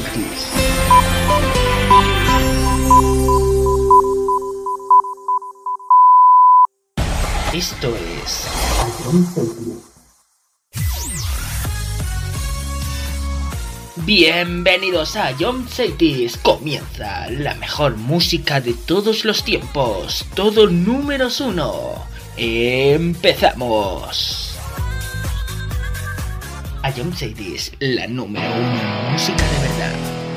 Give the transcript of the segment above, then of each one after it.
Cities. Esto es Ion Cities. Bienvenidos a Ion Cities. Comienza la mejor música de todos los tiempos. Todo números 1. Empezamos. Ion Cities, la número 1 en música de verdad.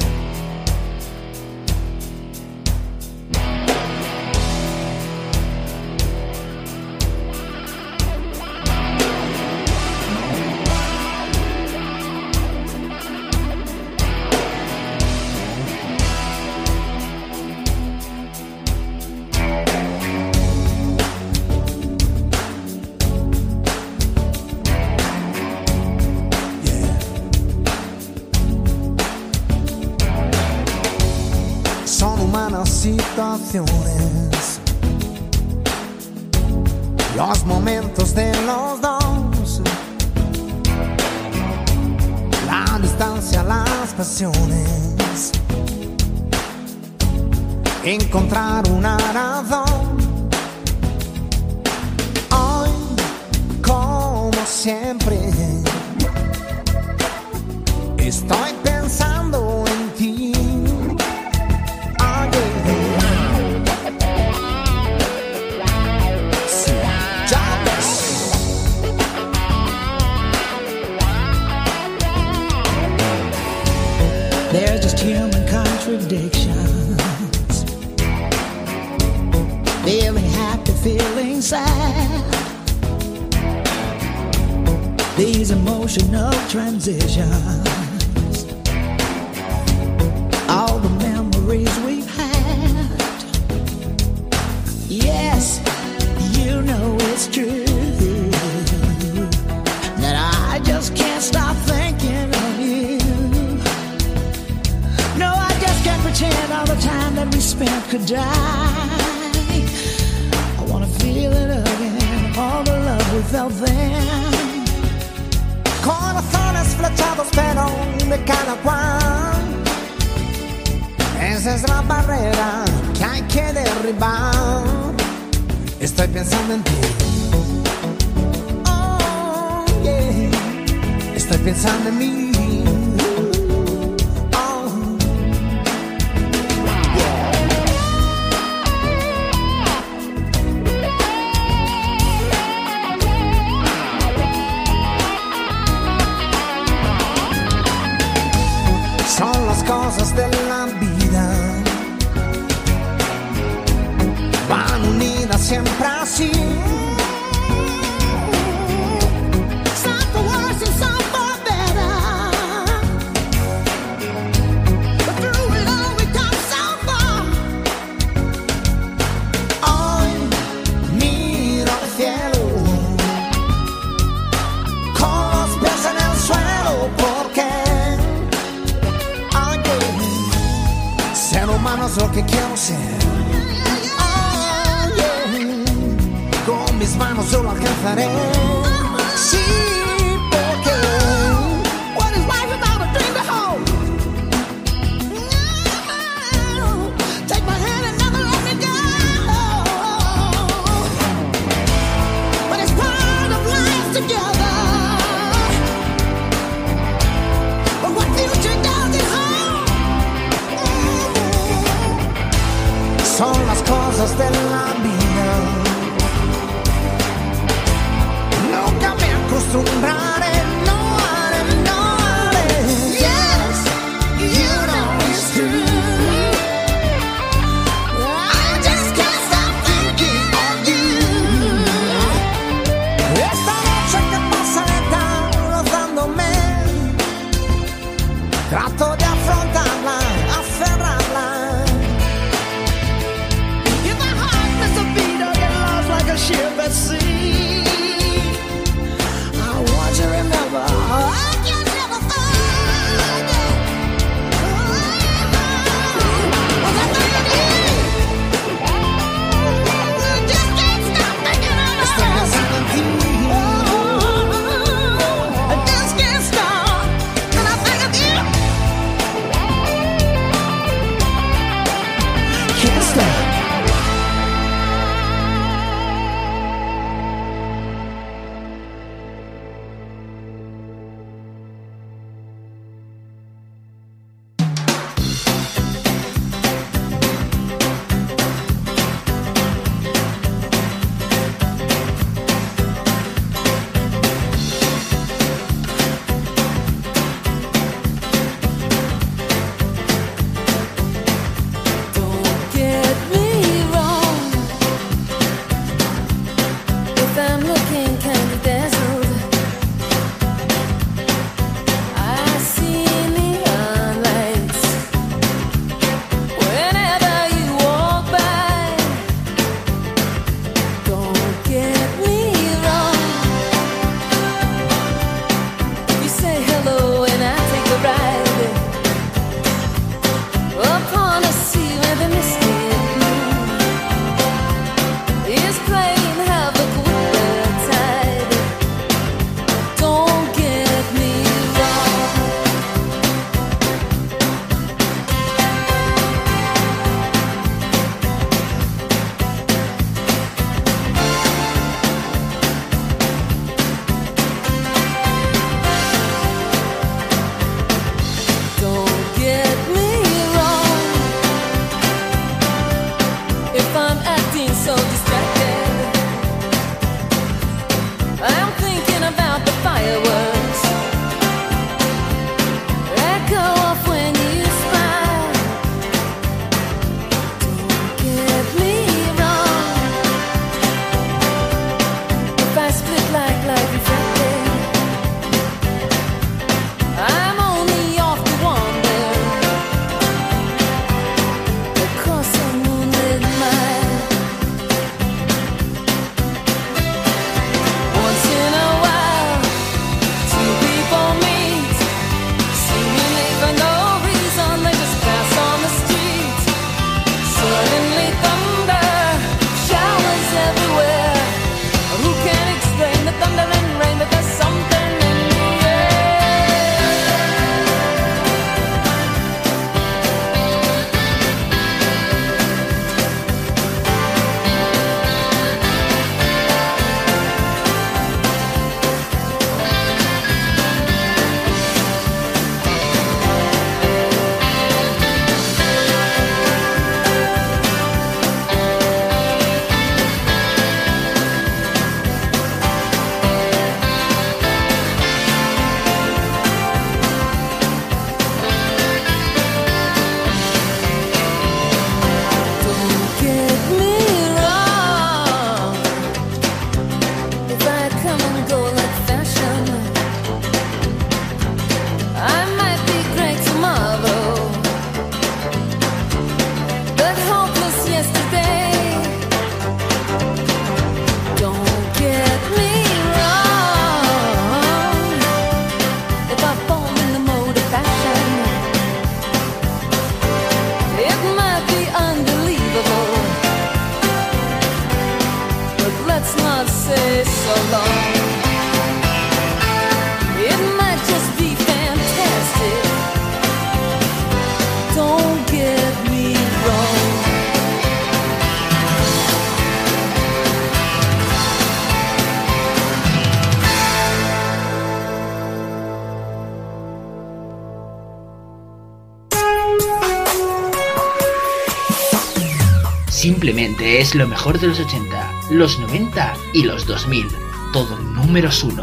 Situaciones, los momentos de los dos, la distancia, las pasiones, encontrar una razón. Hoy, como siempre, estoy pensando en ti. They're just human contradictions. Feeling happy, feeling sad. These emotional transitions. All the memories we've had. Yes, you know it's true that I just can't stop thinking of you. Pretend all the time that we spent could die. I wanna feel it again, all the love we felt then. Corazones flechados pero de cada cual. Esa es la barrera que hay que derribar. Estoy pensando en ti. Oh, yeah. Estoy pensando en mí. Son las cosas de la vida, van unidas siempre así. Some for worse and some for better, but through it all we come so far. Hoy miro al cielo con los pies en el suelo porque ser humano es lo que quiero ser. Oh, yeah. Con mis manos yo lo alcanzaré. Sí, porque What is life without a dream to hold? No, take my hand and never let me go. But it's part of life together. But what future does it hold? son las cosas de la vida. Nunca me acostumbraré. Trato de afrontarla, aferrarla. If my heart must have beat again can't stop. Simplemente es lo mejor de los 80, los 90 y los 2000. Todo números 1.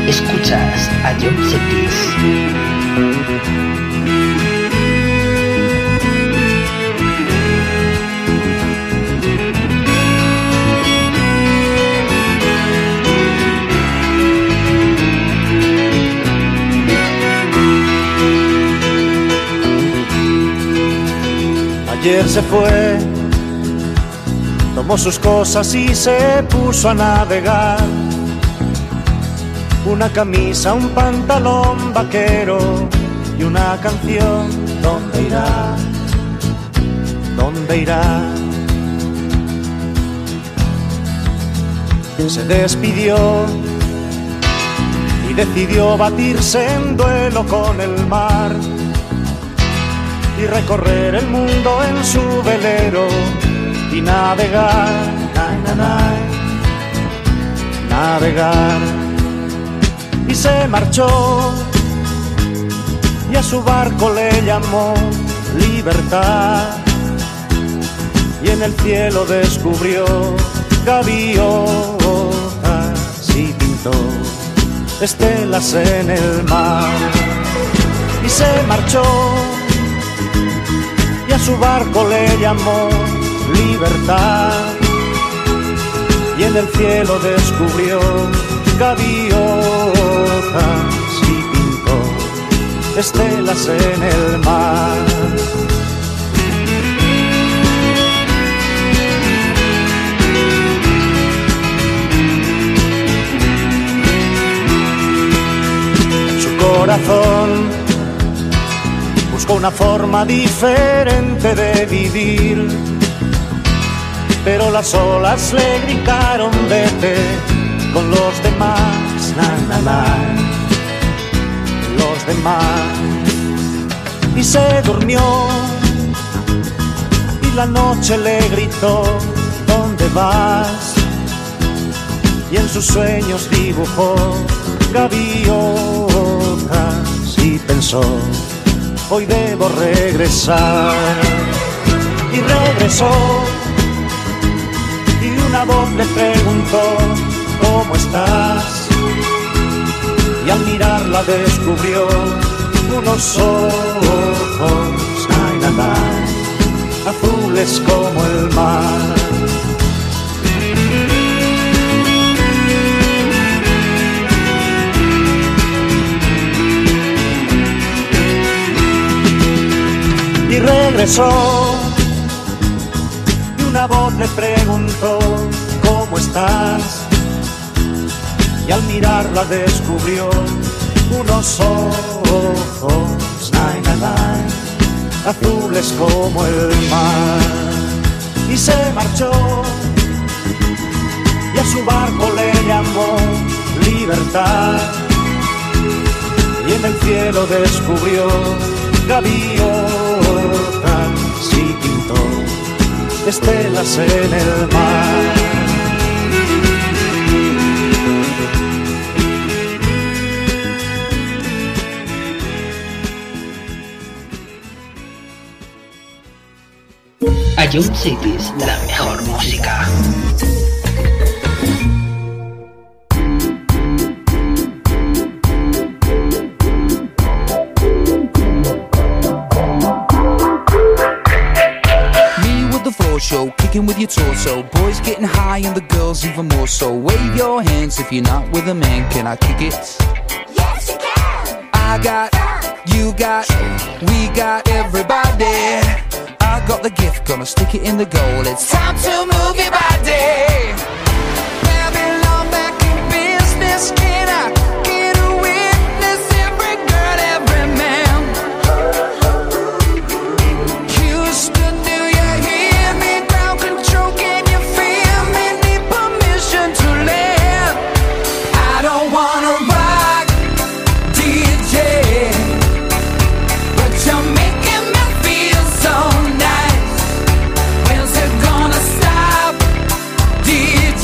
Escuchas a John Cetis. Ayer se fue, tomó sus cosas y se puso a navegar. Una camisa, un pantalón vaquero y una canción. ¿Dónde irá? ¿Dónde irá? Se despidió y decidió batirse en duelo con el mar y recorrer el mundo en su velero y navegar, navegar. Y se marchó y a su barco le llamó Libertad, y en el cielo descubrió gaviotas y pintó estelas en el mar. Y se marchó y a su barco le llamó Libertad, y en el cielo descubrió gaviotas y pintó estelas en el mar. Su corazón buscó una forma diferente de vivir, pero las olas le gritaron vete con los demás, los demás. Y se durmió y la noche le gritó ¿dónde vas? Y en sus sueños dibujó gaviotas y pensó hoy debo regresar. Y regresó y una voz le preguntó ¿cómo estás? Y al mirarla descubrió unos ojos azules como el mar. Y regresó y una voz le preguntó ¿cómo estás? Y al mirarla descubrió unos ojos azules como el mar. Y se marchó y a su barco le llamó Libertad, y en el cielo descubrió gaviotas y pintó estelas en el mar. A John Cetis, la mejor música. Show, kicking with your torso. Boys getting high and the girls even more so. Wave your hands if you're not with a man. Can I kick it? Yes, you can. I got, you got, we got everybody. I got the gift, gonna stick it in the goal. It's time to move your body. Babylon back in business. Can I get a witness? Every girl, every man. Houston, do you hear me? Ground control, can you feel me? Need permission to land. I don't wanna rock, DJ, but you're making me feel so nice. When's it gonna stop, DJ?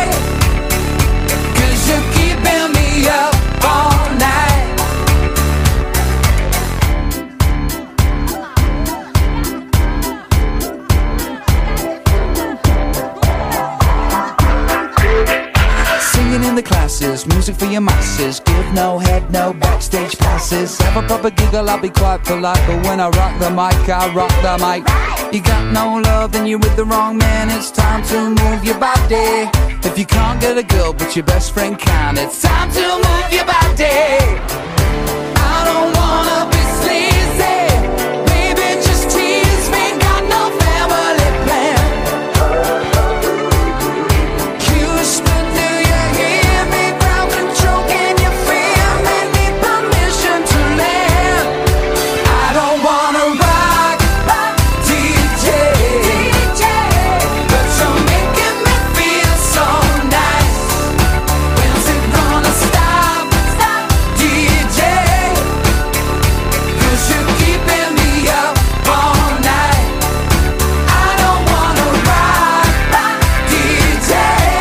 'Cause you're keeping me up all night. Singing in the club classes, music for your masses. Give no head, no backstage passes. Have a proper giggle, I'll be quite polite, but when I rock the mic, I rock the mic. You got no love, then you're with the wrong man. It's time to move your body. If you can't get a girl, but your best friend can, it's time to move your body. I don't wanna be sleazy, baby, just tease me. Got no family plan. Houston, do you hear me? Ground control, can you feel me? Need permission to land. I don't wanna rock, DJ, but you're making me feel so nice. When's it gonna stop, DJ? 'Cause you're keeping me up all night. I don't wanna rock, DJ,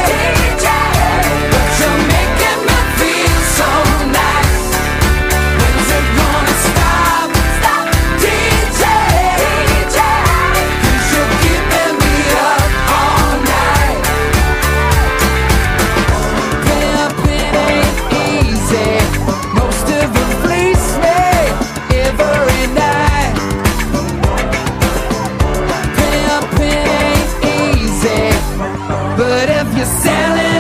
but you're making me feel so nice. When's it gonna stop, DJ? 'Cause you're keeping me up all night. Pimping ain't easy. Most of it fleece me every night. Pimping ain't easy, but if you're selling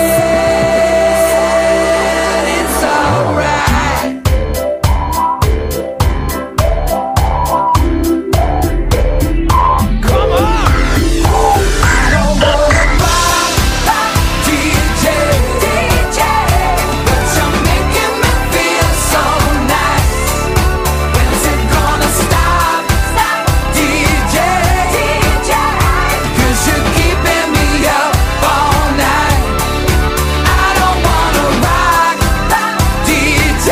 it, it's alright. Come on! I don't wanna rock, DJ, but you're making me feel so nice. When's it gonna stop, DJ? 'Cause you're keeping me up all night. I don't wanna rock, DJ,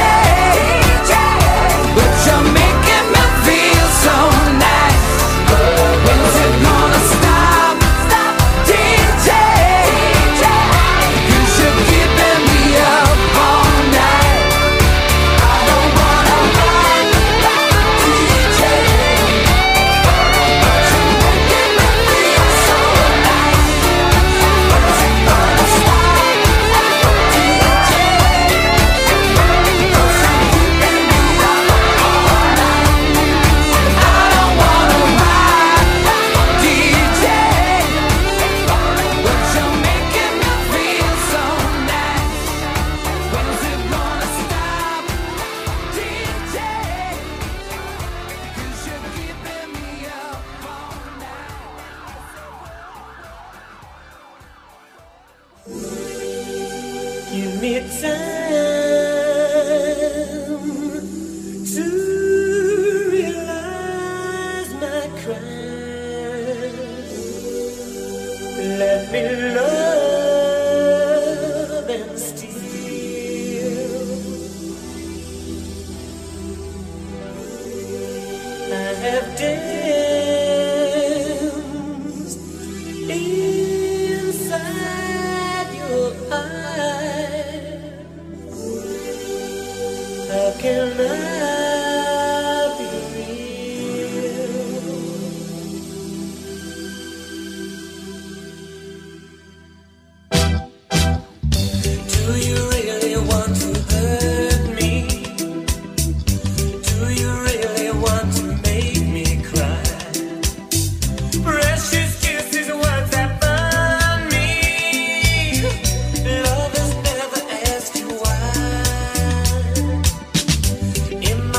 but you're making me feel so nice. When's it gonna stop, DJ? 'Cause you're keeping me up all night. I don't wanna rock, DJ, but you're making me feel so nice. When's it gonna stop, DJ? 'Cause you're keeping me up all night. I don't wanna rock, DJ, but you're making me feel so nice. When's it gonna stop, DJ? 'Cause you're keeping me up all night. Give me time to realize my crime. Let me love and steal. I have danced inside your eyes. How can I be real? Do you really want to hurt me? Do you really want to make me cry? Precious kisses, words that burn me. Love has never asked you why. In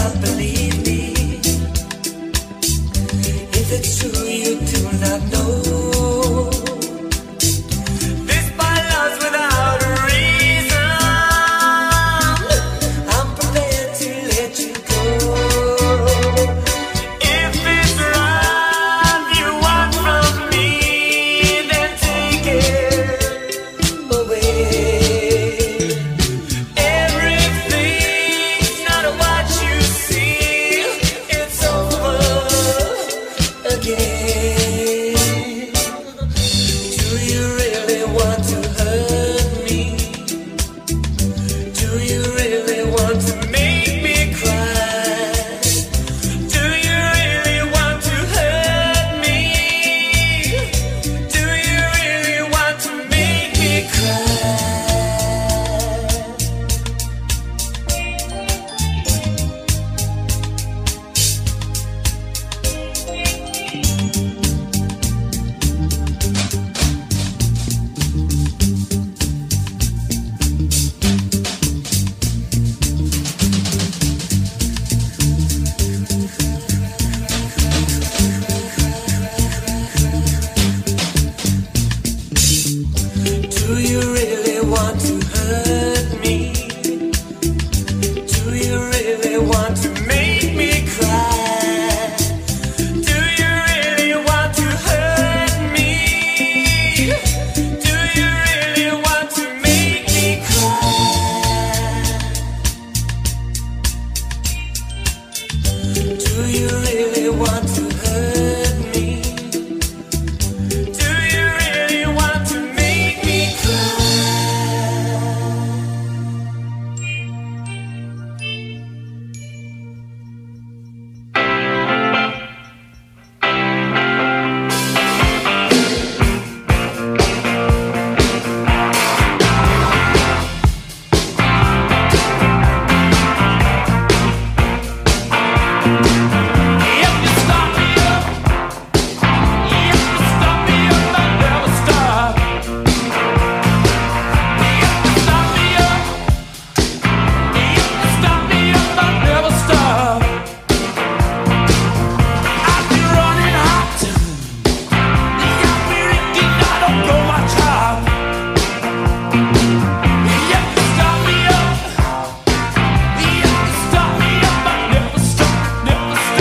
Stop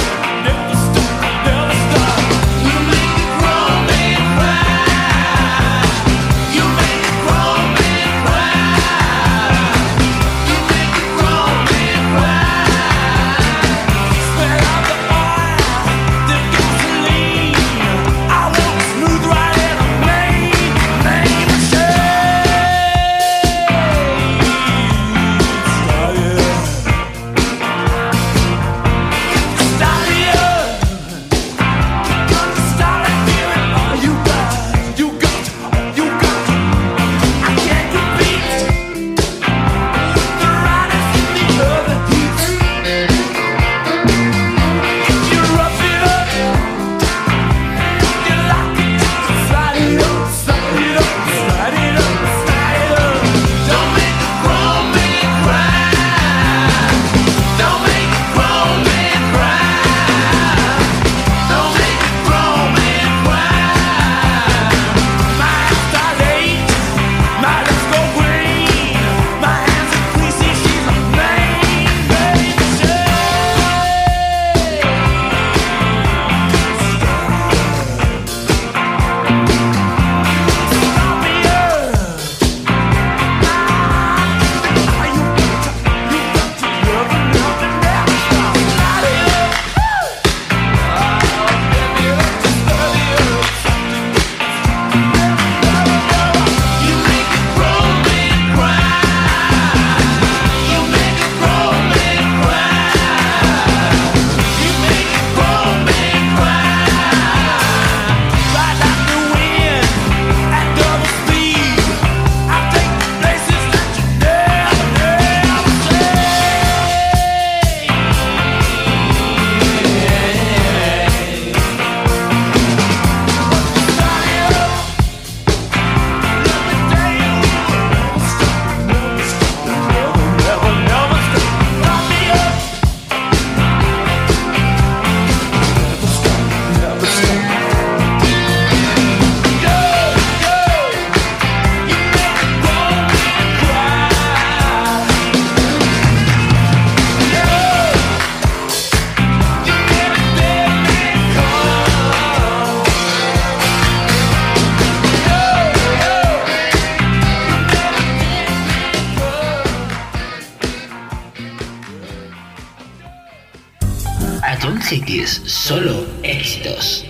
Ion Cities, solo éxitos.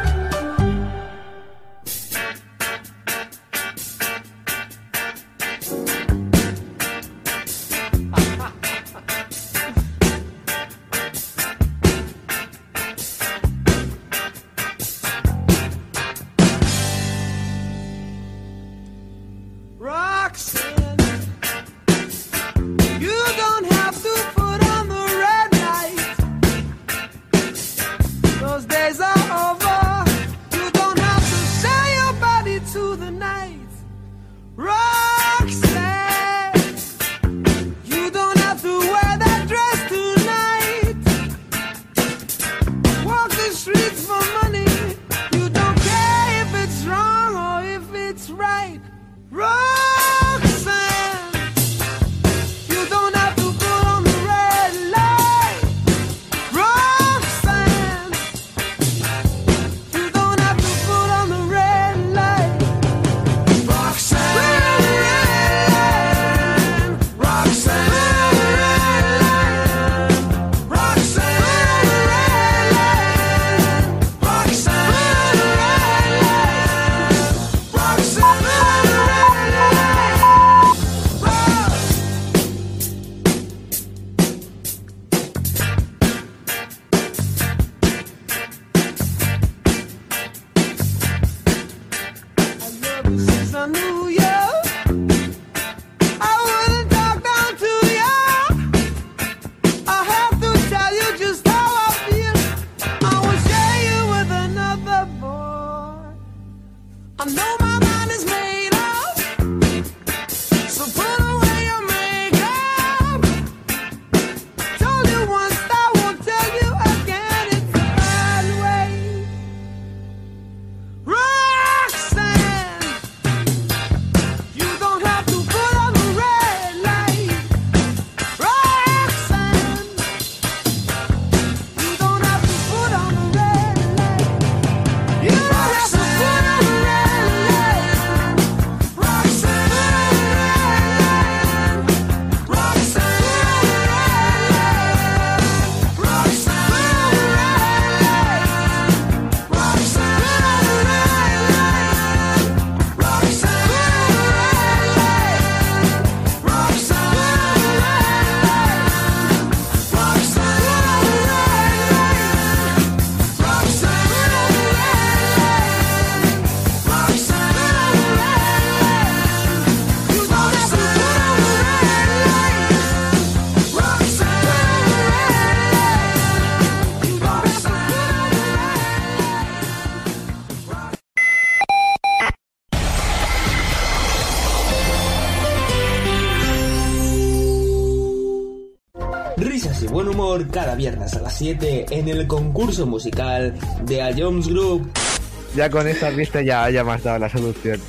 Risas y buen humor cada viernes a las 7 en el concurso musical de A Jones Group. Ya con esta vista ya me has dado la solución.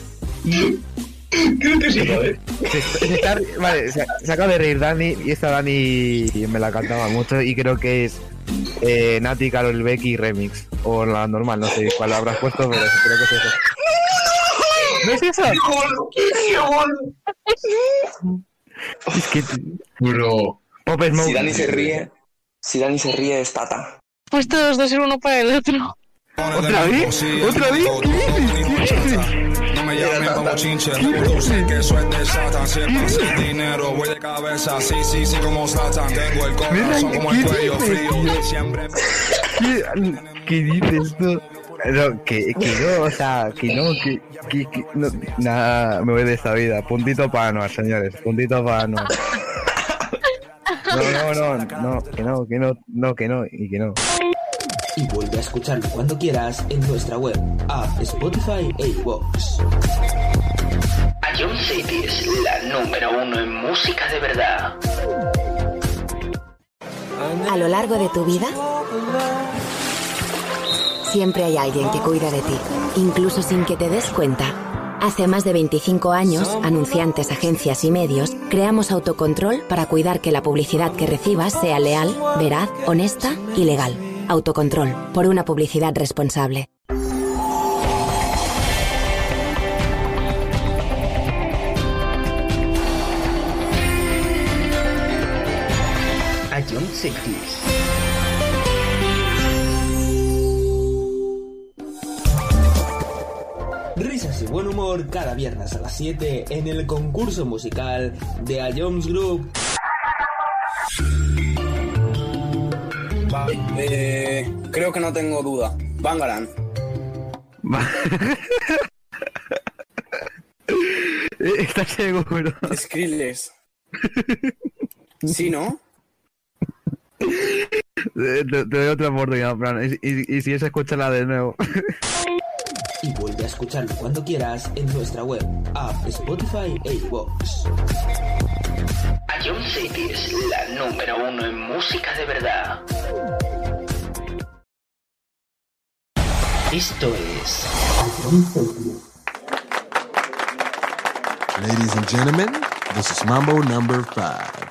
Creo que sí, ¿vale? Vale, se acaba de reír Dani y esta Dani me la cantaba mucho y creo que es Nati, Karol Becky remix o la normal, no sé cuál habrás puesto, pero creo que es eso. ¿No es eso? Es que... Bro. Pop Smoke. Si Dani se ríe es Tata. Pues todos dos ser uno para el otro. ¿Otra vez? ¿Otra vez? ¿Qué dices? No me llamen como chinche, tú sé que eso es de Satan. Siempre sin dinero, voy de cabeza, sí, como Satan. Tengo el corazón como el cuello frío, siempre... ¿Qué dices tú? No, que no, o sea, que no, nada, me voy de esta vida. Puntito para Anuar, señores, puntito para Anuar. No, que no. Y vuelve a escucharlo cuando quieras en nuestra web, app, Spotify e iVoox. Ion Cities, la número 1 en música de verdad. A lo largo de tu vida, siempre hay alguien que cuida de ti, incluso sin que te des cuenta. Hace más de 25 años, anunciantes, agencias y medios, creamos Autocontrol para cuidar que la publicidad que recibas sea leal, veraz, honesta y legal. Autocontrol, por una publicidad responsable. Ion Cities. buen humor cada viernes a las 7 en el concurso musical de A Jones Group. Creo que no tengo duda. Bangarang. ¿Estás seguro? Skrillex. ¿Sí, no? Te doy otra oportunidad, Fran. Y si es, escúchala de nuevo. Y vuelve a escucharlo cuando quieras en nuestra web, app, Spotify e iVoox. Ion City es la número 1 en música de verdad. Esto es Ladies and gentlemen, this is Mambo number 5.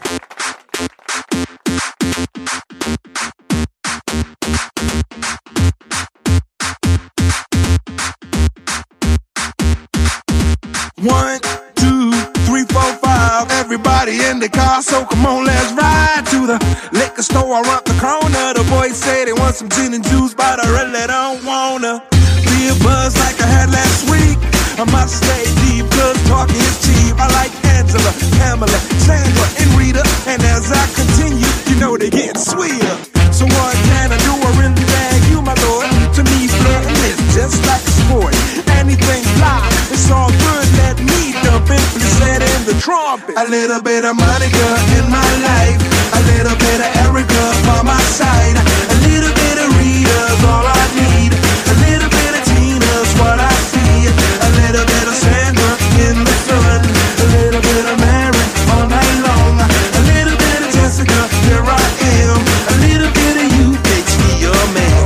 One, two, three, four, five. Everybody in the car, so come on, let's ride to the liquor store around the corner. The boys say they want some gin and juice, but I really don't wanna be a buzz like I had last week. I must stay deep, cause talking is cheap. I like Angela, Pamela, Sandra, and Rita. And as I continue, you know they get sweeter. So what can I do? I really beg you, my lord. To me, flirting is just like a sport. Anything fly, it's all good. Let me dump it, please in the trumpet. A little bit of Monica in my life, a little bit of Erica by my side, a little bit of Rita's all I need, a little bit of Tina's what I see, a little bit of Sandra in the sun, a little bit of Mary all night long, a little bit of Jessica, here I am, a little bit of you makes me your man.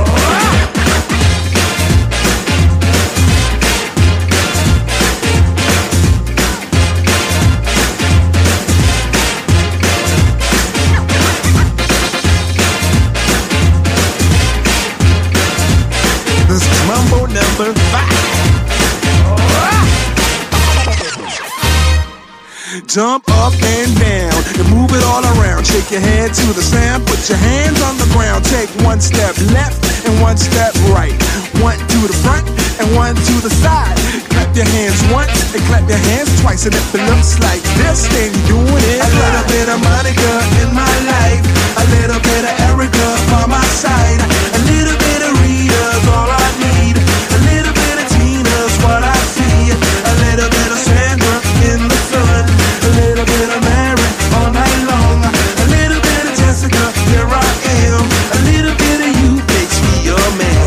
This is Mambo number 5. Jump up and down and move it all around. Shake your head to the sound. Put your hands on the ground. Take one step left and one step right. One to the front and one to the side. Clap your hands once and clap your hands twice. And if it looks like this, then you're doing it. A little bit of Monica in my life, a little bit of Erica by my side, a little bit of Rita's all I need, a little bit of Tina's what I see, a little bit of Sandra in the sun, a little bit of Mary all night long, a little bit of Jessica, here I am, a little bit of you makes me your man.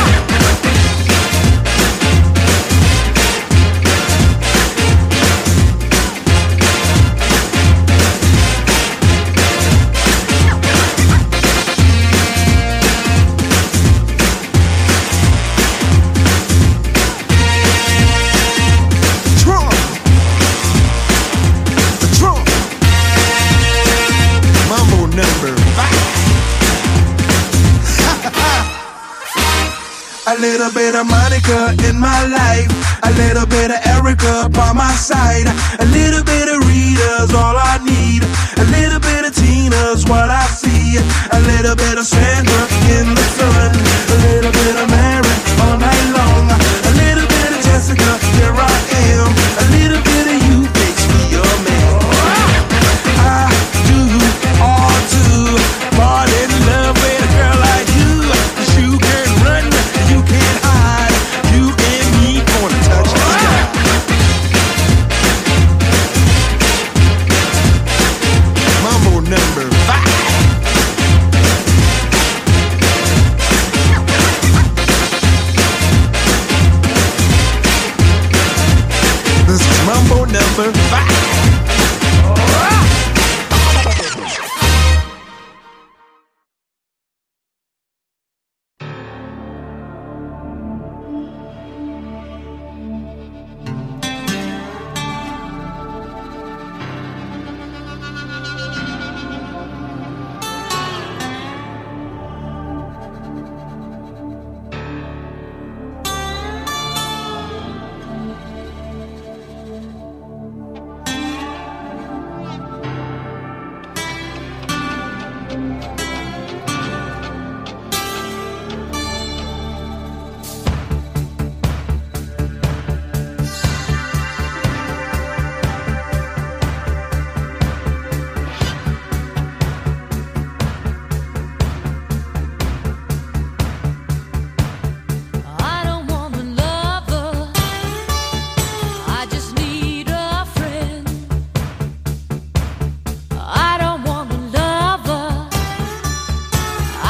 A little bit of Monica in my life, a little bit of Erica by my side, a little bit of Rita's all I need, a little bit of Tina's what I see, a little bit of Sandra in the sun, a little bit of Mary all night long, a little bit of Jessica, here I am, a little bit of you makes me your man. I do all to fall in love with a girl like you, 'cause you can run, you can't hide, you and me gonna touch the sky. Mambo number 5.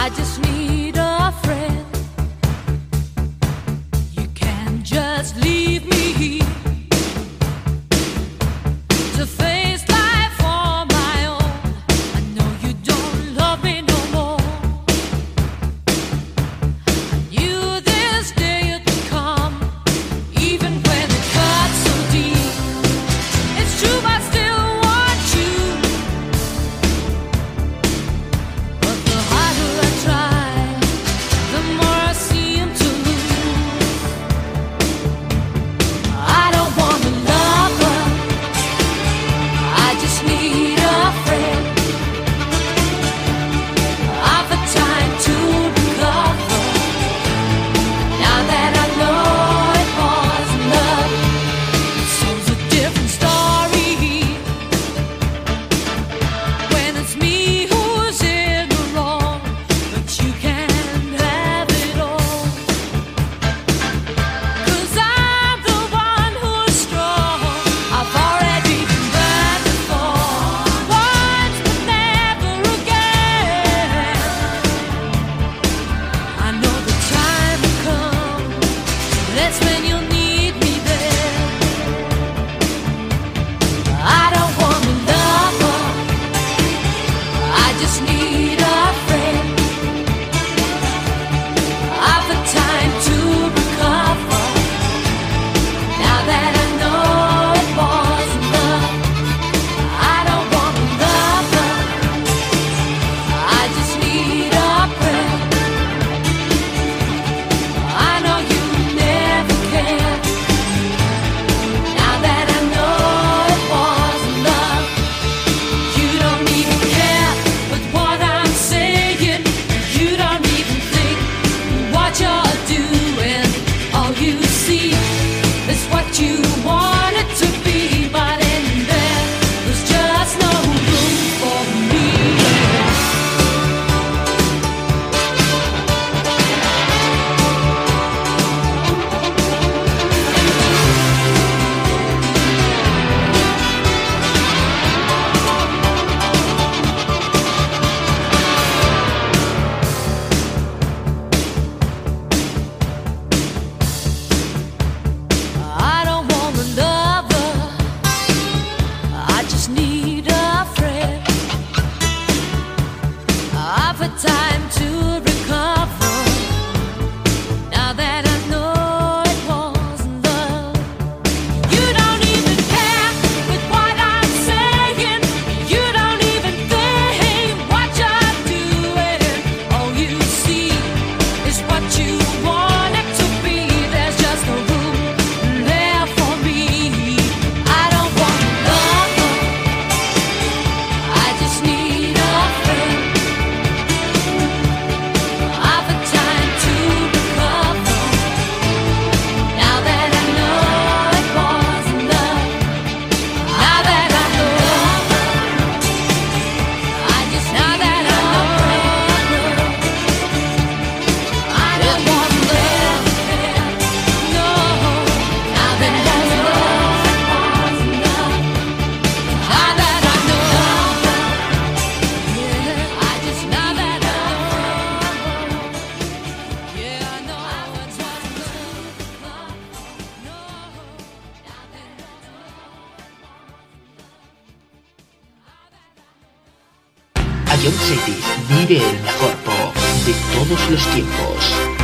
Ion City vive el mejor pop de todos los tiempos.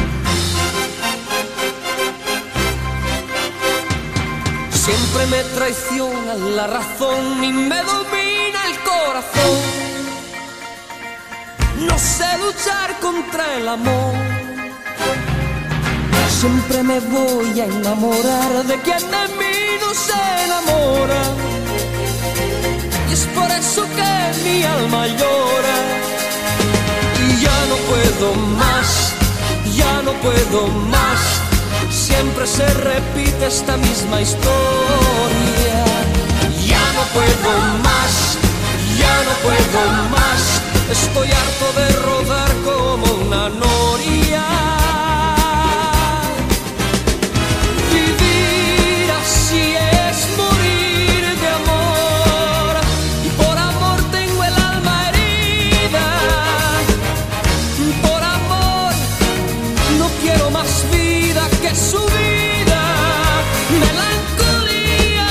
Siempre me traiciona la razón y me domina el corazón. No sé luchar contra el amor. Siempre me voy a enamorar de quien de mí no se enamora. Y es por eso que mi alma llora. Y ya no puedo más, ya no puedo más. Siempre se repite esta misma historia. Ya no puedo más, ya no puedo más. Estoy harto de rodar como una noria. Vivir así es morir de amor. Y por amor tengo el alma herida. Por es su vida, melancolía.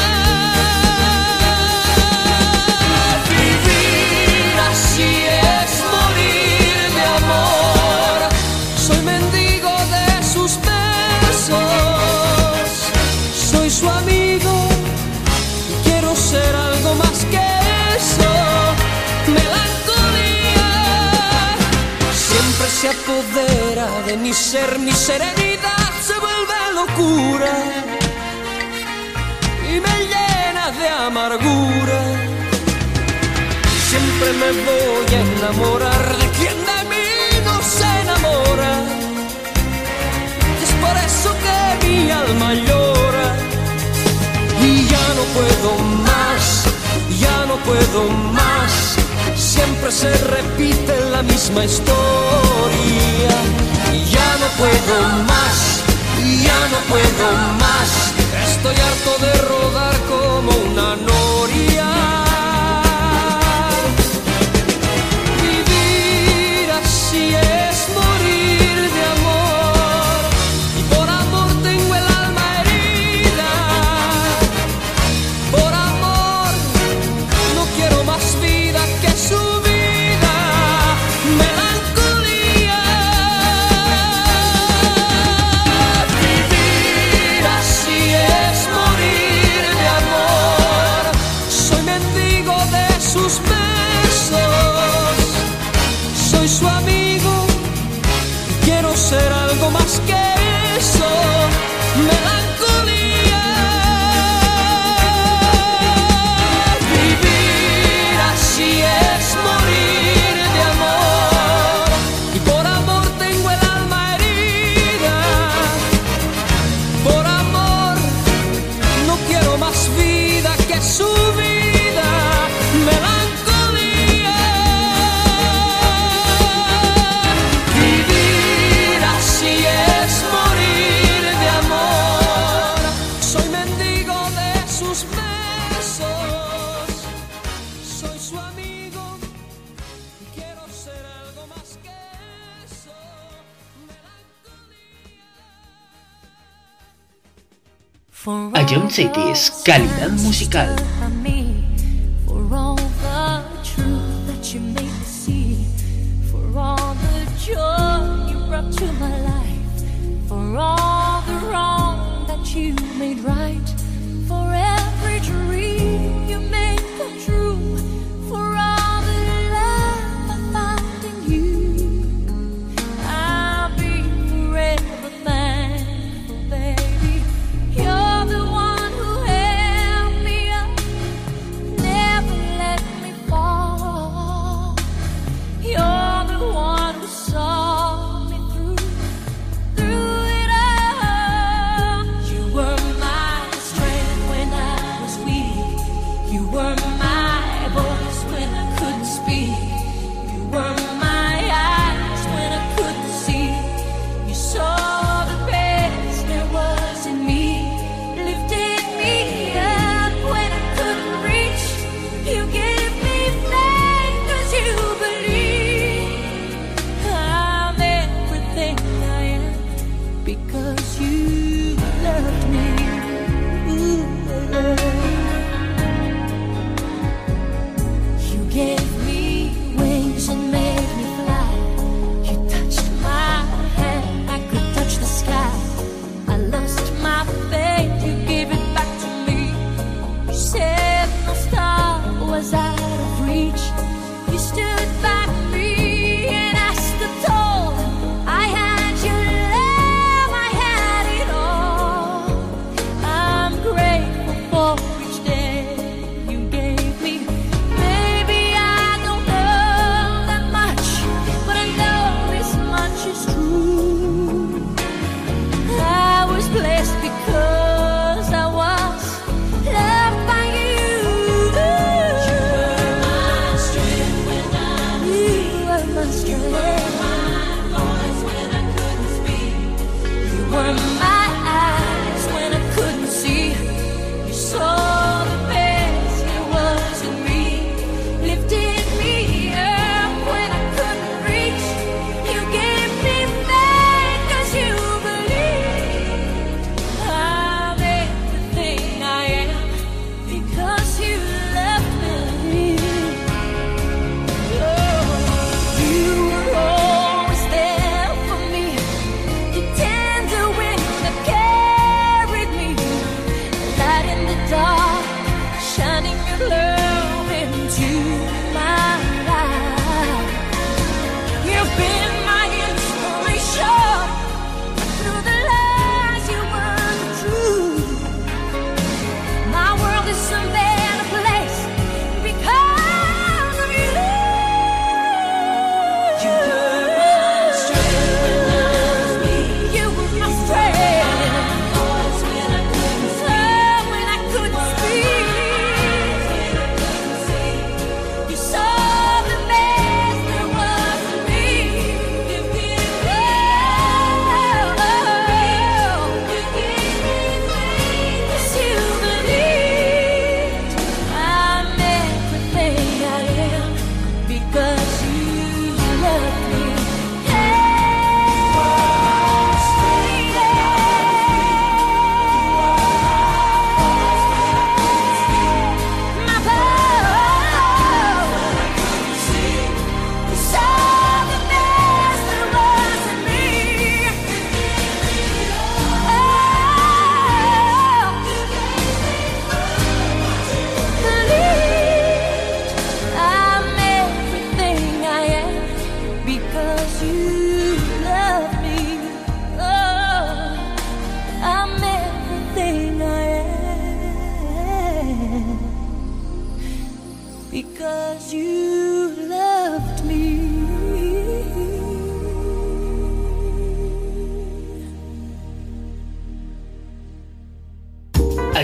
Vivir así es morir de amor. Soy mendigo de sus besos, soy su amigo y quiero ser algo más que eso. Melancolía siempre se apodera de mi ser, mi serenidad se vuelve locura y me llena de amargura. Siempre me voy a enamorar de quien de mí no se enamora, y es por eso que mi alma llora. Y ya no puedo más, ya no puedo más, siempre se repite la misma historia. Y ya no puedo más, ya no puedo más, estoy harto de rodar como una noria. Vivir así es morir de amor, y por amor tengo el alma herida. Por amor no quiero más vida que su vida, melancolía. Vivir así es morir de amor. Soy mendigo de sus besos, soy su amigo y quiero ser algo más que eso, melancolía. Vivir así es morir de amor, y por amor tengo el alma herida. Por amor no quiero más vida que su vida, melancolía. Vivir así es morir de amor. Soy mendigo de sus besos, soy su amigo y quiero ser algo más que eso, melancolía. Ion Cities, calidad musical. For all the truth that you made me see, for all the joy you brought to my life, for all the wrong that you made right, for every dream you made come true, for all the love I found in you. I'll be forever thankful, baby. You're the one who held me up, never let me fall. You're the one who saw me through it all. You were my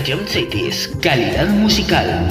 Estación Cities, calidad musical.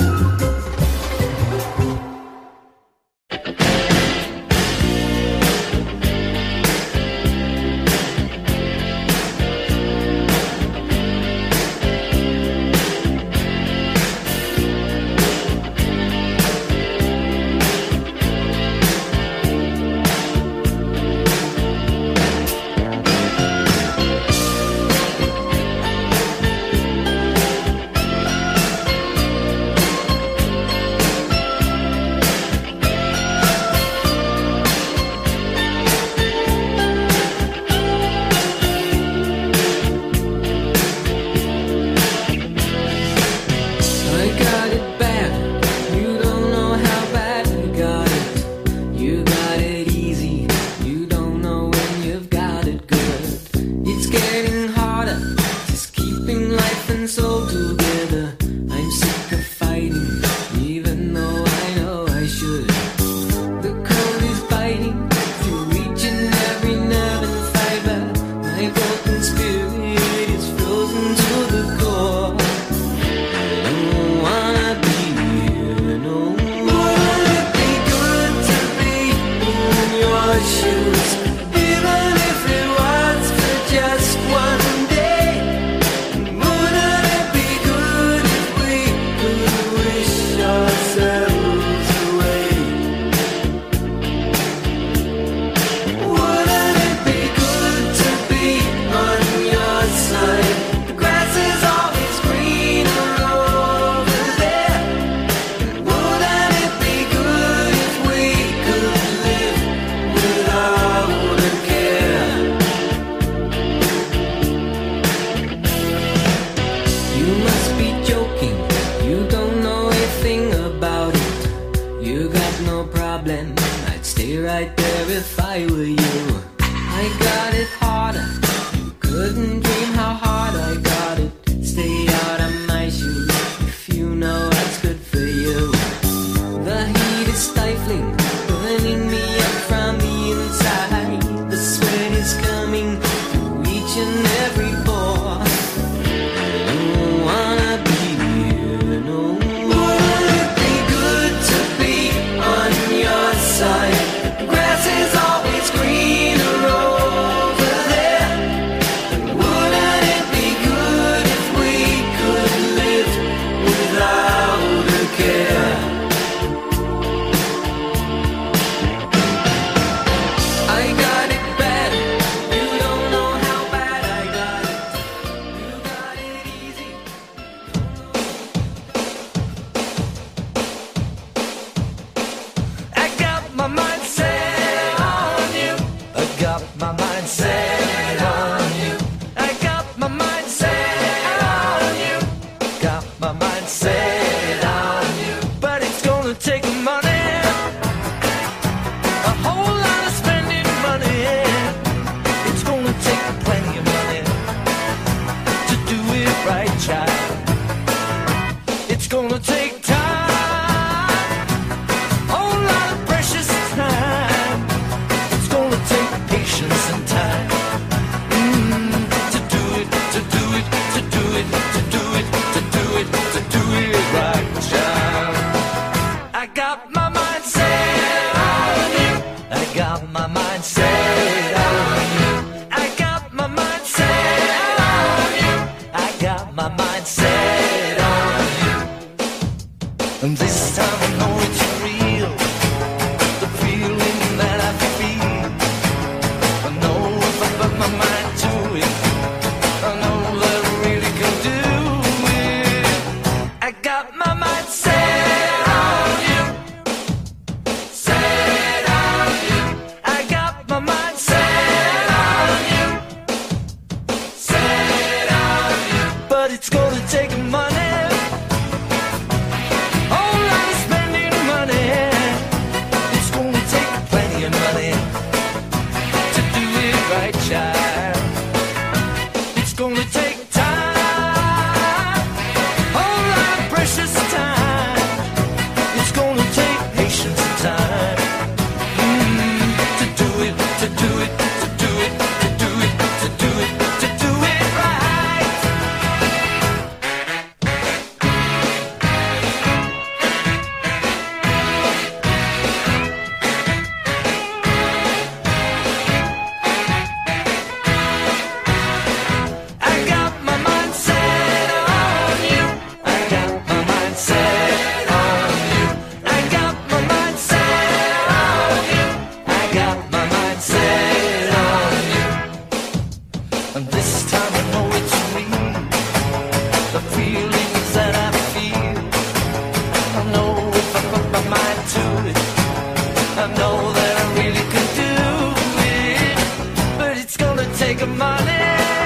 making money,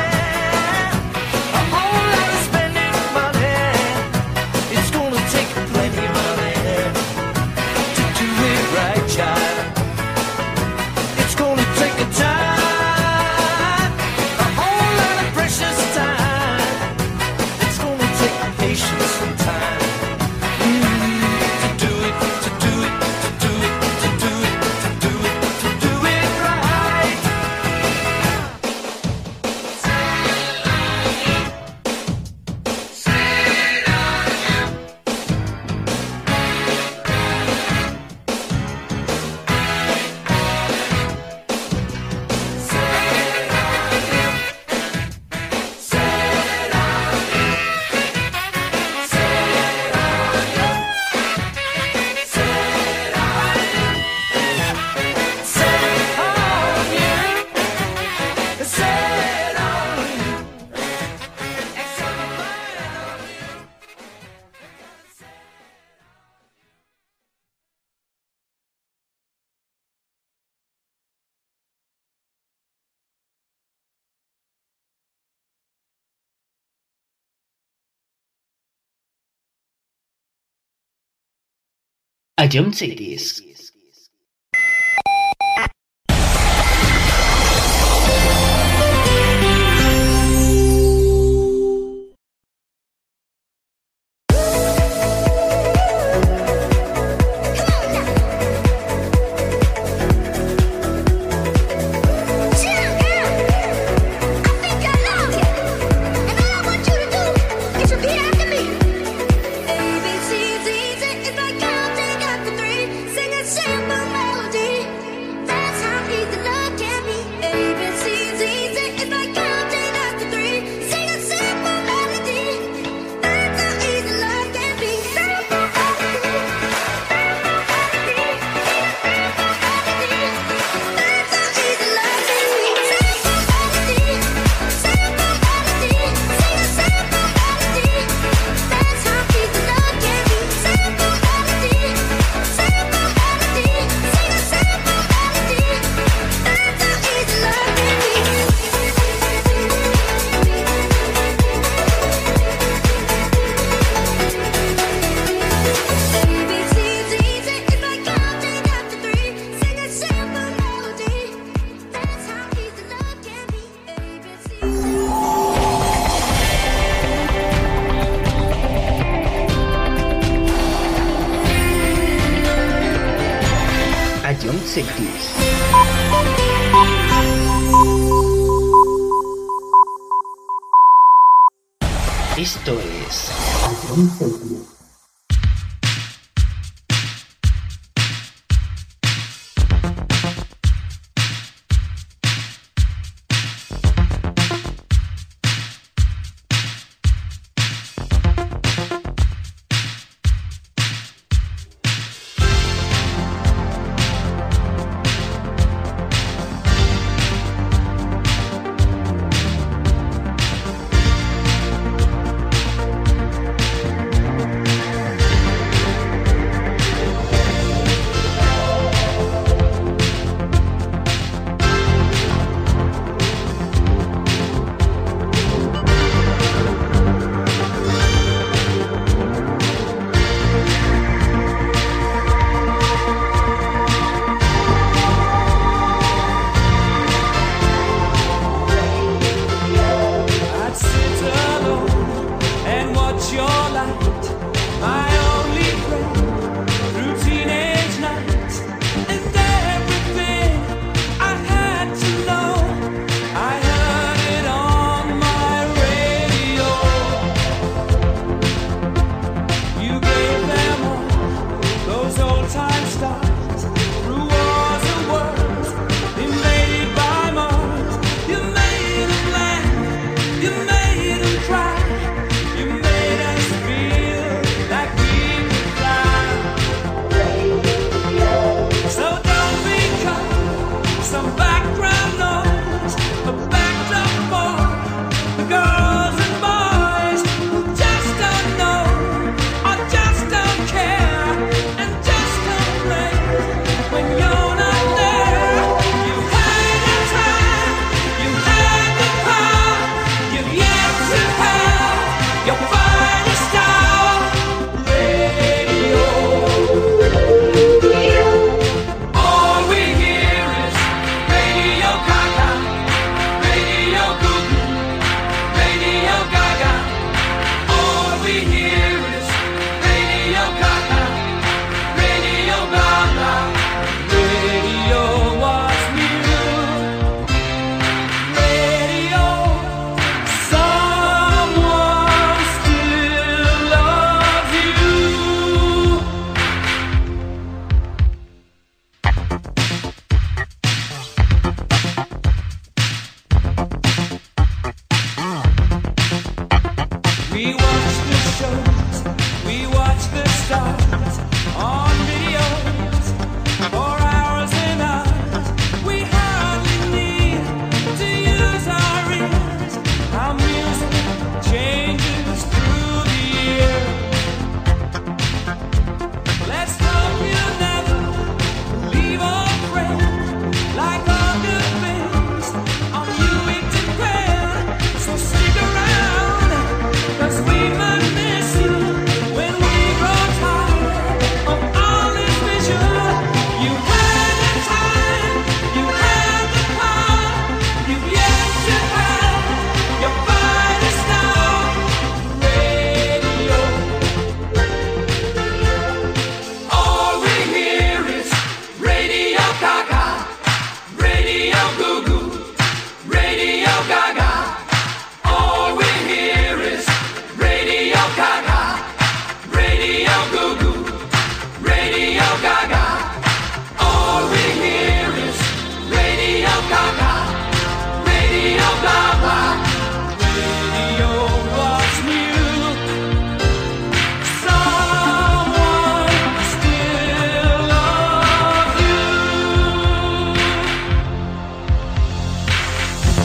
a whole lot of spending money. It's gonna take plenty of money to do it right, child. It's gonna take a time, a whole lot of precious time. It's gonna take patience and time. Ion Cities. Ion Cities. Esto es Ion Cities.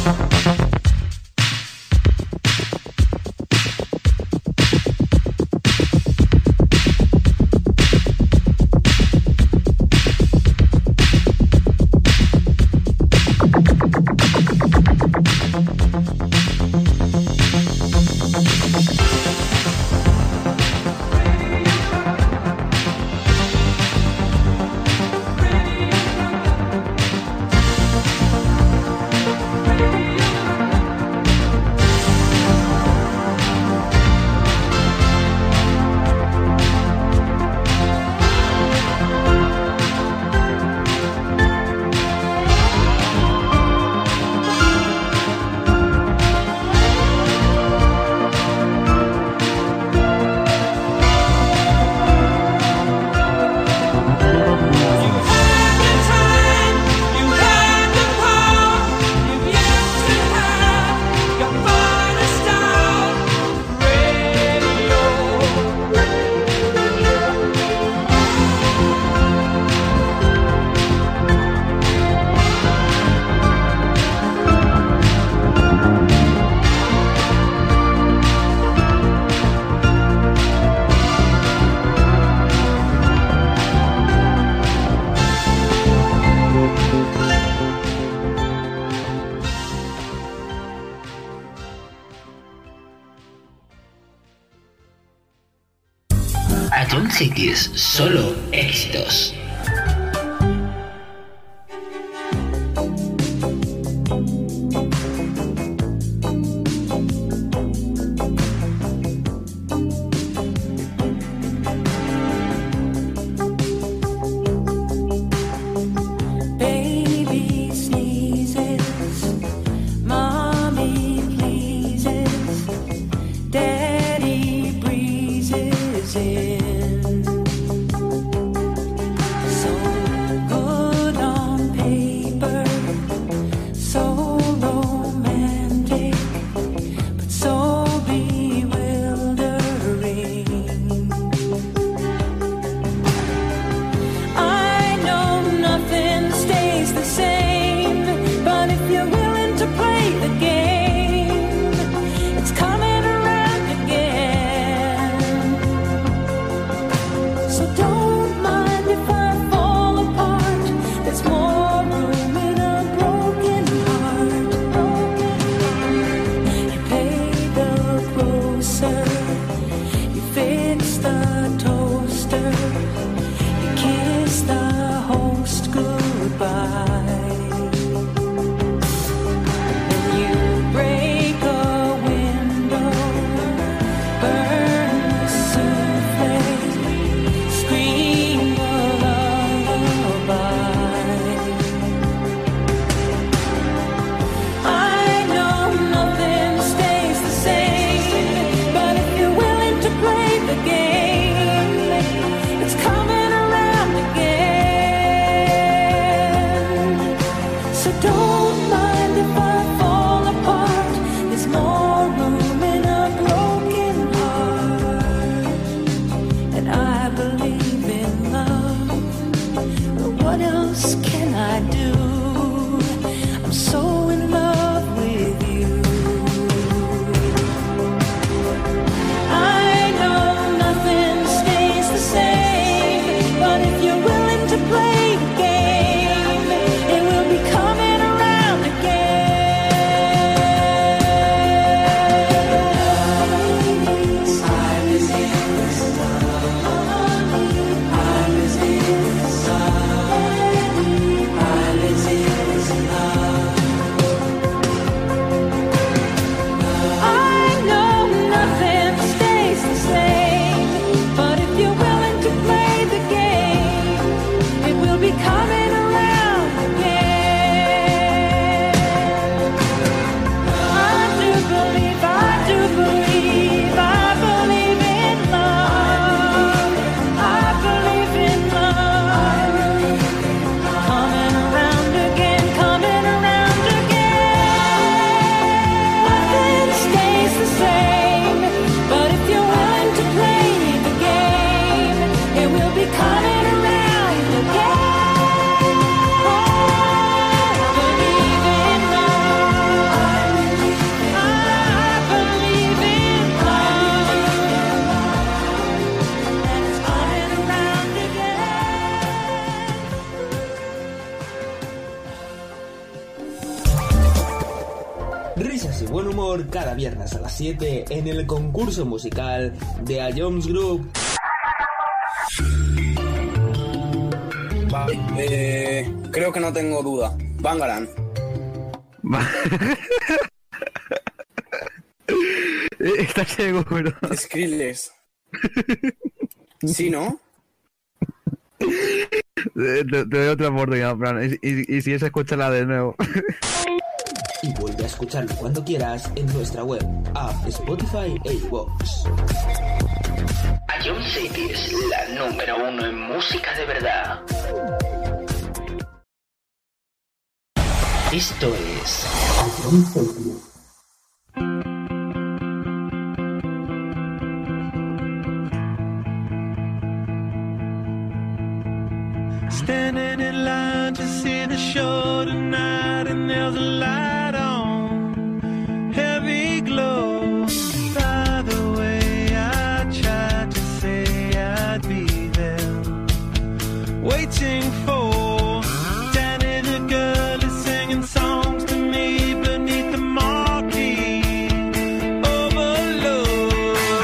Atom Cities, solo éxitos. Risas y buen humor cada viernes a las 7 en el concurso musical de A Jones Group. Vale, creo que no tengo duda. Bangaran. ¿Estás seguro? Skrillex. ¿Sí, no? Te doy otra oportunidad, Fran. Y si es, escúchala de nuevo. Y vuelve a escucharlo cuando quieras en nuestra web, app, Spotify e iVoox. A John City es la número 1 en música de verdad. Esto es A John City. Standing in line to see the show tonight, and there's a light on, heavy glow. By the way, I tried to say I'd be there, waiting for Danny the girl is singing songs to me beneath the marquee. Overload.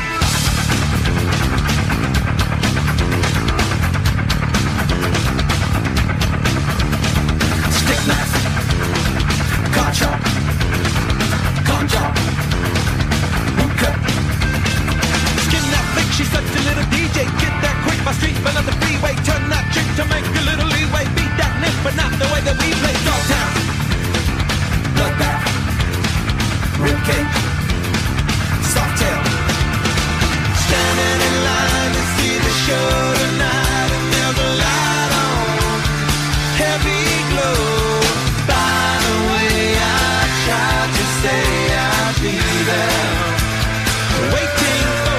Stick knife, car chop, gun job, boot cut. Skin that flick, she's such a little DJ. Get that quick, my street fell on the freeway. Turn that trick to make a little leeway. Beat that nick, but not the way that we play. Dogtown, bloodbath, ribcage, soft tail. Standing in line to see the show tonight, and there's a light on, heavy glow. By the way, I tried to say I'd be there, waiting for.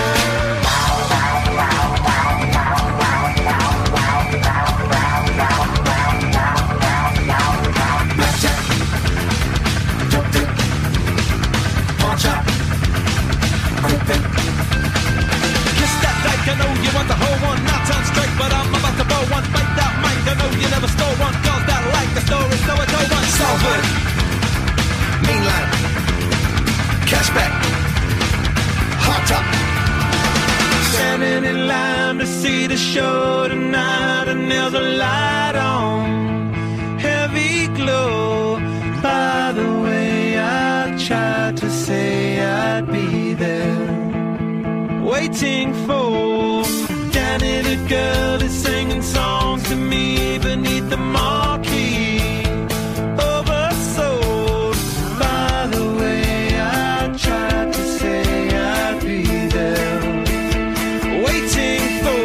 Blackjack, dope dick, pawn shop, quick pick. Kiss that dyke, I know you want the whole one. Not turn straight, but I'm about to blow one. Bite that mic, I know you never stole one. Girls that like the story, so I told one. Salford, mean line, cashback, hot top. Standing in line to see the show tonight, and there's a light on, heavy glow. By the way, I tried to say I'd be there, waiting for Danny the girl is singing songs to me beneath the marquee. Oversold. By the way, I tried to say I'd be there, waiting for.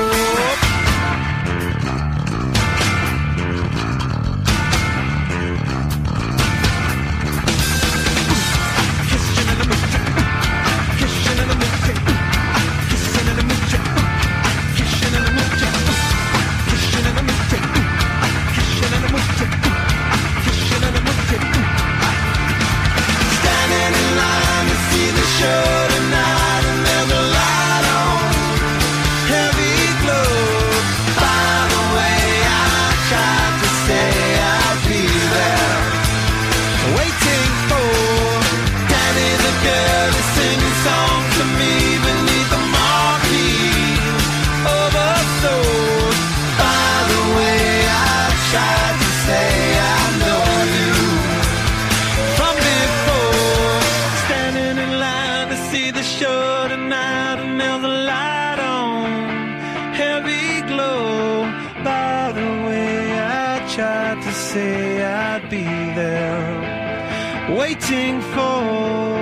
Kissing in the mooch, kissing in the mooch, kissing in the mooch, kissing in the mooch, kissing in the mooch, kissing in the mooch, kissing in the mooch. Standing in line to see the show tonight, and there's a light on, heavy glow. By the way, I tried to say I'd be there, waiting for Danny the girl is singing songs to me beneath the marquee. Oversold. By the way, I tried to say I know you from before. Standing in line to see the show tonight, and there's a light on, heavy glow. By the way, I tried to say I'd be there, waiting for.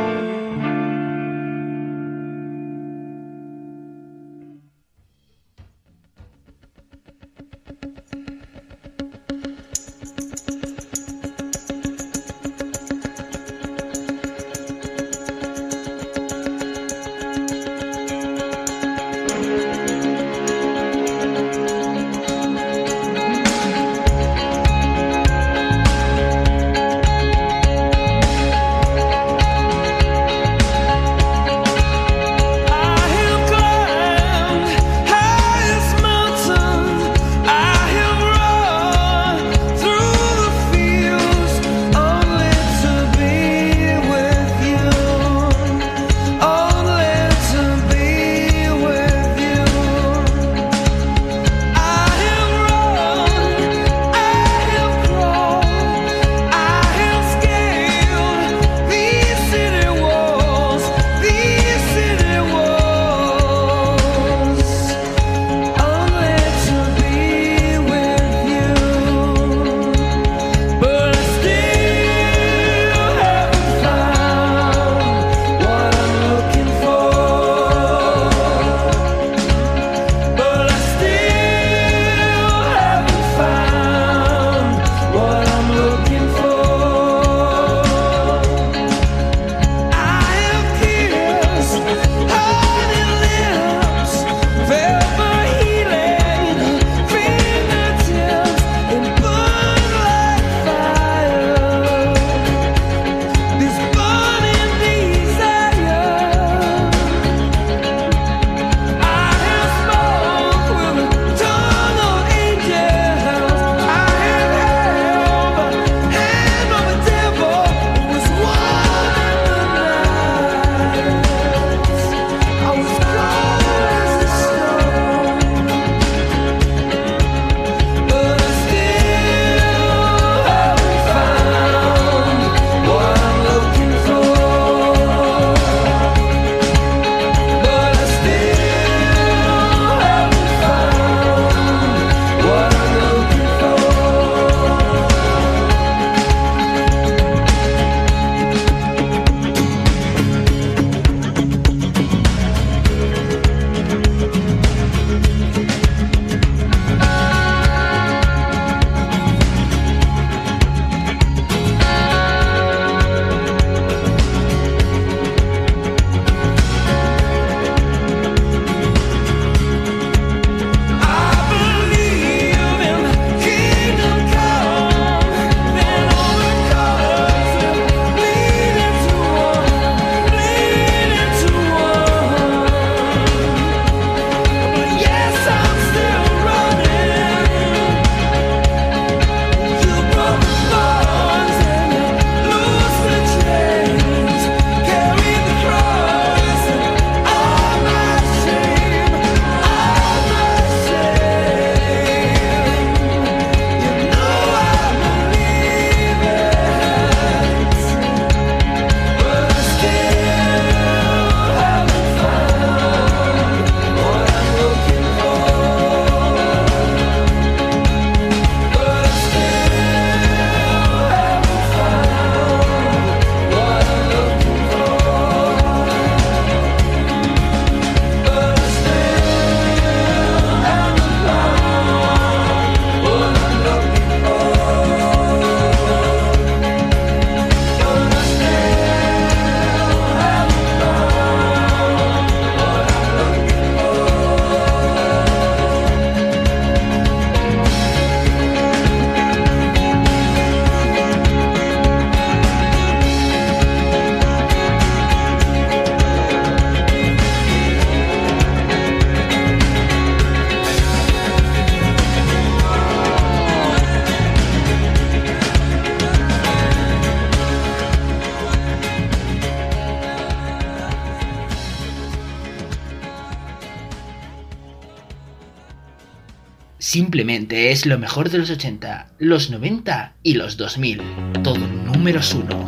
Simplemente es lo mejor de los 80, los 90 y los 2000. Todo números uno.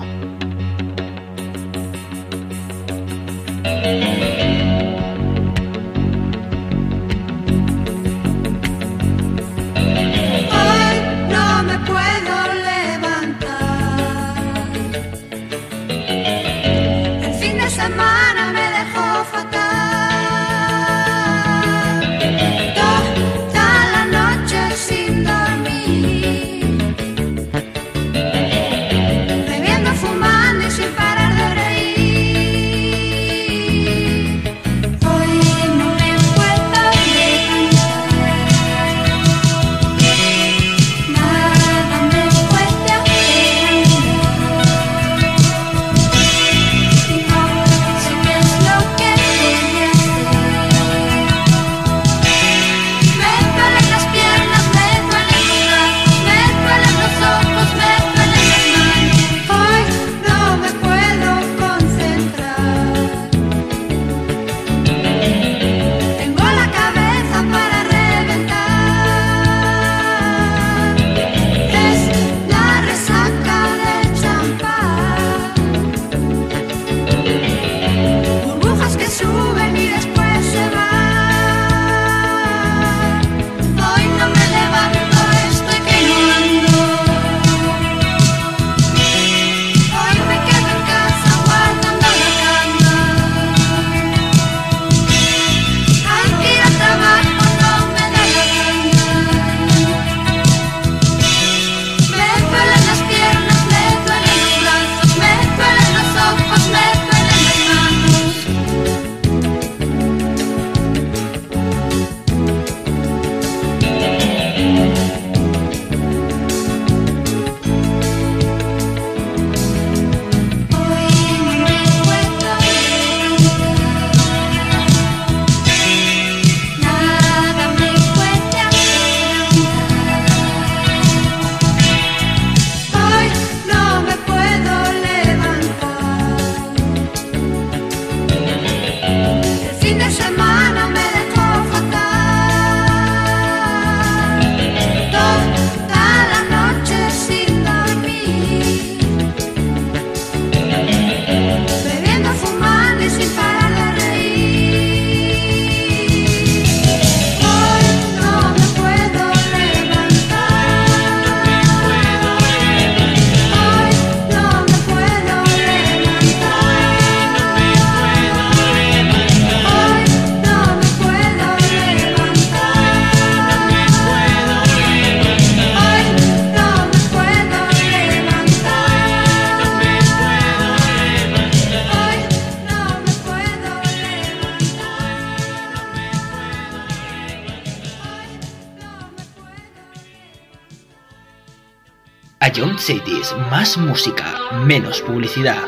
Ion Cities, más música, menos publicidad.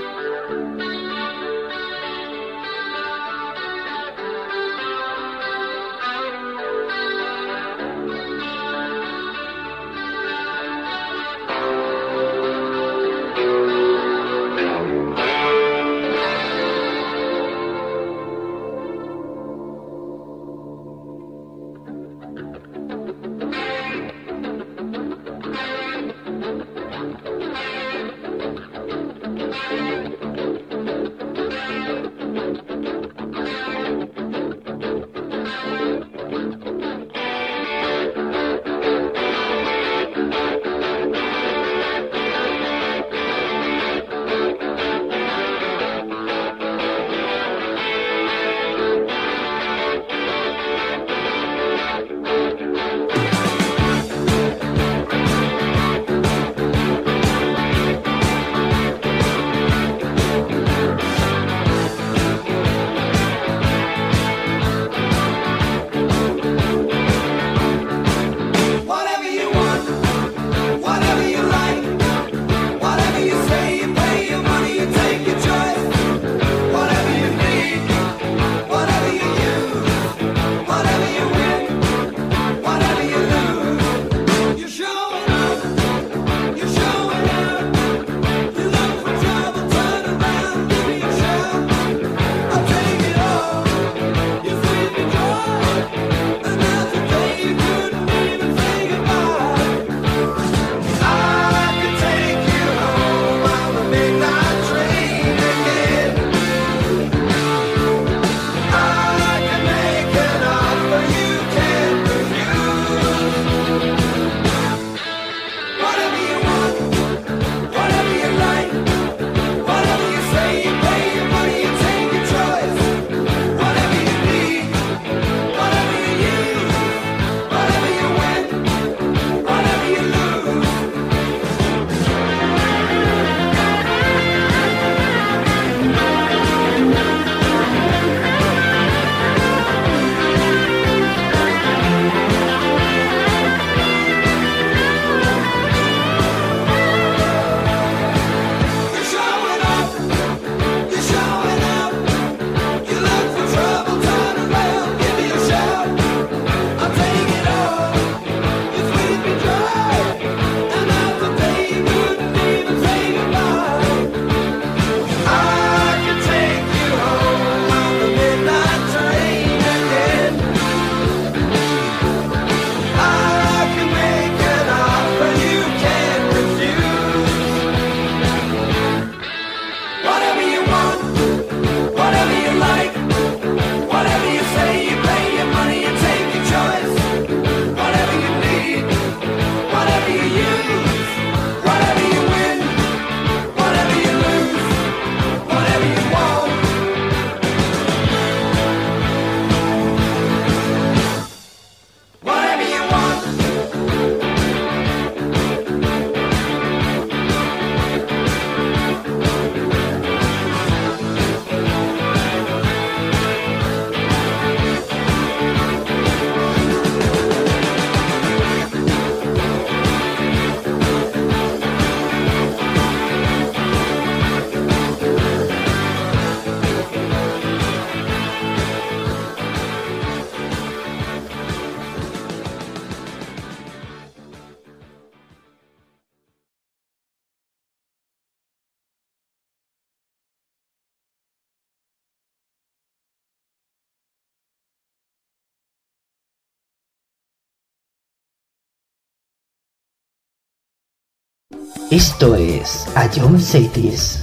Esto es A John Cities.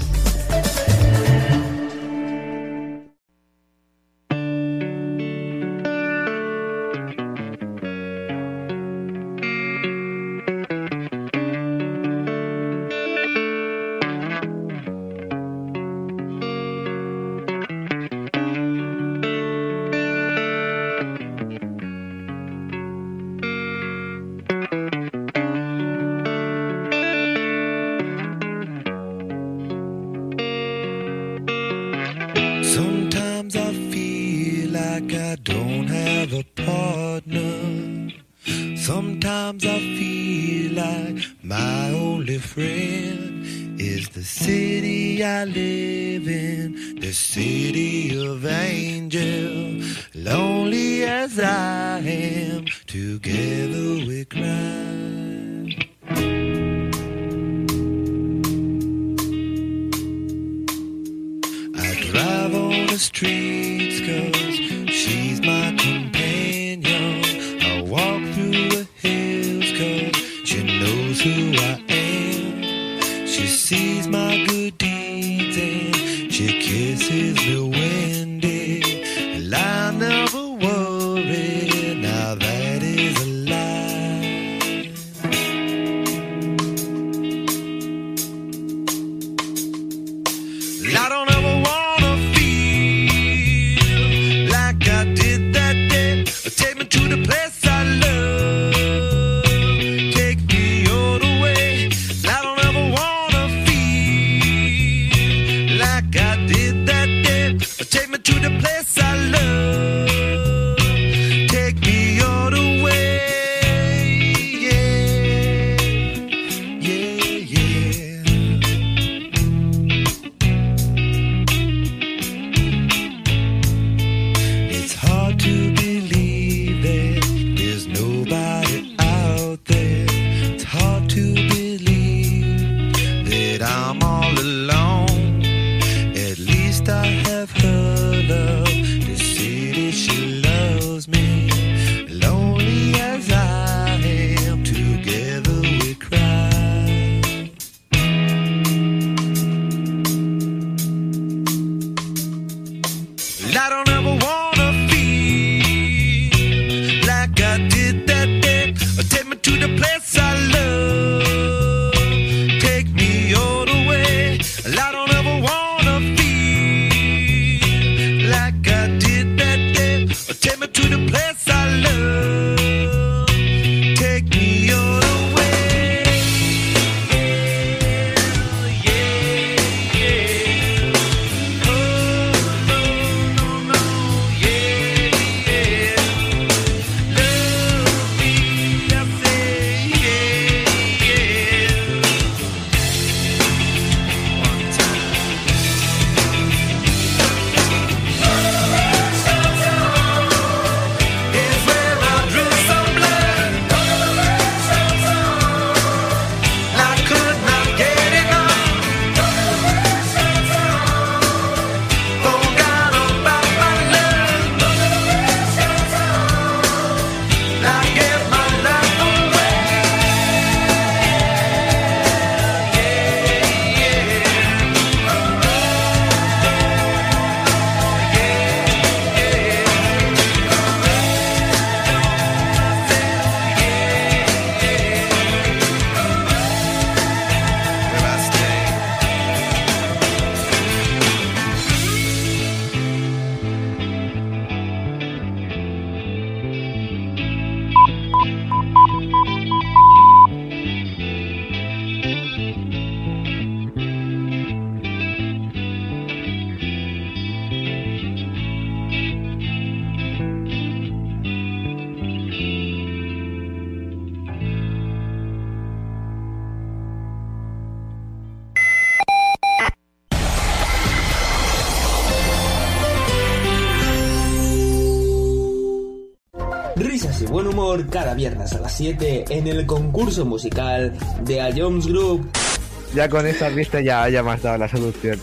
Risas y buen humor cada viernes a las 7 en el concurso musical de A Jones Group. Ya con esta vista ya me has dado la solución.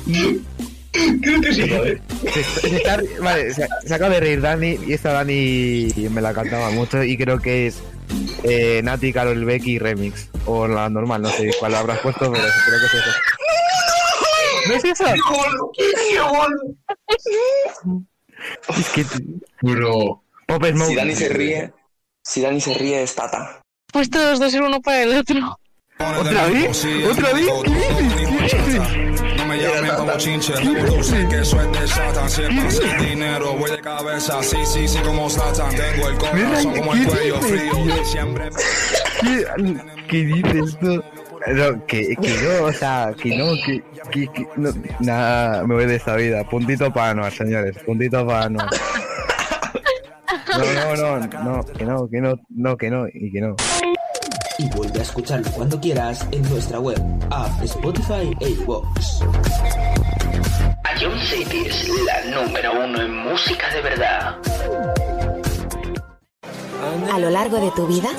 Creo que sí, joder. Vale, se acaba de reír Dani, y esta Dani me la cantaba mucho y creo que es Nati, Karol Becky Remix. O la normal, no sé cuál habrás puesto, pero creo que es eso. ¿No es eso? Es que... Bro. Pop Smoke. Si Dani se ríe es Tata. Pues todos dos ser uno para el otro. ¿Otra vez? ¿Otra vez? ¿Qué dices? No me llamen como chinche, tú sé que eso es de Satan. Si es fácil dinero, voy de cabeza, sí, como Satan. Tengo el corazón como el cuello frío, siempre... ¿Qué dices tú? No, que no, o sea, que no, no, nada, me voy de esta vida. Puntito para Anuar, señores, puntito para Anuar. No, que no. Y vuelve a escucharlo cuando quieras en nuestra web, app, Spotify e iVoox. Ion City es la número 1 en música de verdad. A lo largo de tu vida,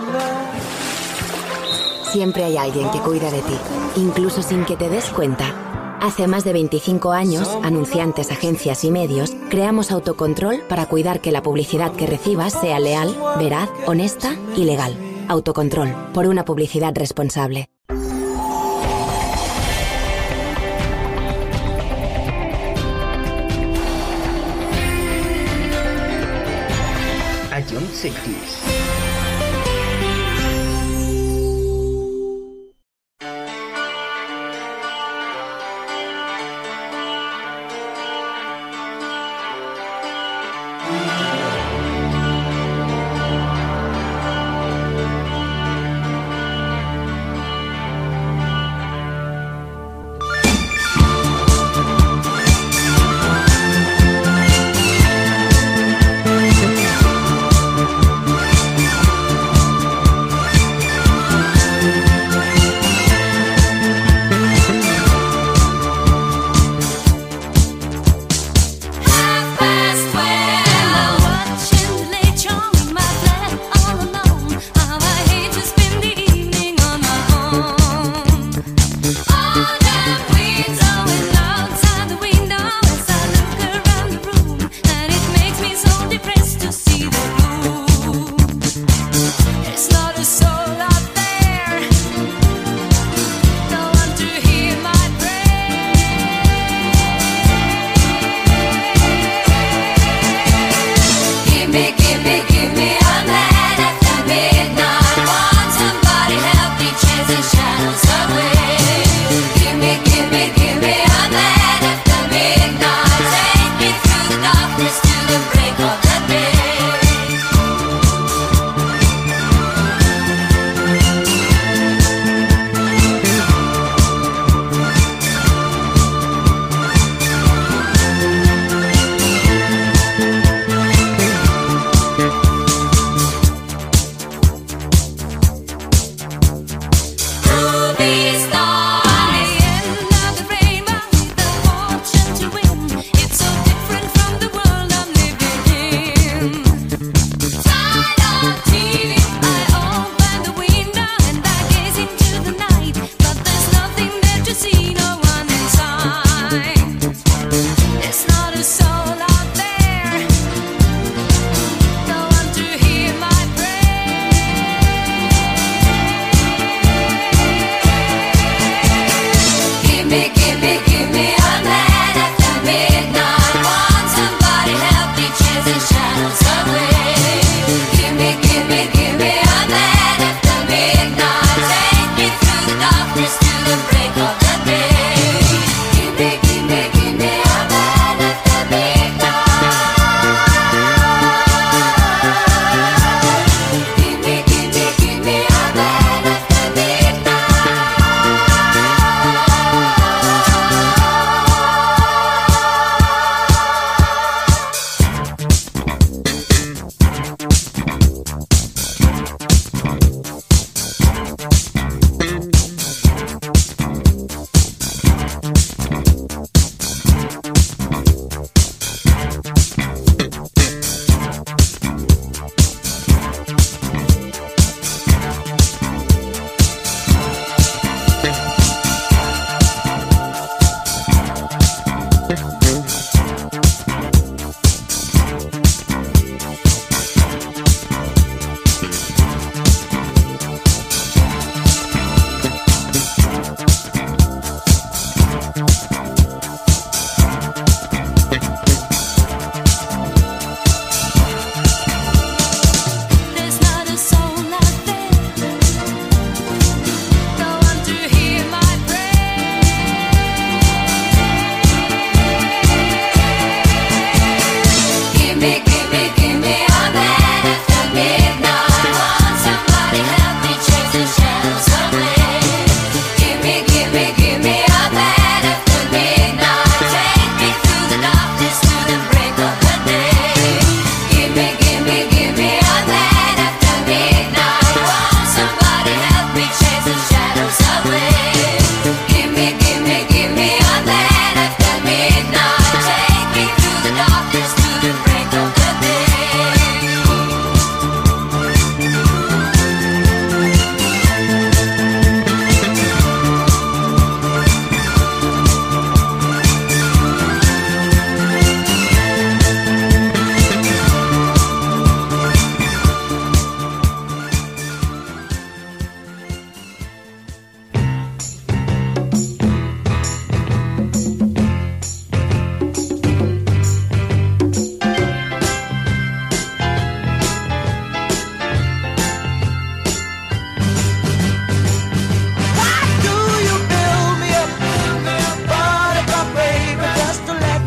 siempre hay alguien que cuida de ti, incluso sin que te des cuenta. Hace más de 25 años, anunciantes, agencias y medios, creamos Autocontrol para cuidar que la publicidad que recibas sea leal, veraz, honesta y legal. Autocontrol, por una publicidad responsable. Ion City.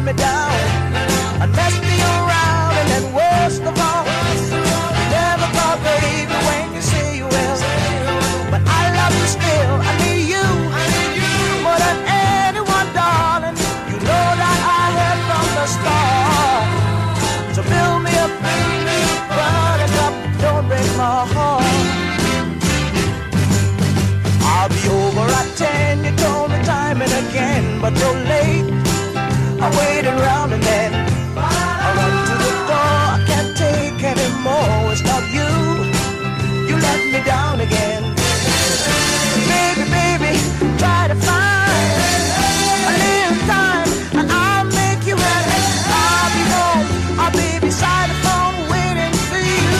me down and mess me around, and then worst of all, you never call baby when you say you will. But I love you still, I need you more than anyone, darling. You know that I have from the start. So build me up, buttercup, don't break my heart. I'll be over at 10, you told me time and again, but you're late. I waited around and then I run to the door. I can't take anymore. It's not you. You let me down again. Baby, baby, try to find a little time and I'll make you happy. I'll be home. I'll be beside the phone waiting for you.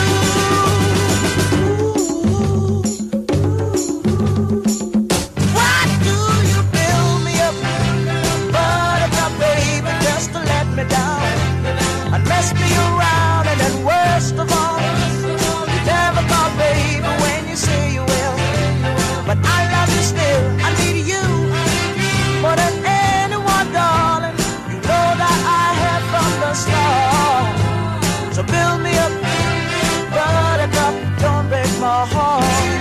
Why do you build me up, buttercup, baby, just to let me down and mess me around, and then worst of all, you never call baby when you say you will. But I love you still, I need you more than anyone, darling. You know that I have from the start. So build me up, buttercup, don't break my heart.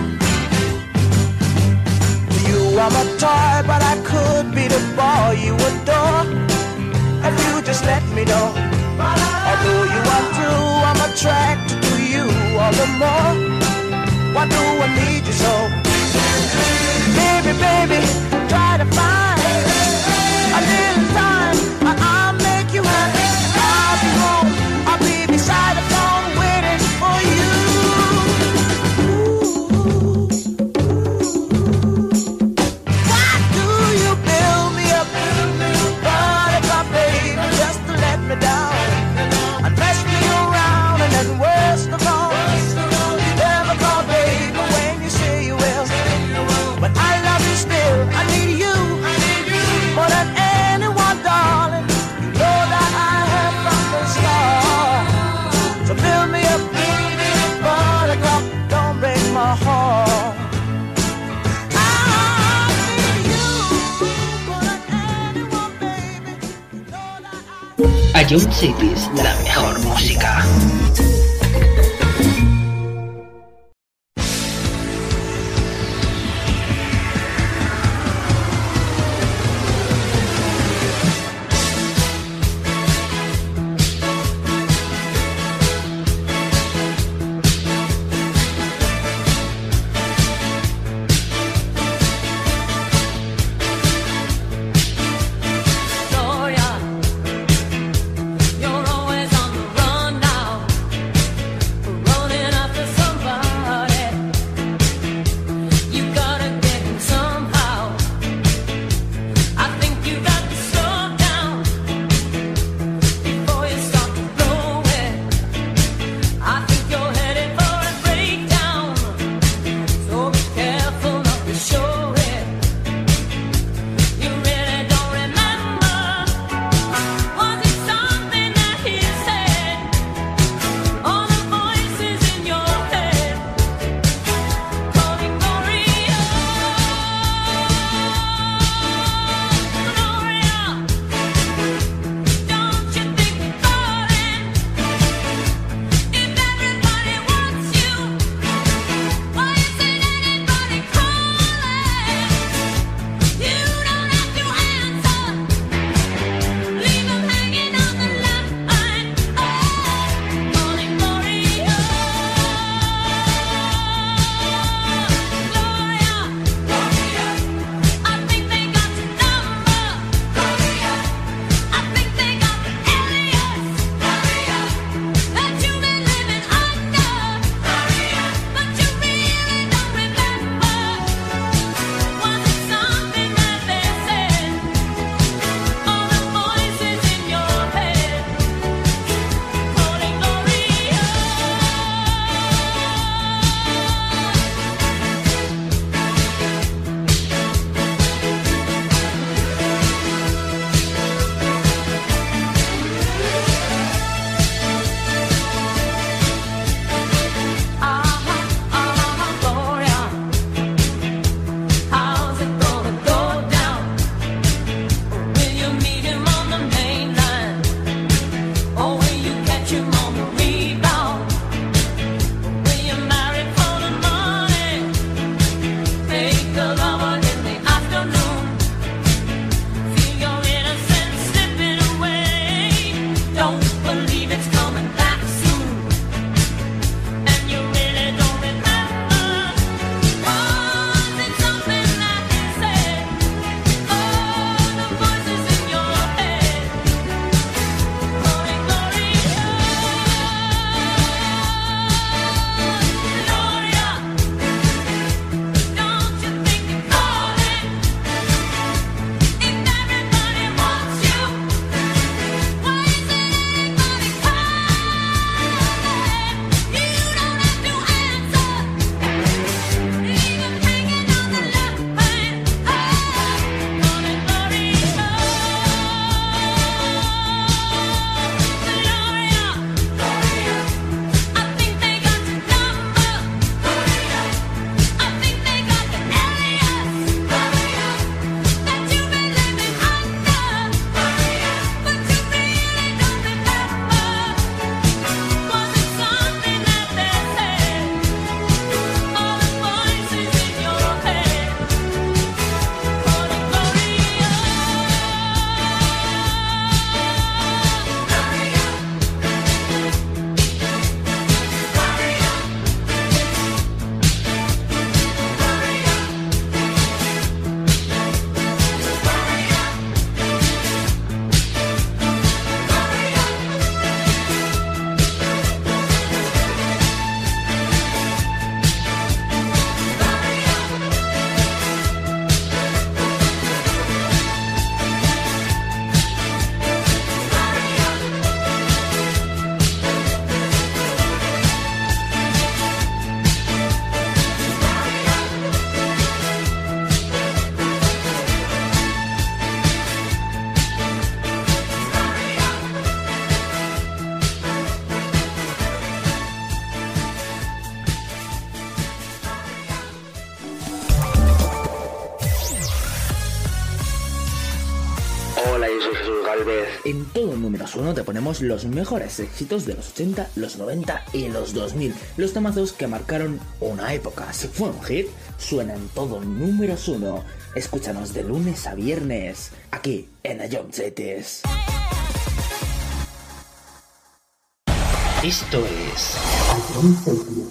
You are my toy, but I could be the boy you adore if you just let me know. Although you are true, I'm attracted to you all the more. Why do I need you so? Baby, baby, try to find a little time and I'll make you happy. I'll be home, I'll be beside the phone waiting for you. Why do you build me up, buttercup, baby, just to let me down and mess me around, and then worst of all, you never call baby when you say you will. But I love you still, I need you more than anyone, darling. You know that I have from the start. So build me up, buttercup, don't break my heart. I need you more than anyone, baby. You know that I... Ion Cities, la mejor música. You're always on the run now. Hola, yo soy Jesús Galvez. En todo Números 1 te ponemos los mejores éxitos de los 80, los 90 y los 2000. Los temazos que marcaron una época. Si fue un hit, suena en todo Números 1. Escúchanos de lunes a viernes, aquí en Ion Cities. Esto es Ion Cities.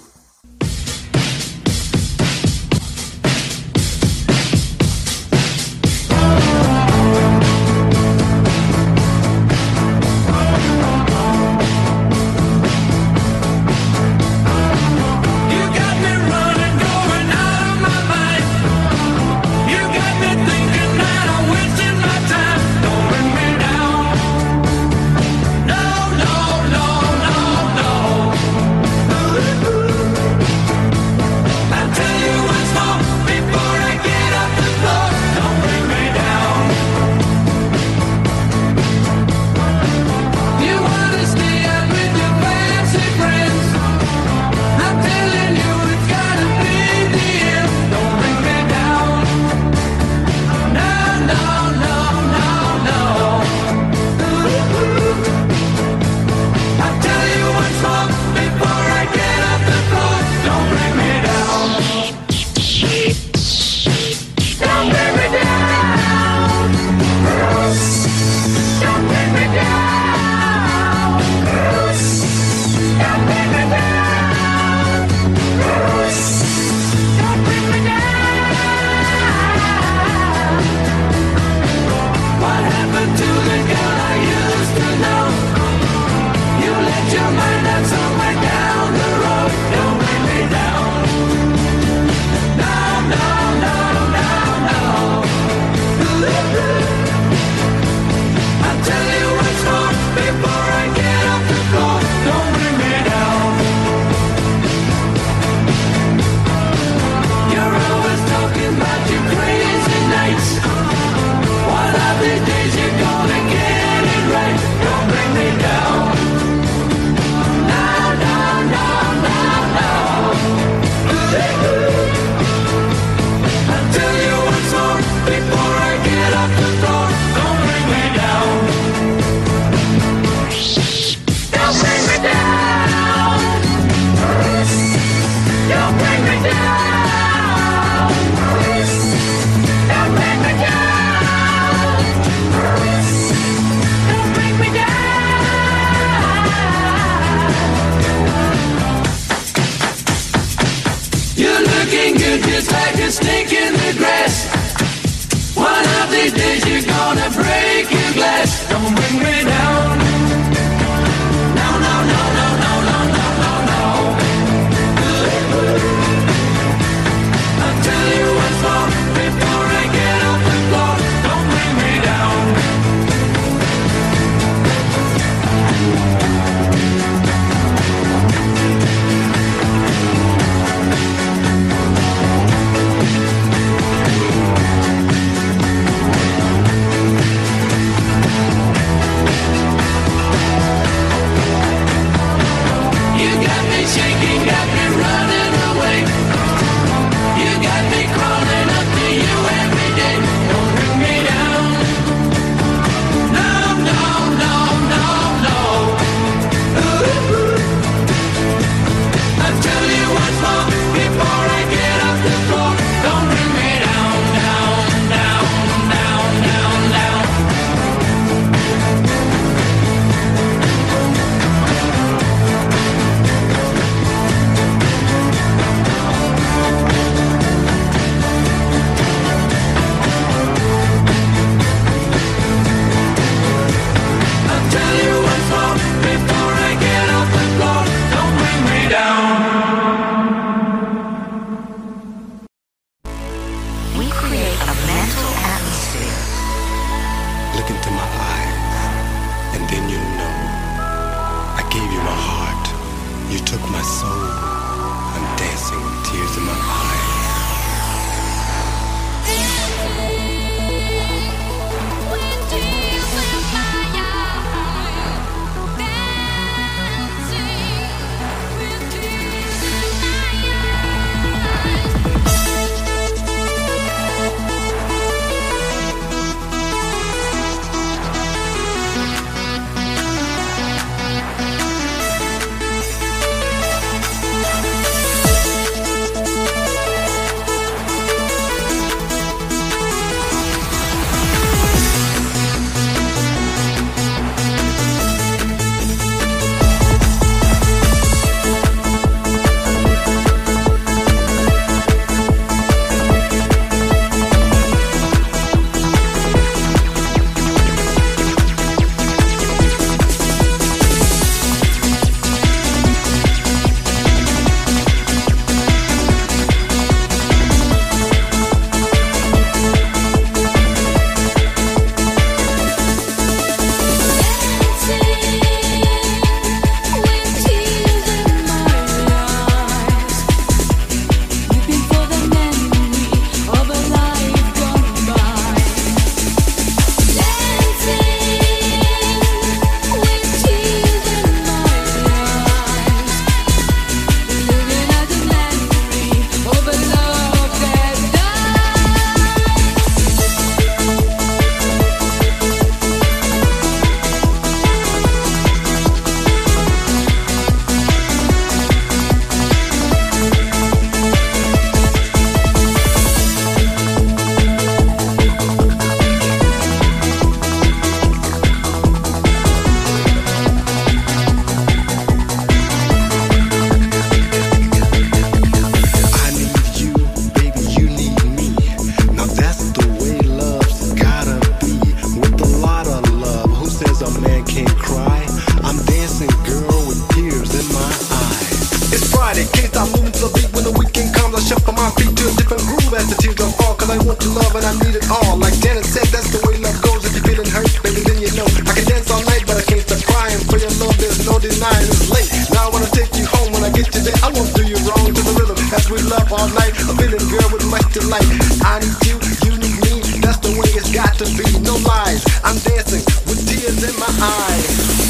up all night, a feeling girl with much delight. I need you, you need me, that's the way it's got to be. No lies, I'm dancing with tears in my eyes.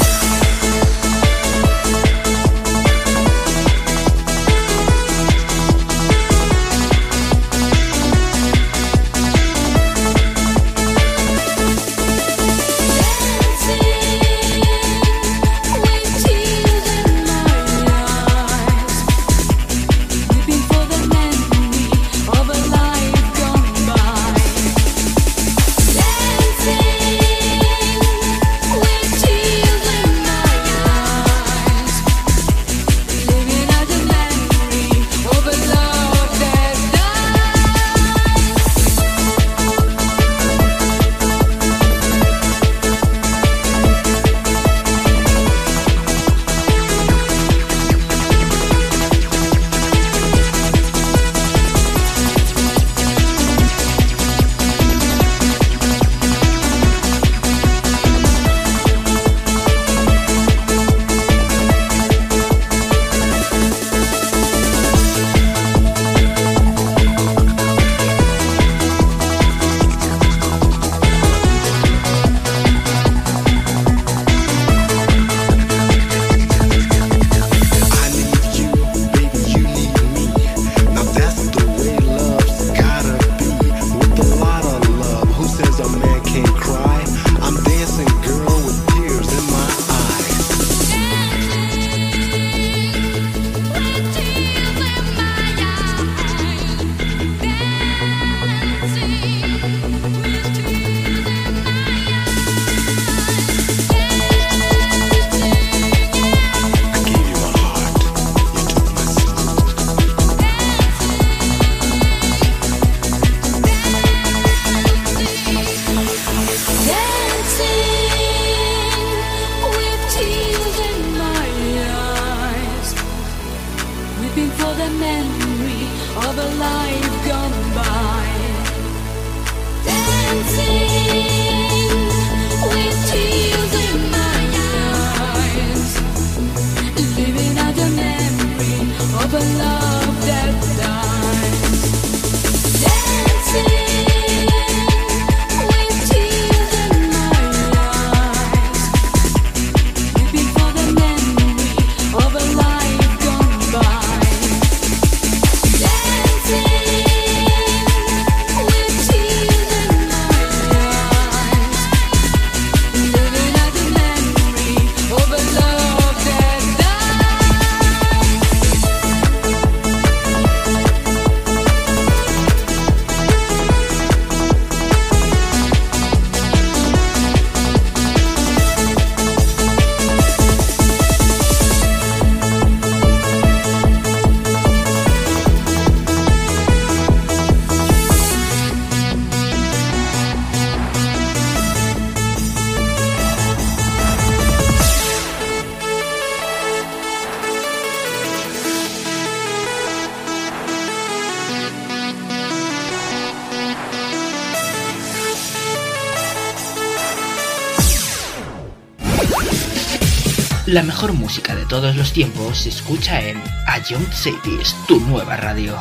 La mejor música de todos los tiempos se escucha en A Young Cities, tu nueva radio.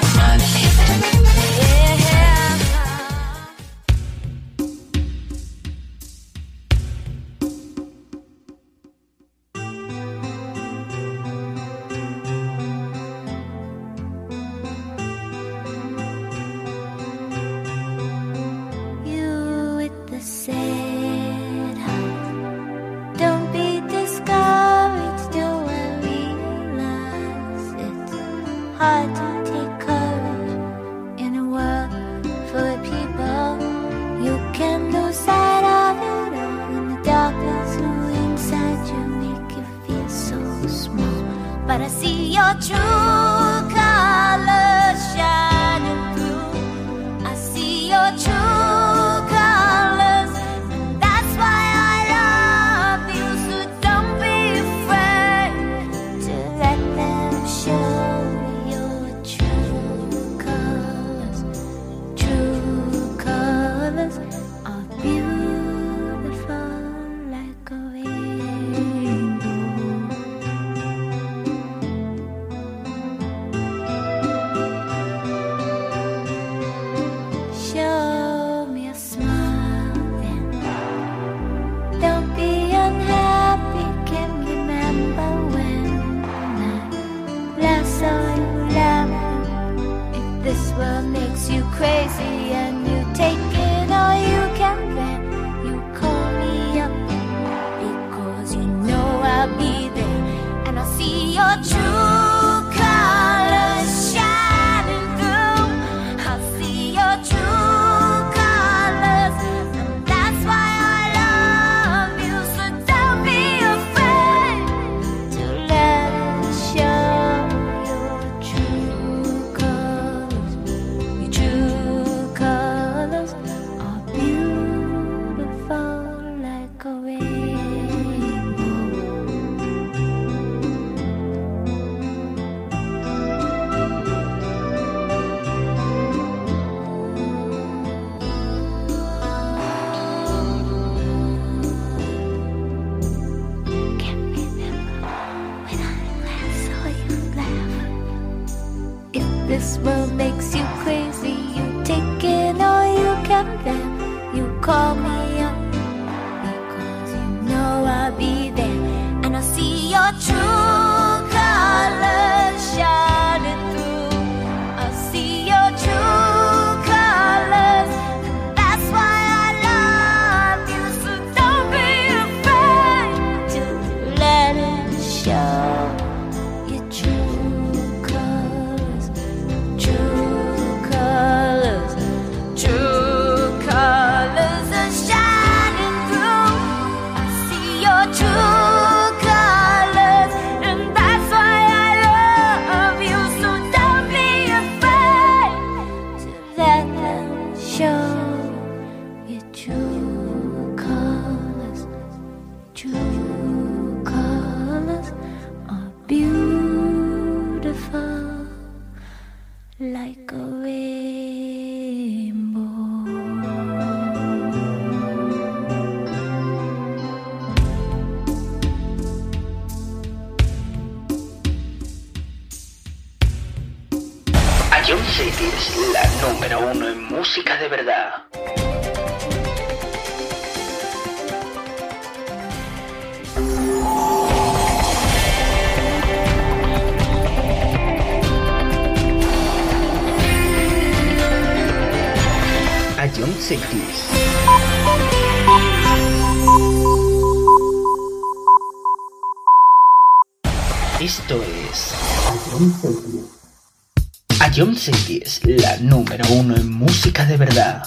Hard to take courage in a world full of people. You can lose sight of it all, and the darkness inside you make you feel so small. But I see your true colors shining through. I see your true colors, and that's why I love you. So don't be afraid to let them show. call me up, because you know I'll be there, and I'll see your true colors shining through. I'll see your true colors, and that's why I love you. So don't be afraid to let it show. Your true colors, true colors, true colors are shining through. I see your true colors, and that's why I love you. So don't be afraid to let them show. Your true colors, true colors are beautiful like a rainbow. Ion City es la número uno en música de verdad. Ion City. Esto es Ion City es la número uno en música de verdad.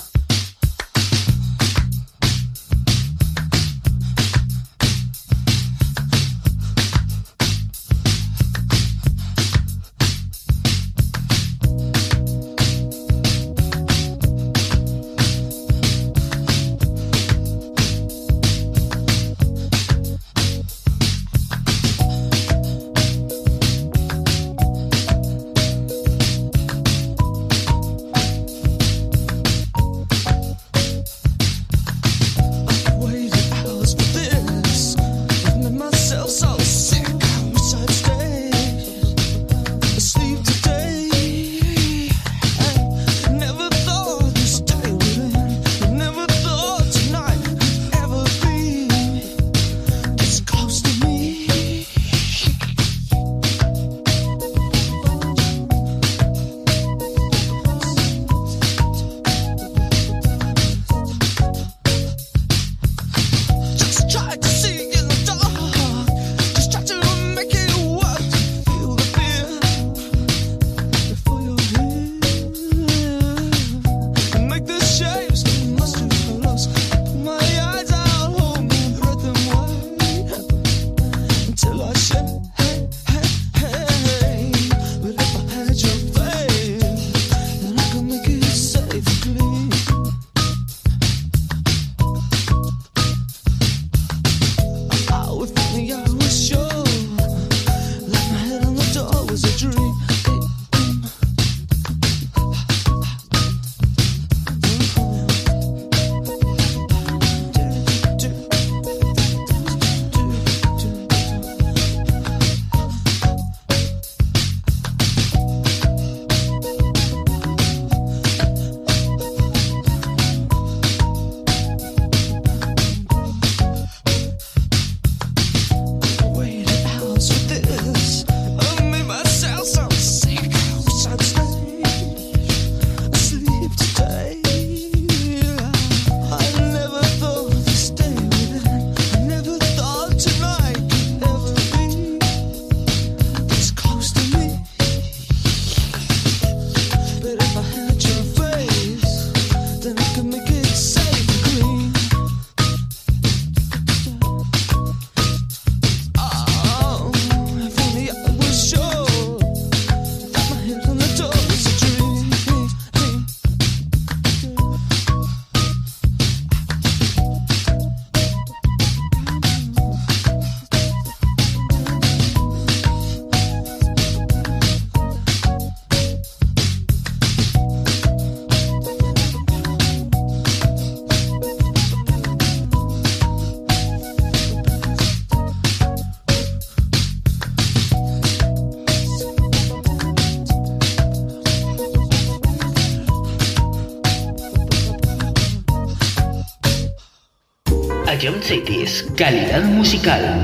Session Cities, calidad musical.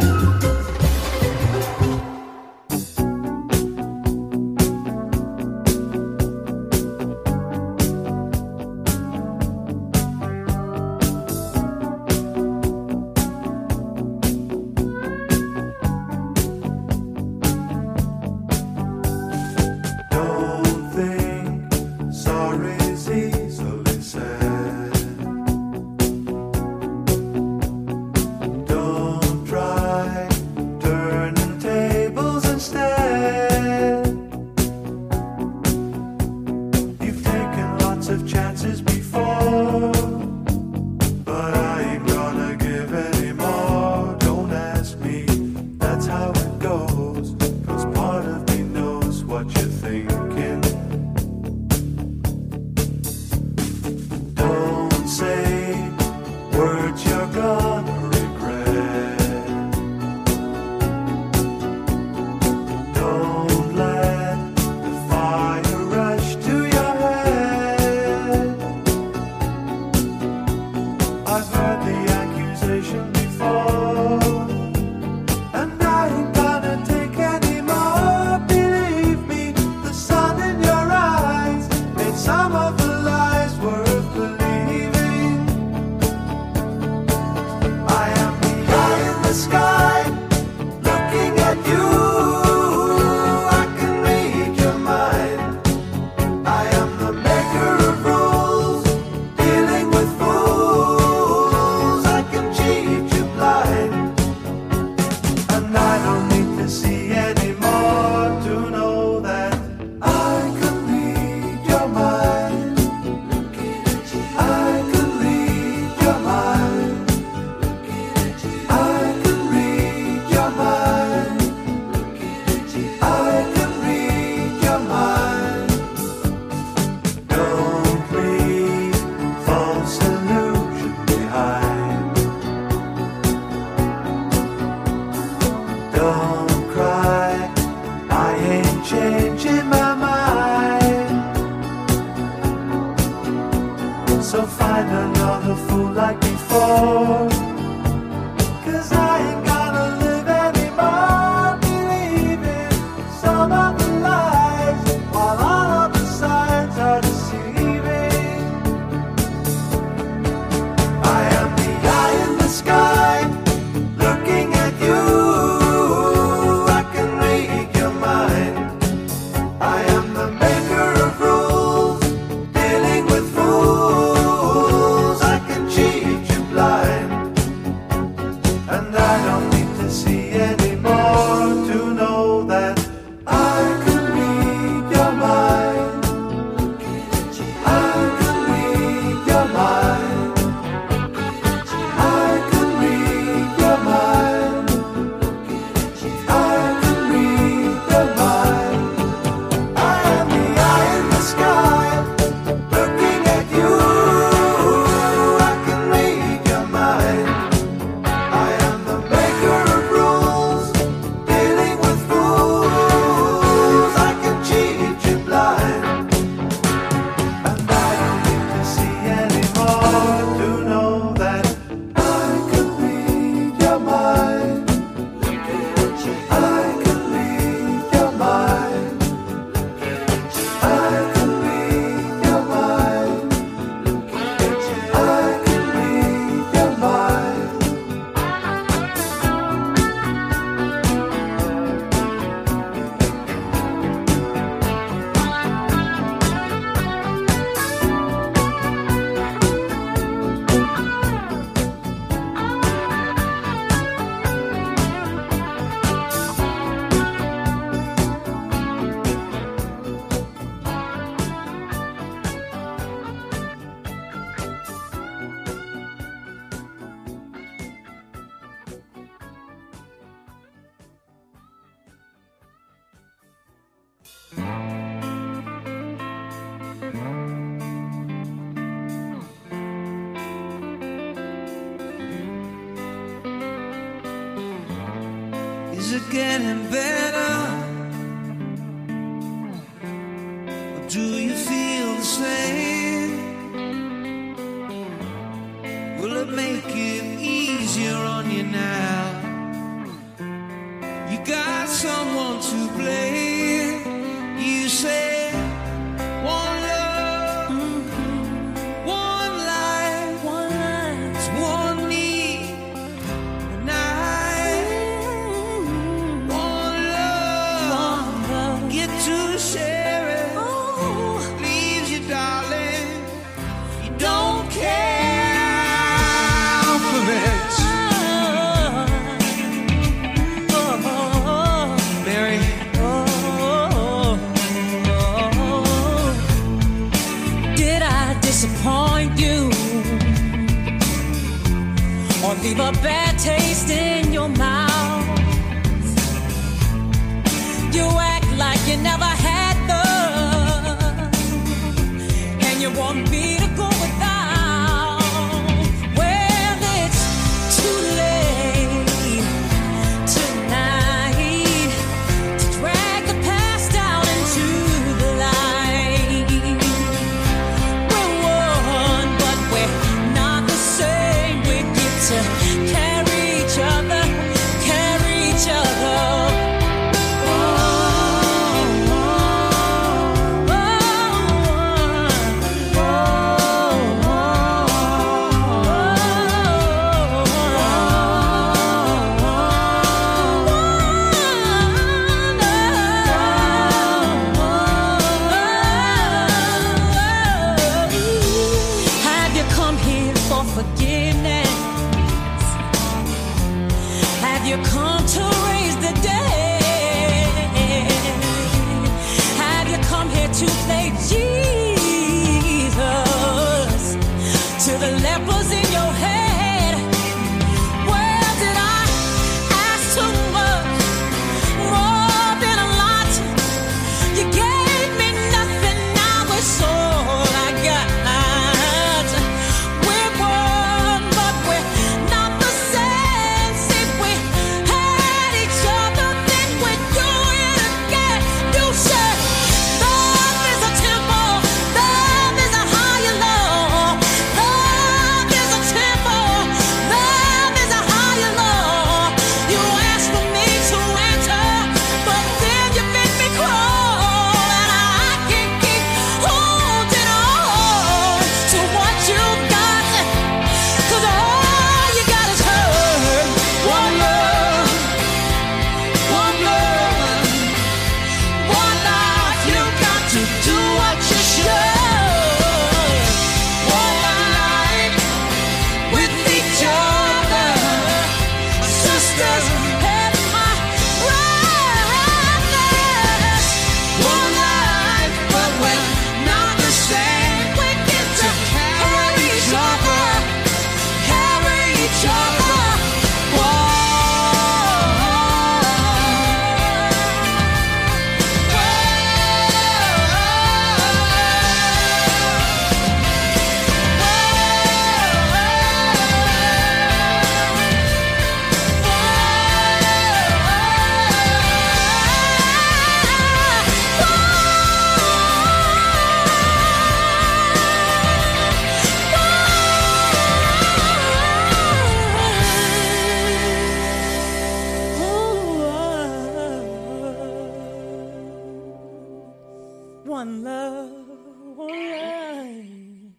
Is it getting better? Or do you feel the same? Will it make it easier? now. You got someone to blame. You say one love, one life, it's one need, and one love, get to share it. Leaves you, darling, you don't care for it. Mary. Did I disappoint you or leave a bad taste in your mouth? You act like you never had love, and you want me to go without. Well, it's too late tonight to drag the past out into the light. We're one, but we're not the same. We get to carry each other, carry each other. Have you come here for forgiveness? Have you come to raise the dead? Have you come here to play Jesus to the lepers in your head? Well, did I ask too much, more than a lot? You gave me nothing, now it's all I got. We're one, but we're not the same. See, we had each other, then we do it again. You said love is a temple, love is a higher law. Love is a temple, love is a higher law. You asked for me to enter, but then you made me crawl, and I can't keep holding on to what you got, 'cause all you got is hurt. One love, one love, one life. You got to do what you should. One life with each other, sisters and my brothers. One life, but we're not the same. We get to carry each other, carry each other. One love, one life.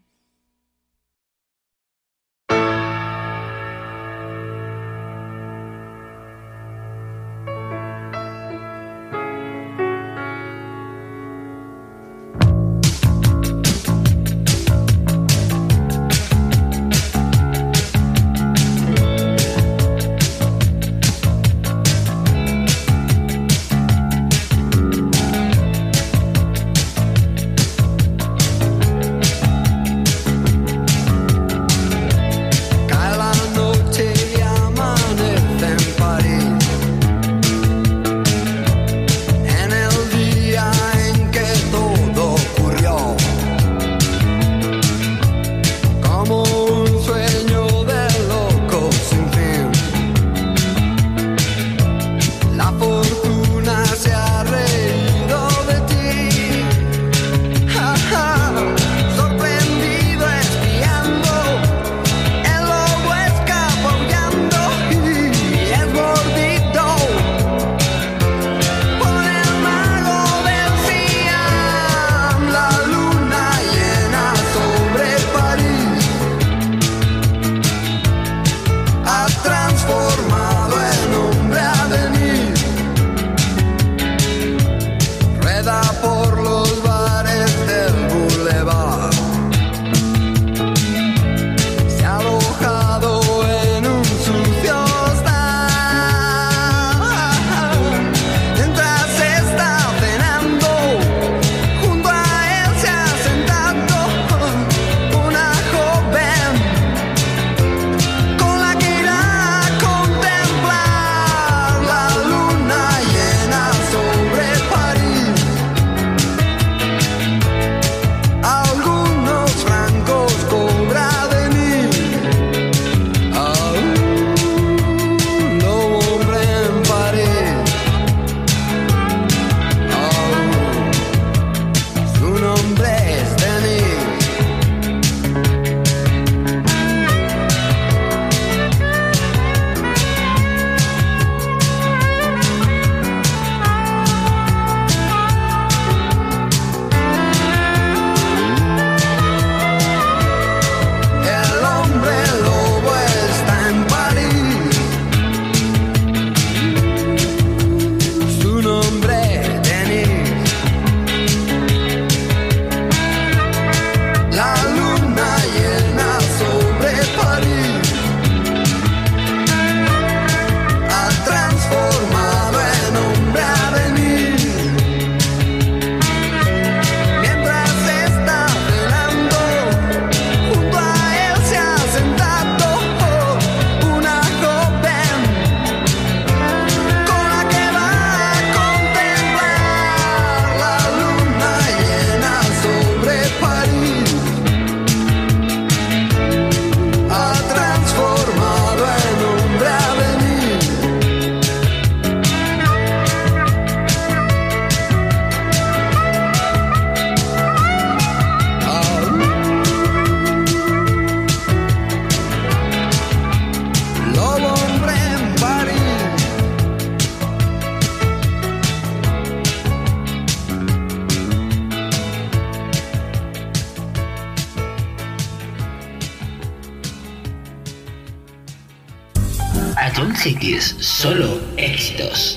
Ion Cities, solo éxitos.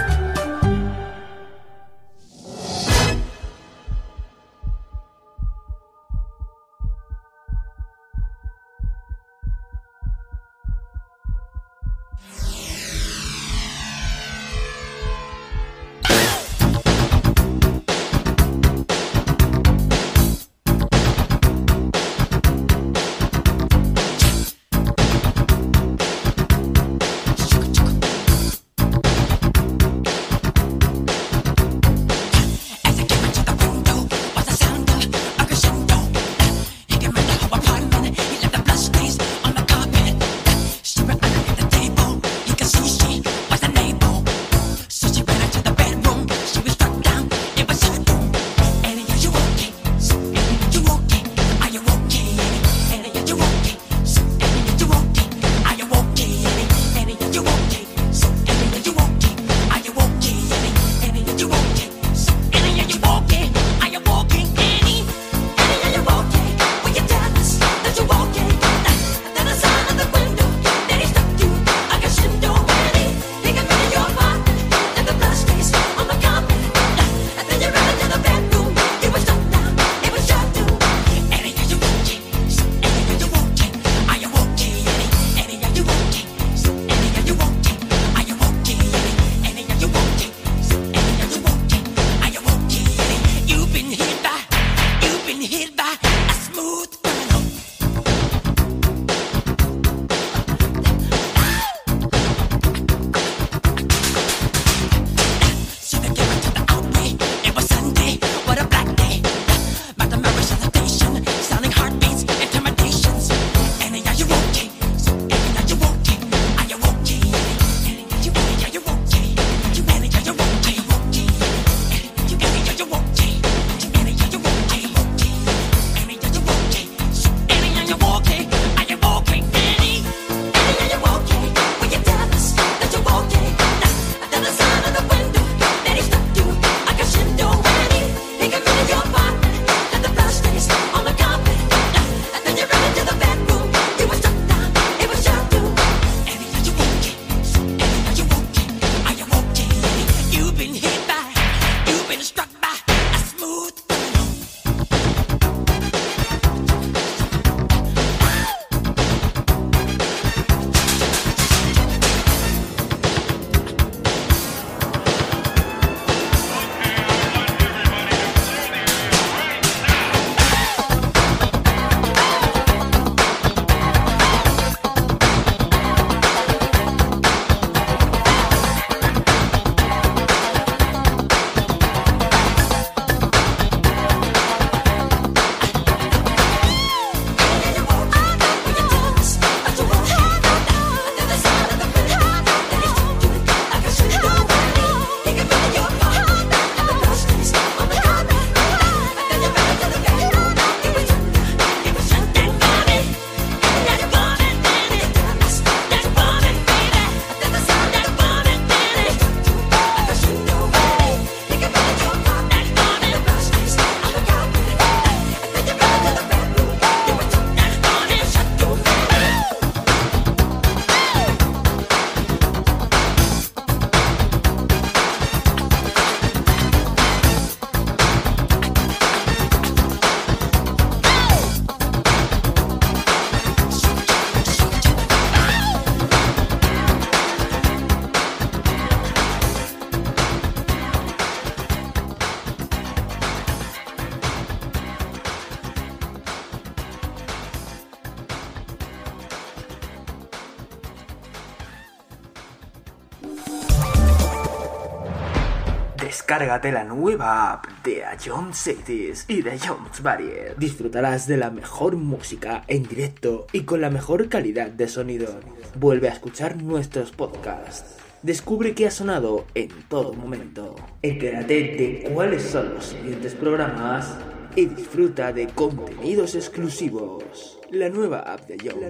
Descárgate la nueva app de Ion Cities y de Ion Barrier. Disfrutarás de la mejor música en directo y con la mejor calidad de sonido. Vuelve a escuchar nuestros podcasts. Descubre qué ha sonado en todo momento. Entérate de cuáles son los siguientes programas y disfruta de contenidos exclusivos. La nueva app de Ion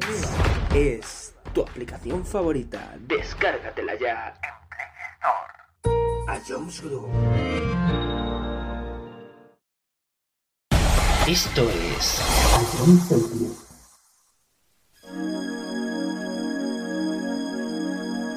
es tu aplicación favorita. Descárgatela ya en Play Store. Ions Group. Esto es Ion Cities.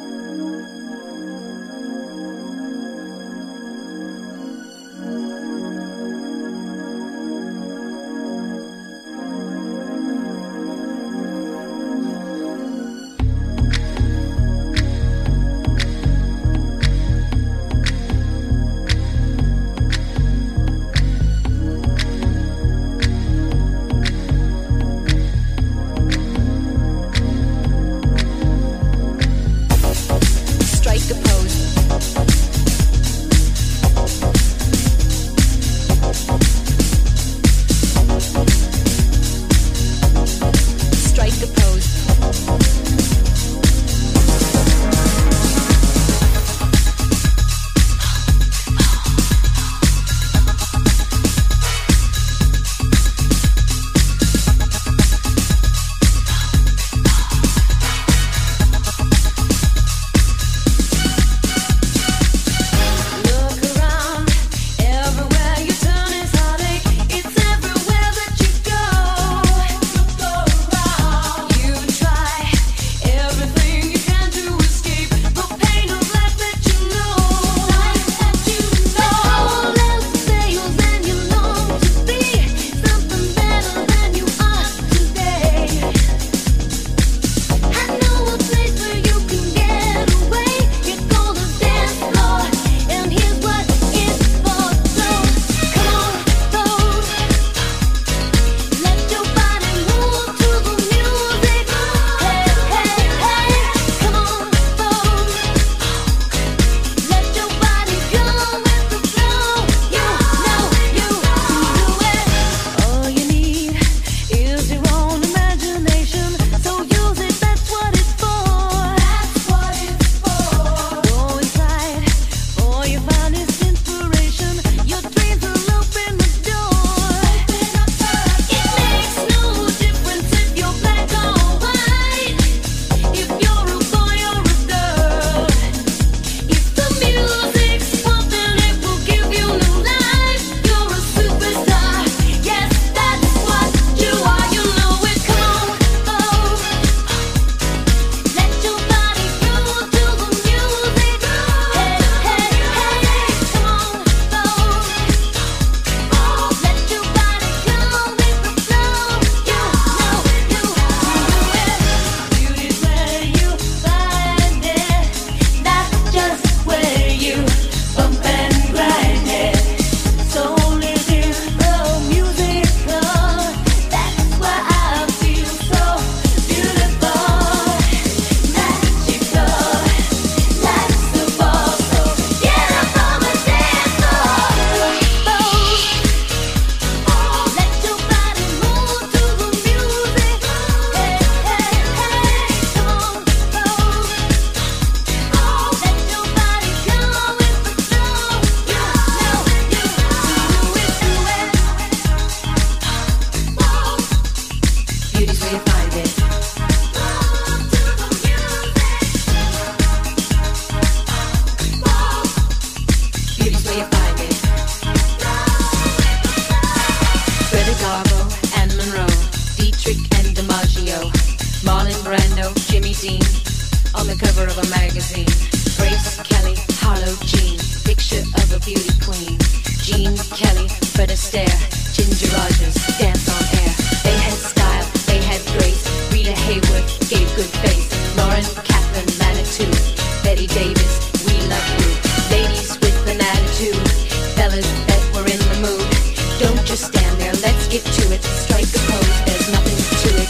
cover of a magazine. Grace Kelly, Harlow Jean, picture of a beauty queen. Jean Kelly, Fred Astaire, Ginger Rogers, dance on air. They had style, they had grace. Rita Hayworth gave good face. Lauren, Catherine, Manitou, Betty Davis, we love you. Ladies with an attitude, fellas that were in the mood. Don't just stand there, let's get to it. Strike a pose, there's nothing to it.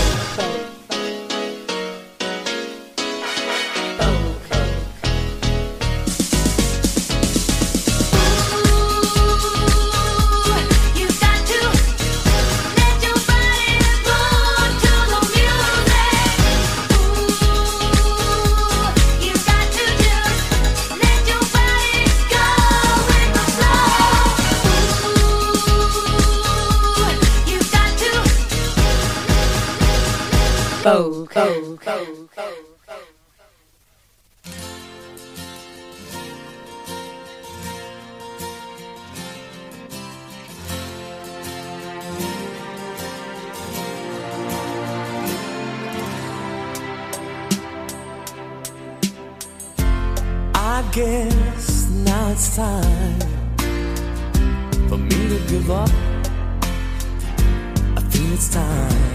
Vogue. I guess now it's time for me to give up. I feel it's time.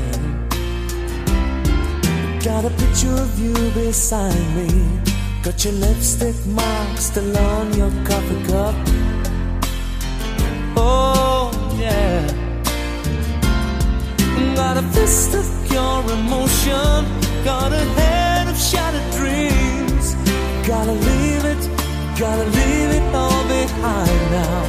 Got a picture of you beside me. Got your lipstick mark still on your coffee cup. Oh yeah. Got a fist of pure emotion. Got a head of shattered dreams. Gotta leave it all behind now.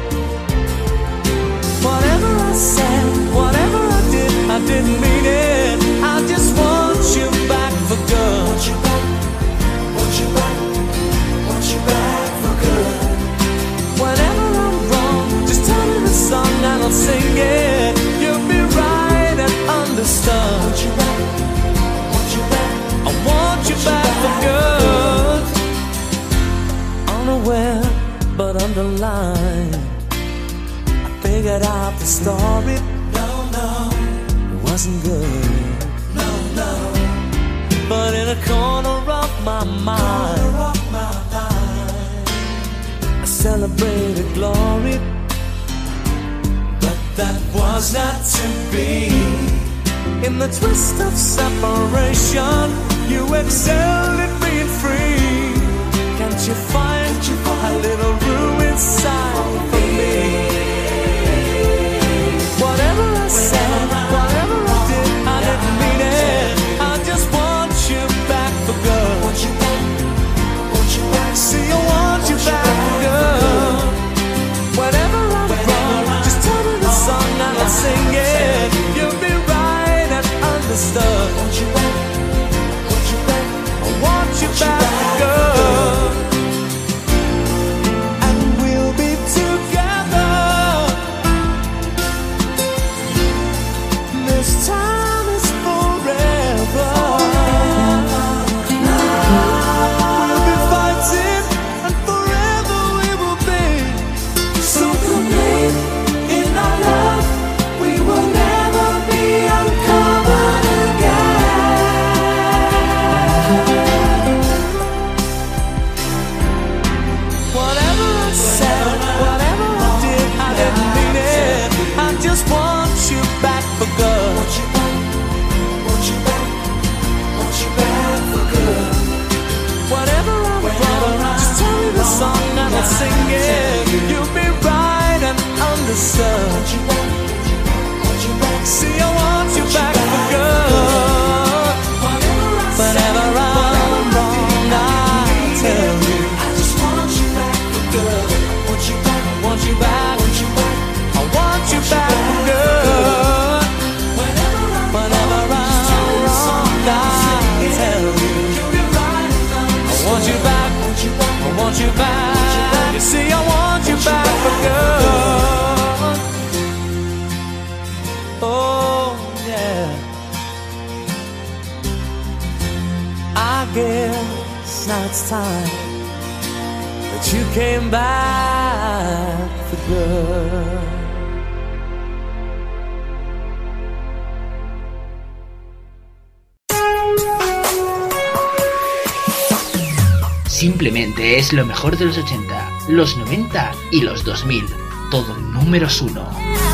Whatever I said, whatever I didn't mean it. I just want you back for good. Want you back, want you back, want you back for good. Whenever I'm wrong, just tell me the song and I'll sing it. You'll be right and understood. Want you back, want you back, I want you back for good. Unaware but underlined, I figured out the story. No, it wasn't good. No, but in a corner of my mind, I celebrated glory. But that was not to be. In the twist of separation, you excelled at being free. Can't you find a little room inside for me? Whatever I said, whatever I did, I didn't mean it. I just want you back for good. Want you back, want you back. See, I want you back for good. Whenever I'm wrong, just tell me the song and I'll sing it. You'll be right and understood. Want you back, want you back. I want you back for good. And we'll be together. This time is forever. We'll be fighting and forever we will be. So complete in our love, we will never be uncovered again. Whatever I said, whatever I did, I didn't mean it. I just want you back for good. Want you back, want you back, want you back for good. Whatever I'm wrong, just tell me the song and I'll sing it. You'll be right and understood. Want you back, want you back. See, I want you back for good. Whenever I'm wrong, I'll tell you. I just want you back for good. Want you back, want you back, want you back. I want you back for good. Whenever I'm wrong, I'll tell you. I want you back, I want you back. You see, I want you back for good. Oh yeah. I guess now it's time that you came back for good. Simplemente es lo mejor de los 80, los 90 y los 2000. Todo números 1.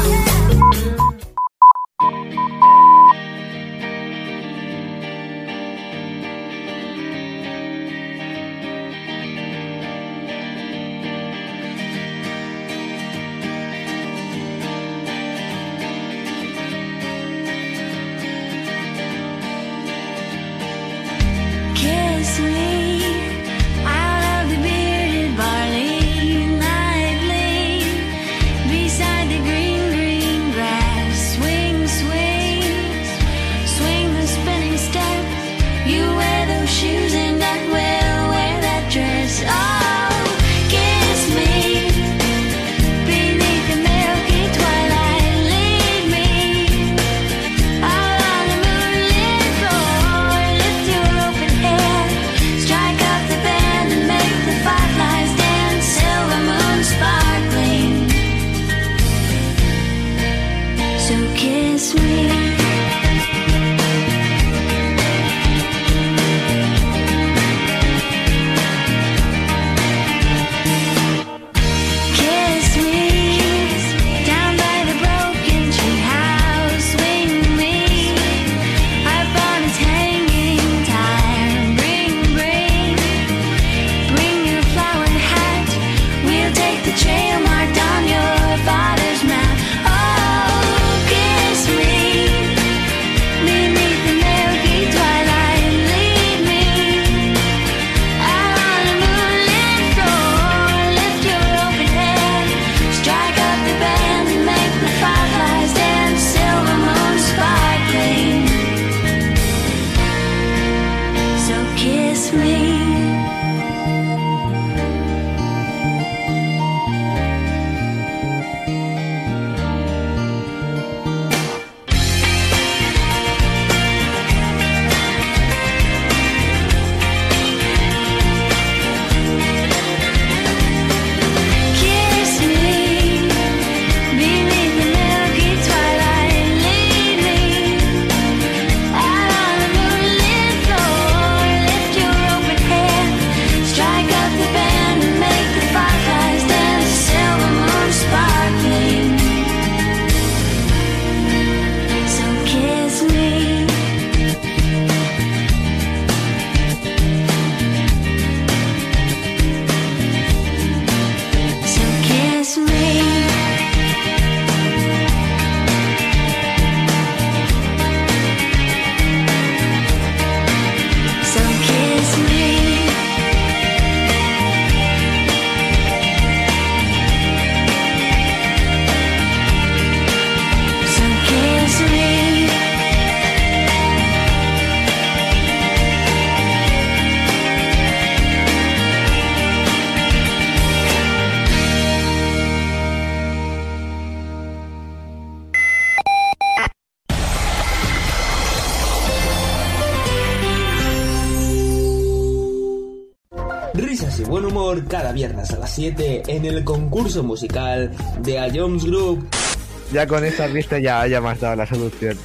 Risas y buen humor cada viernes a las 7 en el concurso musical de A Jones Group. Ya con esta pista ya me has dado la solución.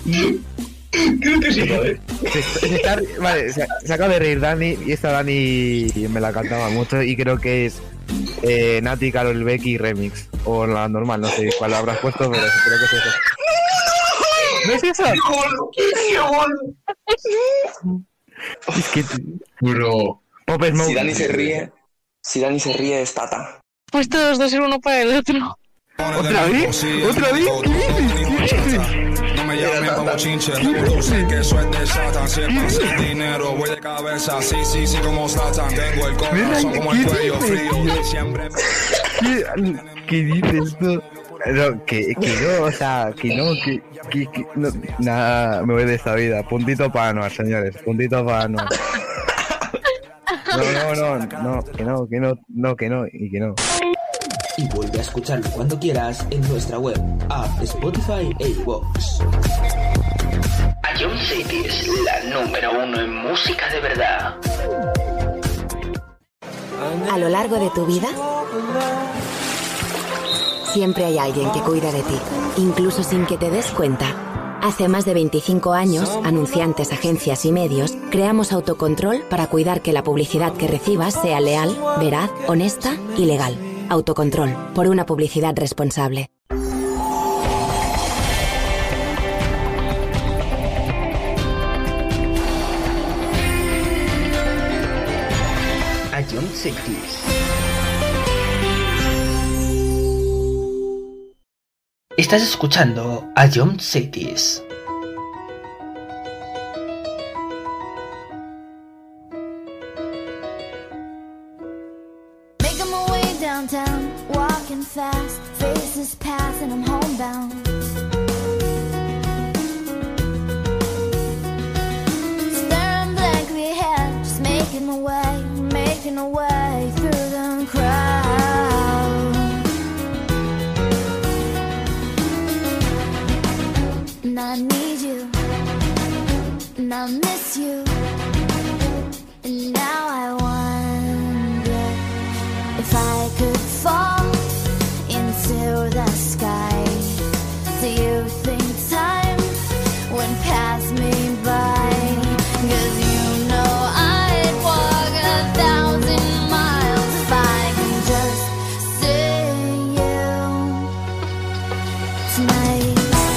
Creo que sí, ¿vale? Vale, se acaba de reír Dani, y esta Dani me la cantaba mucho y creo que es Nati, Karol Becky remix. O la normal, no sé cuál habrás puesto, pero creo que es eso. ¿No es eso? Es que... Bro. Pop Smoke. Si Dani se ríe es Tata. Pues todos dos ser uno para el otro. ¿Otra vez? ¿Otra vez? ¿Qué dices? No me llamen como chinche, tú sé que eso es de Satan. Siempre sin dinero, voy de cabeza, sí, como Satan. Tengo el corazón como el cuello frío, siempre. ¿Qué dices tú? No, que no, o sea, que no, no, nada, me voy de esta vida. Puntito para Anuar, señores, puntito para Anuar. No, que no. Y vuelve a escucharlo cuando quieras en nuestra web, app, Spotify e iVoox. A John City es la número 1 en música de verdad. A lo largo de tu vida, siempre hay alguien que cuida de ti, incluso sin que te des cuenta. Hace más de 25 años, anunciantes, agencias y medios, creamos Autocontrol para cuidar que la publicidad que recibas sea leal, veraz, honesta y legal. Autocontrol, por una publicidad responsable. Ion Cities. Estás escuchando Ion Cities. Making my way downtown, walking fast, faces pass and I'm homebound. Staring blankly ahead, just making my way through the crowd. And I need you, and I miss you, and now I wonder if I could fall into the sky. Do you think time would pass me by? 'Cause you know I'd walk 1,000 miles if I can just see you tonight.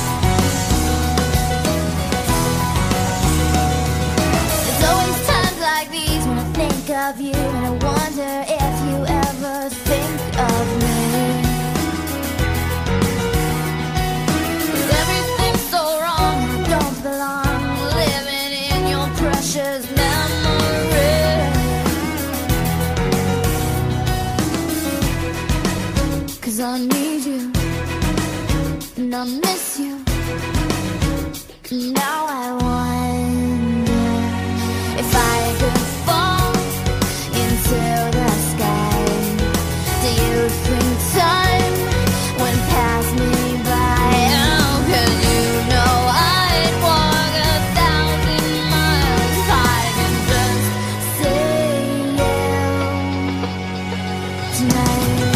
There's always times like these when I think of you, and I wonder if you ever think of me. 'Cause everything's so wrong, I don't belong, living in your precious memory. 'Cause I need you, and I miss you, and now I wonder if I could fall into the sky. Do you think time would pass me by? Oh, 'cause you know I'd walk 1,000 miles if I can just see you tonight.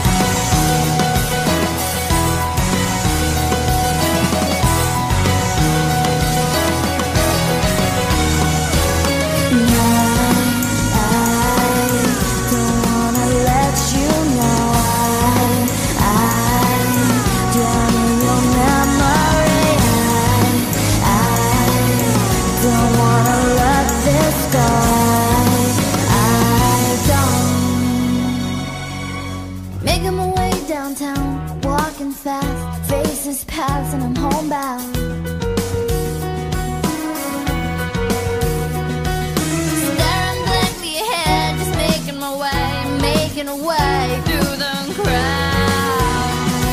Making my way downtown, walking fast, faces pass and I'm homebound. Staring blankly ahead, just making my way through the crowd.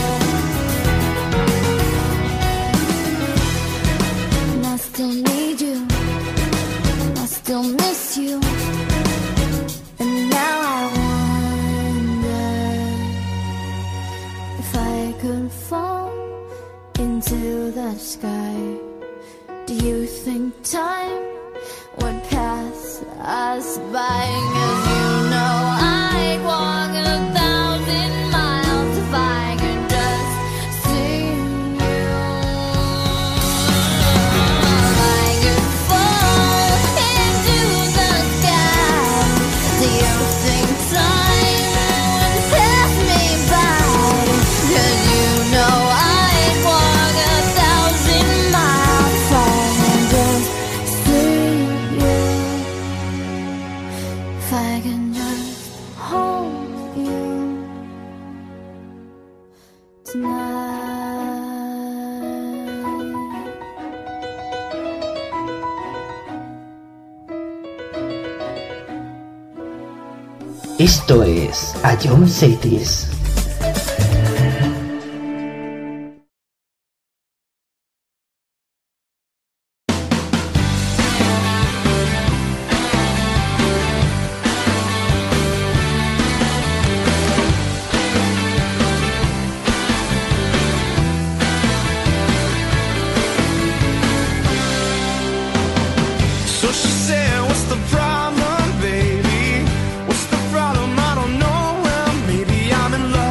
And I still need you, I still miss you, and now I wonder if I could fall into the sky. Do you think time would pass us by? 'Cause you know I'd walk 1,000 miles if I could just see you. I could fall into the sky. Do you think time would pass me by? 'Cause you know I'd walk 1,000 miles if I can just see you. If I can just hold you tonight. Esto es Ion Cities. So she said, what's the problem, baby? What's the problem? I don't know. Well, maybe I'm in love.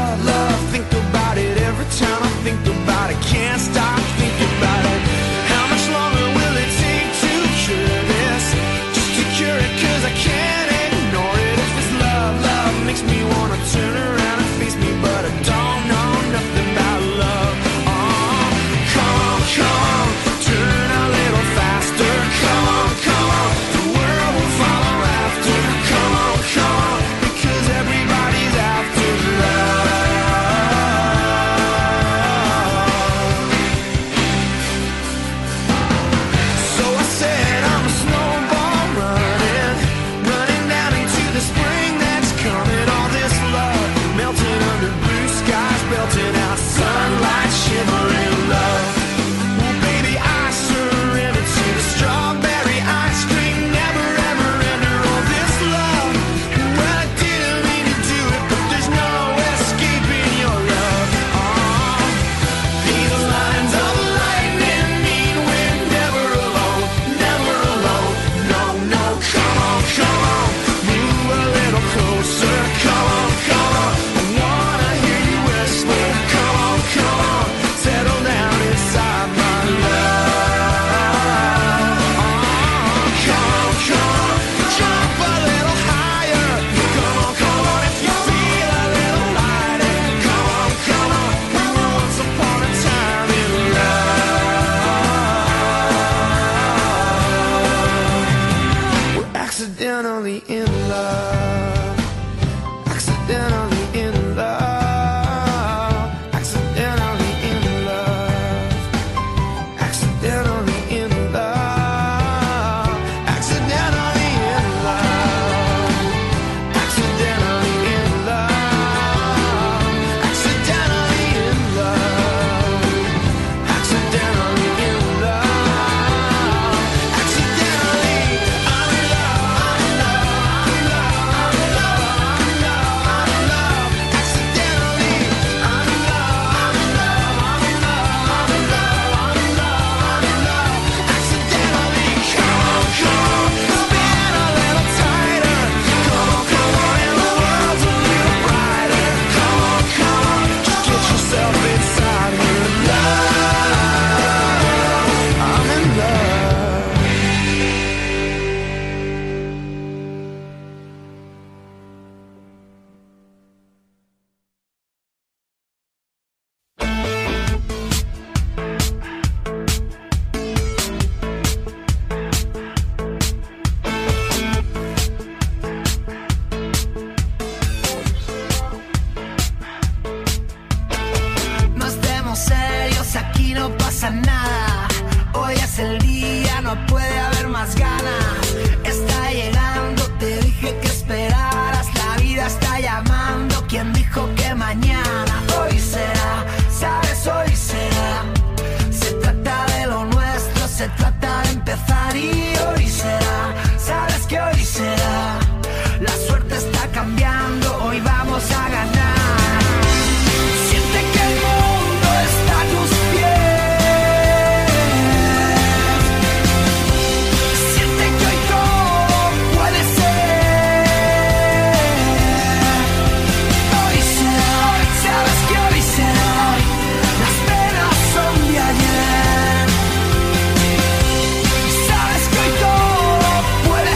será. La suerte está cambiando, hoy vamos a ganar. Siente que el mundo está a tus pies. Siente que hoy todo puede ser. Hoy será, sabes que hoy será. Las penas son de ayer. Sabes que hoy todo puede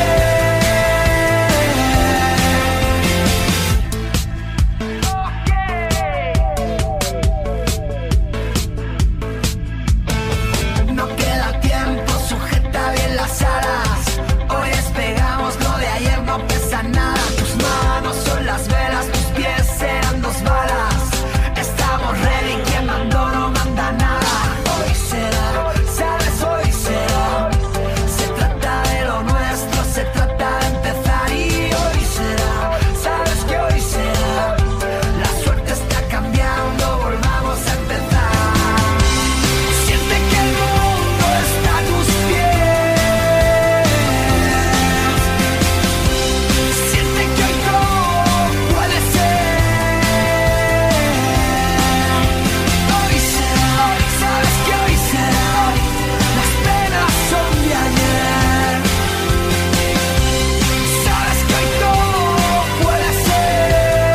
ser. No queda tiempo, sujeta bien las alas. Hoy despegamos, lo de ayer no pesa nada. Tus manos son las velas, tus pies serán 2 balas. Estamos ready, quien mandó no manda nada. Hoy será, sabes, hoy será. Se trata de lo nuestro, se trata de empezar y hoy será. Sabes que hoy será. La suerte está cambiando, volvamos a empezar. Siente que el mundo está a tus pies. Siente que hoy todo puede ser. Hoy será, sabes que hoy será. Las penas son de ayer. Sabes que hoy todo puede ser.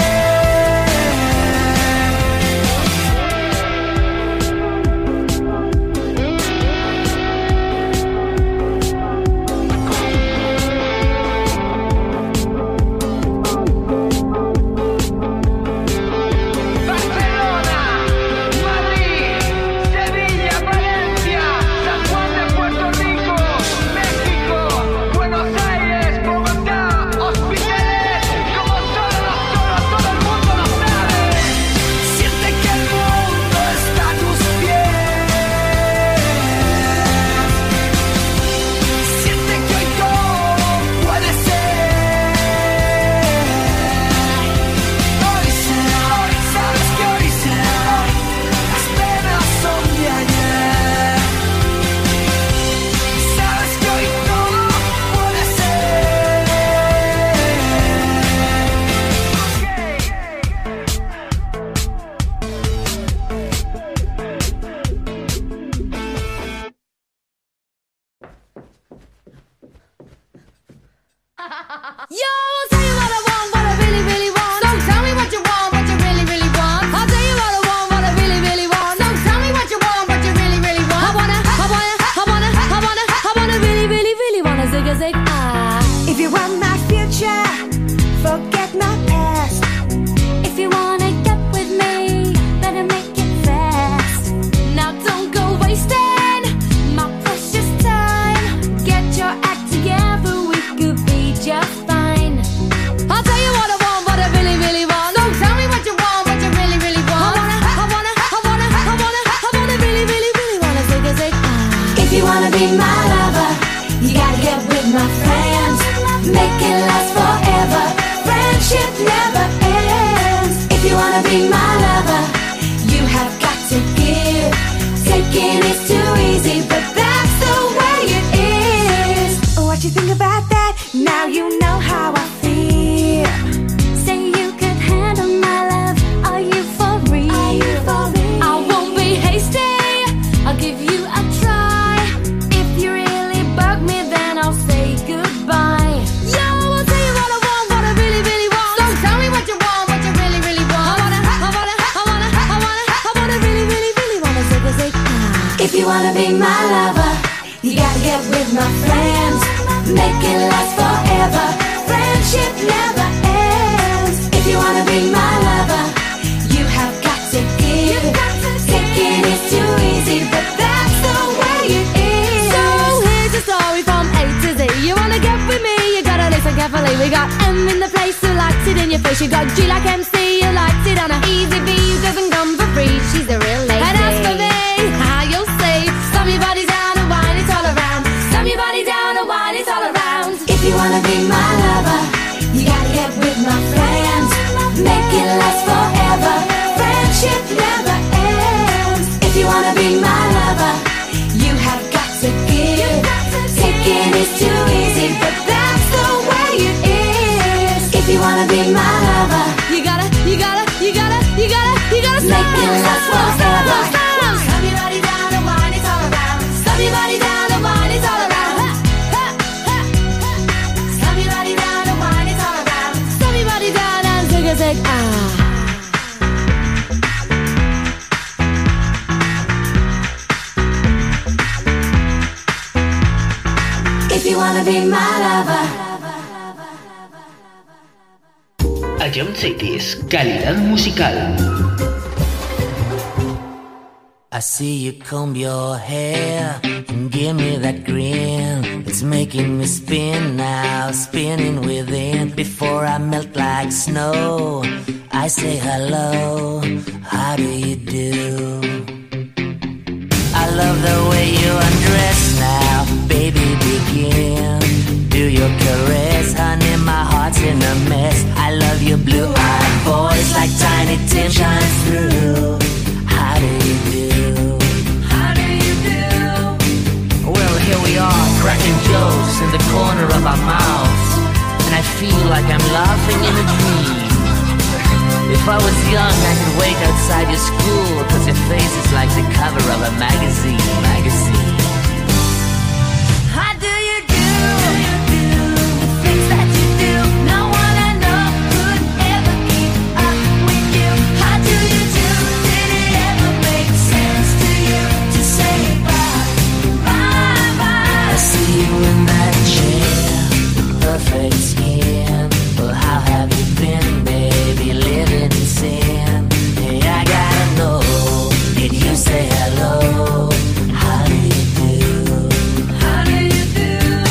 Barcelona, Madrid, Sevilla, Valencia, San Juan de Puerto Rico, México, Buenos Aires, Bogotá, Hospitales, como solo todo el mundo lo sabe. Siente que el mundo está a tus pies. Siente que hoy todo puede ser. Hoy será, sabes que hoy será. Las penas son de ayer. Sabes que hoy todo puede Yo, I'll tell you what I want, what I really, really want. So tell me what you want, what you really, really want. I'll tell you what I want, what I really, really want. So tell me what you want, what you really, really want. I wanna really, really, really wanna zig a zig ah. If you want my future, forget my past. If you wanna get with me, better make it fast. Now don't go wasting my precious time. Get your act together, we could be just fine. I'll tell you what I want, what I really, really want. So tell me what you want, what you really, really want. I wanna really, really, really wanna zig a zig ah. If you wanna be my lover, you gotta get with my friends. Make it last forever. Friendship never ends. If you wanna be my lover, you have got to give. Taking is too easy, but that's the way it is. What you think about that? Now you know how I feel. Say you could handle my love. Are you for real? Are you for real? I won't be hasty. I'll give you a try. If you really bug me, then I'll say goodbye. Yo, I'll tell you what I want, what I really, really want. So tell me what you want, what you really, really want. I wanna really, really, really wanna zig a zig ah. If you wanna be my lover, you gotta get with my friends. Make it last forever. Friendship never ends. If you wanna be my lover, you have got to give. Taking is too easy, but that's the way it is. So here's a story from A to Z. You wanna get with me, you gotta listen carefully. We got M in the place who likes it in your face. You got G like MC, who likes it on a easy B, who doesn't come for free. She's a real lady. And as for me, how you'll say, slam your body down and wine it all around. Slam your body down and wine it all around. If you wanna be my lover, you gotta get with my friends. Make it last forever. Friendship never ends. If you wanna be my lover, you have got to give. Taking is too easy, but that's the you wanna be my lover, you gotta make it last forever. Stop your body down, the wine is all around. Stop your body down, the wine is all around. Stop your body down, the wine is all around. Stop your body down and take a sec. If you wanna be my lover. Ion Cities, calidad musical. I see you comb your hair and give me that grin. It's making me spin now, spinning within. Before I melt like snow, I say hello, how do you do? I love the way you undress now, baby begin. Do your caress, honey, my heart's in a mess. I love your blue-eyed voice like Tiny Tim shines through. How do you do? How do you do? Well, here we are, cracking jokes in the corner of our mouths, and I feel like I'm laughing in a dream. If I was young, I could wait outside your school, 'cause your face is like the cover of a magazine. How do you do? The things that you do, no one I know could ever keep up with you. How do you do? Did it ever make sense to you to say bye, bye, bye? I see you in that chair, perfect skin. Well, how have you been, baby, living in sin? Hey, I gotta know, did you say hello? How do you do? How do you do?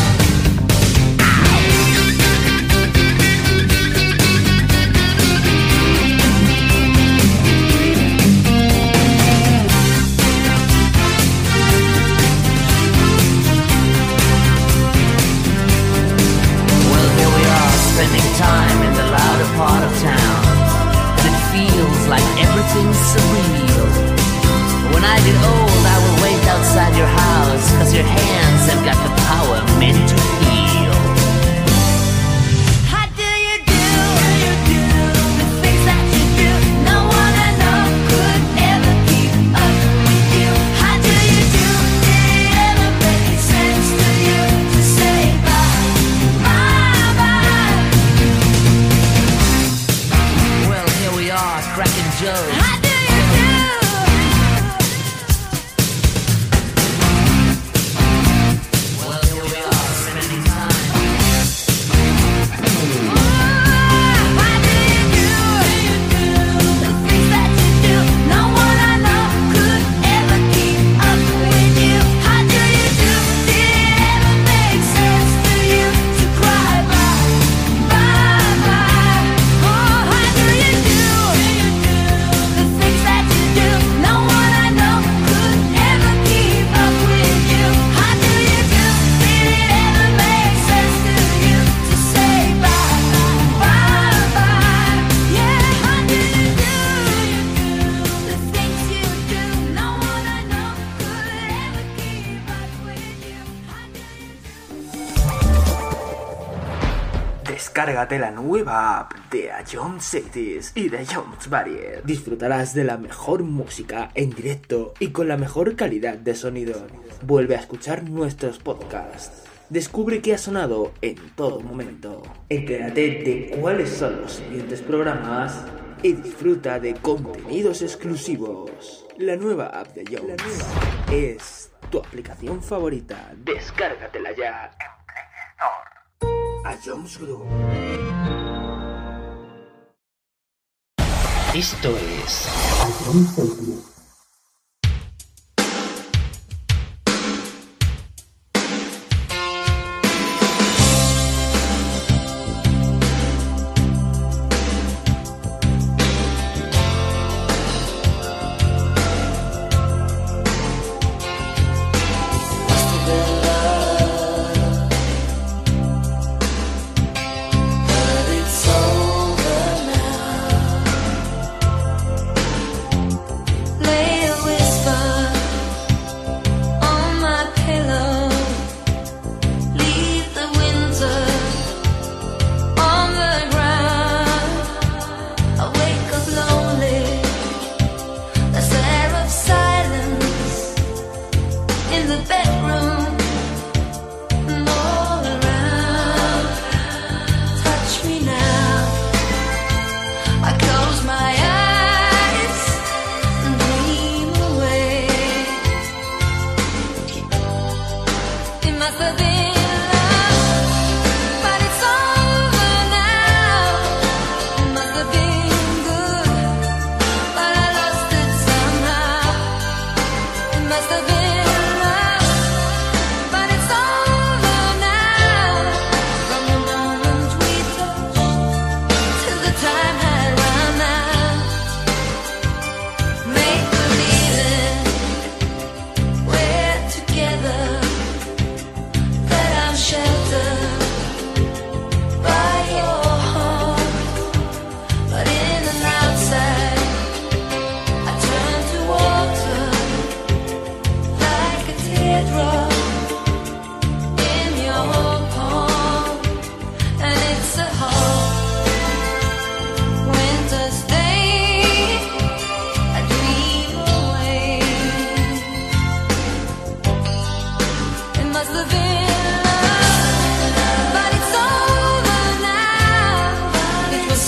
Well, here we are, spending time in the louder part of town, and it feels like everything's surreal. When I get old, I will wait outside your house, 'cause your hands have got the power meant to heal. How do you do? The things that you do, no one I know could ever keep up with you. How do you do? Did it ever make sense to you to say bye, bye, bye? Well, here we are, cracking jokes. How do you do? Well, here we are, spending time. How do you do? The things that you do, no one I know could ever keep up with you. How do you do? Did it ever make sense to you to cry bye, bye, bye? Oh, how do you do? The things that you do, no one I know could ever keep up with you. How do you do? Did it ever make sense to you to say bye, bye, bye? Yeah, how do you do? The things you do, no one I know could ever keep up with you. How do you do? Descárgate la nueva app de Ion Cities y de Jones Barrier. Disfrutarás de la mejor música en directo y con la mejor calidad de sonido. Vuelve a escuchar nuestros podcasts. Descubre qué ha sonado en todo momento. Entérate de cuáles son los siguientes programas y disfruta de contenidos exclusivos. La nueva app de Jones es tu aplicación favorita. Descárgatela ya en Play Store. A Jones Group. Esto es It's over now.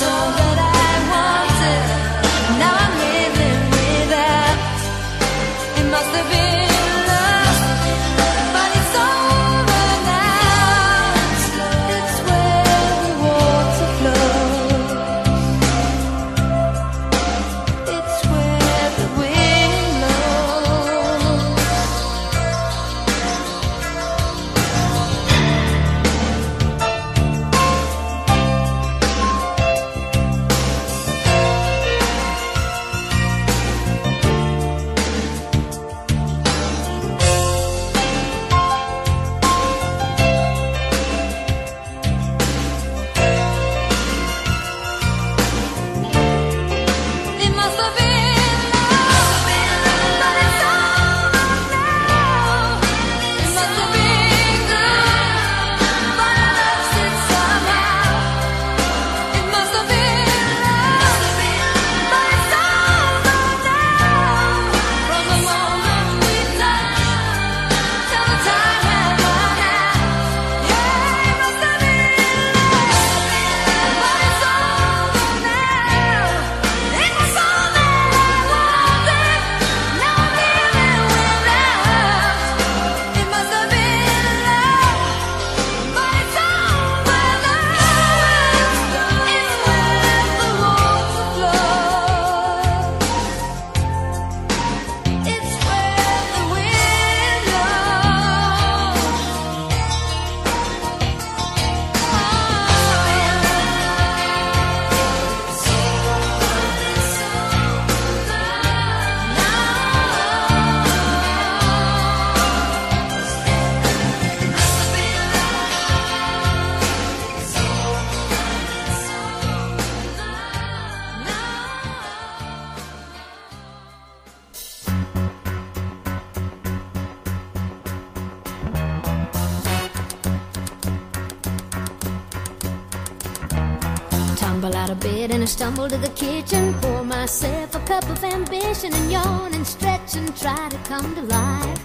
Tumble out of bed and I stumble to the kitchen, pour myself a cup of ambition and yawn and stretch and try to come to life.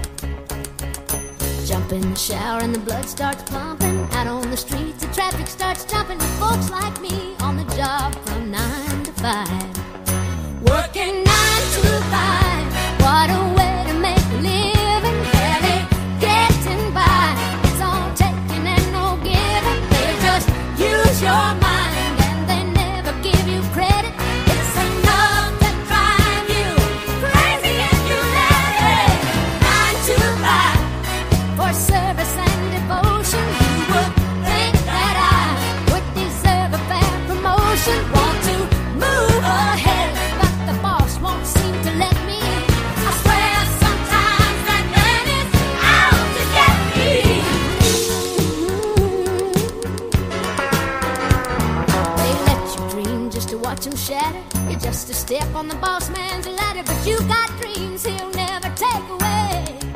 Jump in the shower and the blood starts pumping. Out on the streets the traffic starts jumping with folks like me on the job from 9 to 5. Working 9 to 5, what a way to make a living. Barely getting by, it's all taking and no giving. They just use your mind and they never give you credit. It's enough to drive you crazy if you let it. 9 to 5 for service and devotion. You would think that I would deserve a fair promotion. Want to move ahead, but the boss won't seem to let me. I swear sometimes that man is out to get me. They let you dream just to watch him shatter. You're just a step on the boss man's ladder, but you got dreams he'll never take away.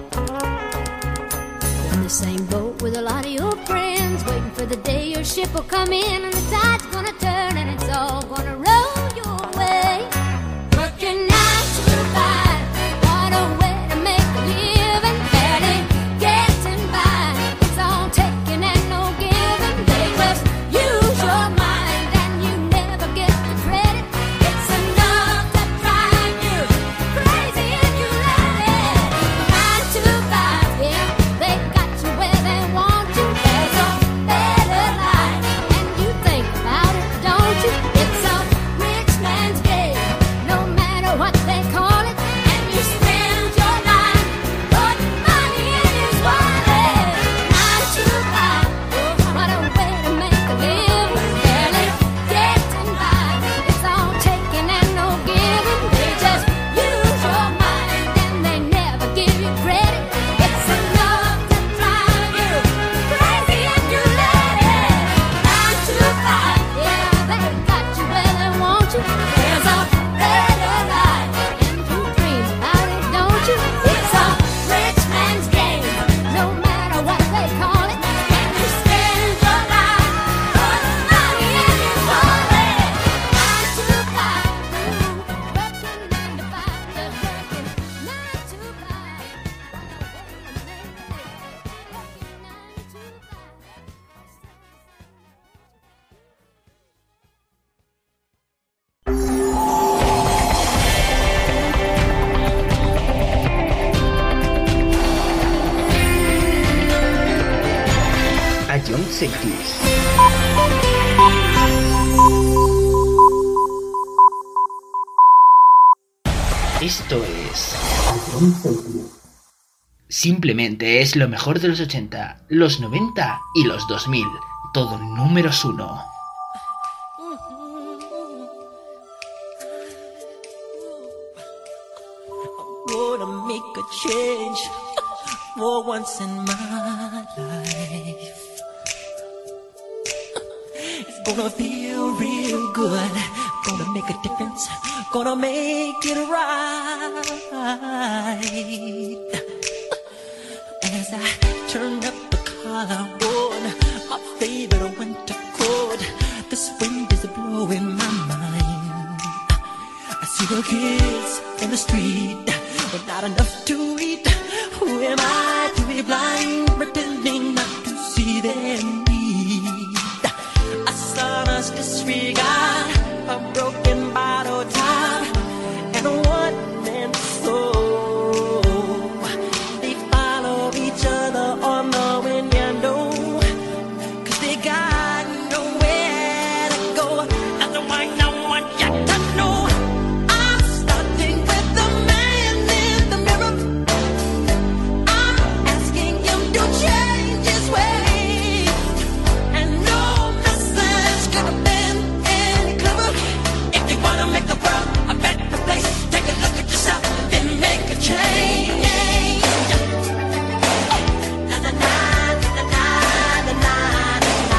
In the same boat with a lot of your friends, waiting for the day your ship will come in and the tide's gonna turn and it's all gonna roll your way. Working 9 to 5, what a way to make a living. Barely getting by, it's all taking and no giving. They just use your mind and you never get the credit. It's enough to drive you crazy if you let it. 9 to 5, yeah, they got you where they want you. There's a better life and you think about it, don't Esto es... Simplemente es lo mejor de los 80, los 90 y los 2000. Todo números 1. Gonna make a change for once in my life. It's gonna feel real good. Gonna make a difference. Gonna make it right. As I turn up the collar on my favorite winter coat, this wind is blowing my mind. I see the kids in the street, but not enough to eat. Who am I to be blind, pretending not to see their need? A son's disregard, a broken bottle top, and a one-man soul. They follow each other on the window, 'cause they got nowhere to go. That's why no one got to know. I'm starting with the man in the mirror. I'm asking him to change his ways, and no message could have been any clearer. If you wanna make the world a better place, take a look at yourself, then make a change. Na na na na na na na.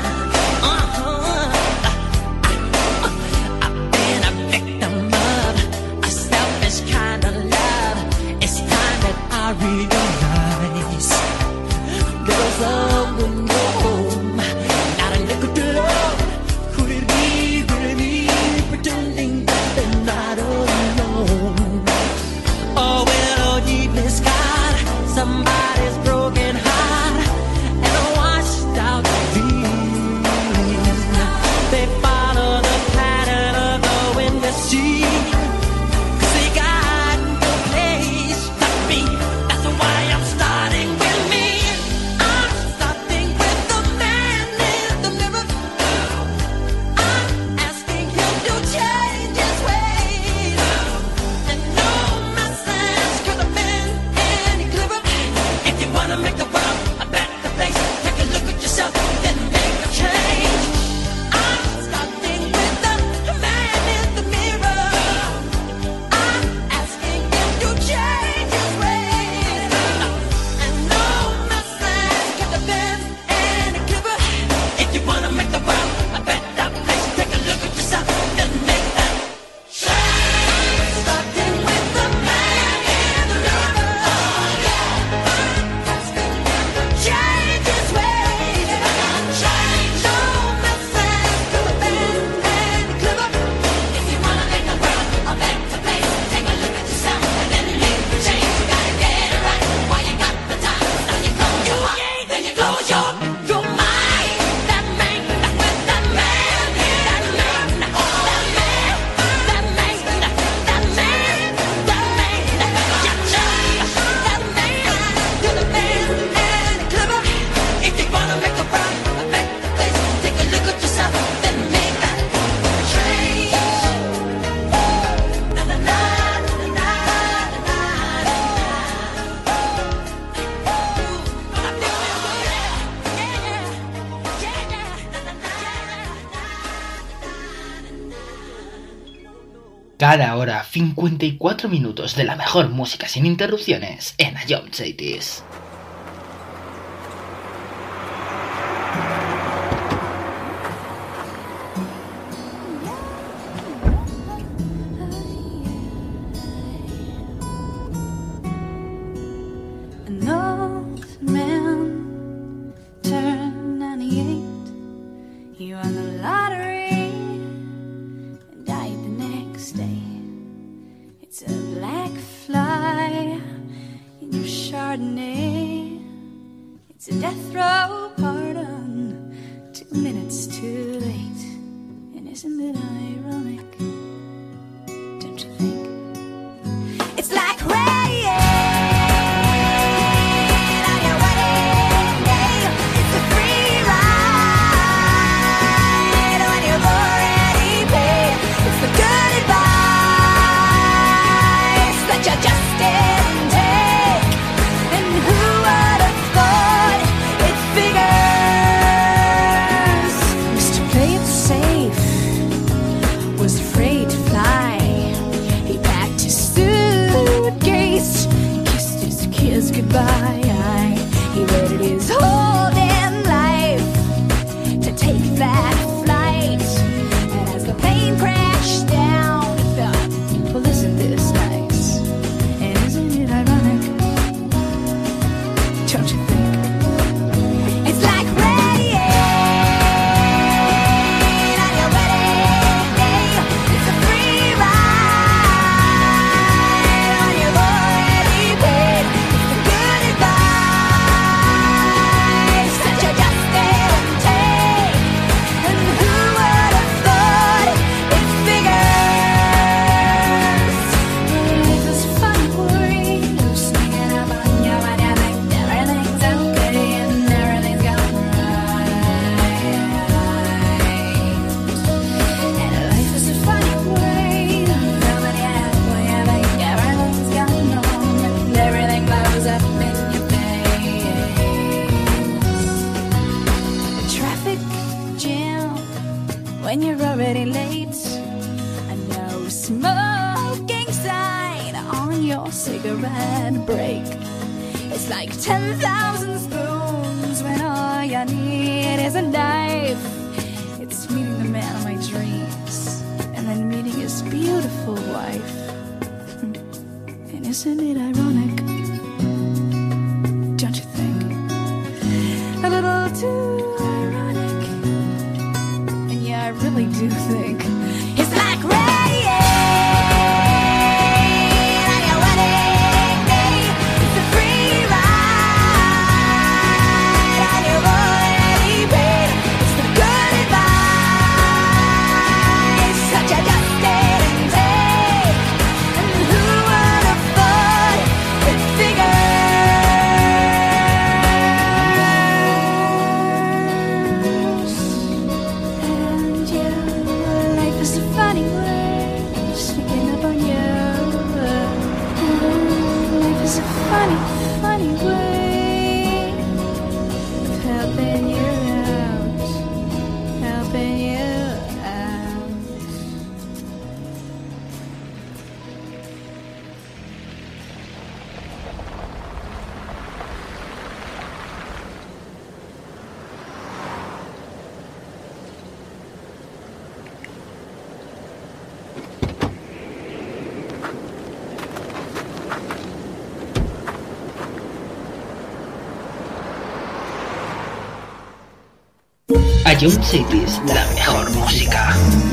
I've been a victim of a selfish kind of love. It's time that I realize there's love with no home, not a nickel to love. Could it be really me pretending that they're not alone? Oh, well, deep in God, somebody's broken heart and a washed out dreams. They follow the pattern of the wind to sea, 'cause they got no place to be. That's why I'm starting with me. I'm starting with the man in the mirror. I'm asking him to change his ways, and no message could have been any clearer. If you wanna make the world a better place, take a look at yourself, then make a change. I'm starting with the man in the mirror. I'm asking him to change his ways, and no message could have been any clearer. If you wanna make the world a better place, take a look at yourself, then make that change. Starting with the man in the mirror. Asking him to change his ways. Change. No message could have been any clearer. If you wanna make the world a better place, take a look at yourself and then make the change. You gotta get it right while you got the time. Now you close your heart, then you close your mind. That man, that's with that man. That man, that man, that man, that man, that man, that man could have been any clearer. If you wanna make the world a better place, take a look at yourself, then make that change. Na na na na na na Cada hora 54 minutos de la mejor música sin interrupciones en A Young Cities. An old man turned 98. He won the lottery and died the next day. It's a black fly in your Chardonnay. It's a death row pardon, 2 minutes too late. And isn't it ironic? Don't you think? It's like rain on your wedding day. It's a free ride when you've already paid. It's the good advice. late. A no smoking sign on your cigarette break. It's like 10,000 spoons when all you need is a knife. It's meeting the man of my dreams and then meeting his beautiful wife. And isn't it ironic? Don't you think? A little too ironic. And yeah, I really do think it's like rain on your wedding day. It's a free ride on your already paid. It's the good advice such a just didn't take. And who would have thought it figures? And your life is a funny way sneaking up on you. Life is a funny, funny way of helping you out, helping you out. Ion Cities, la mejor música.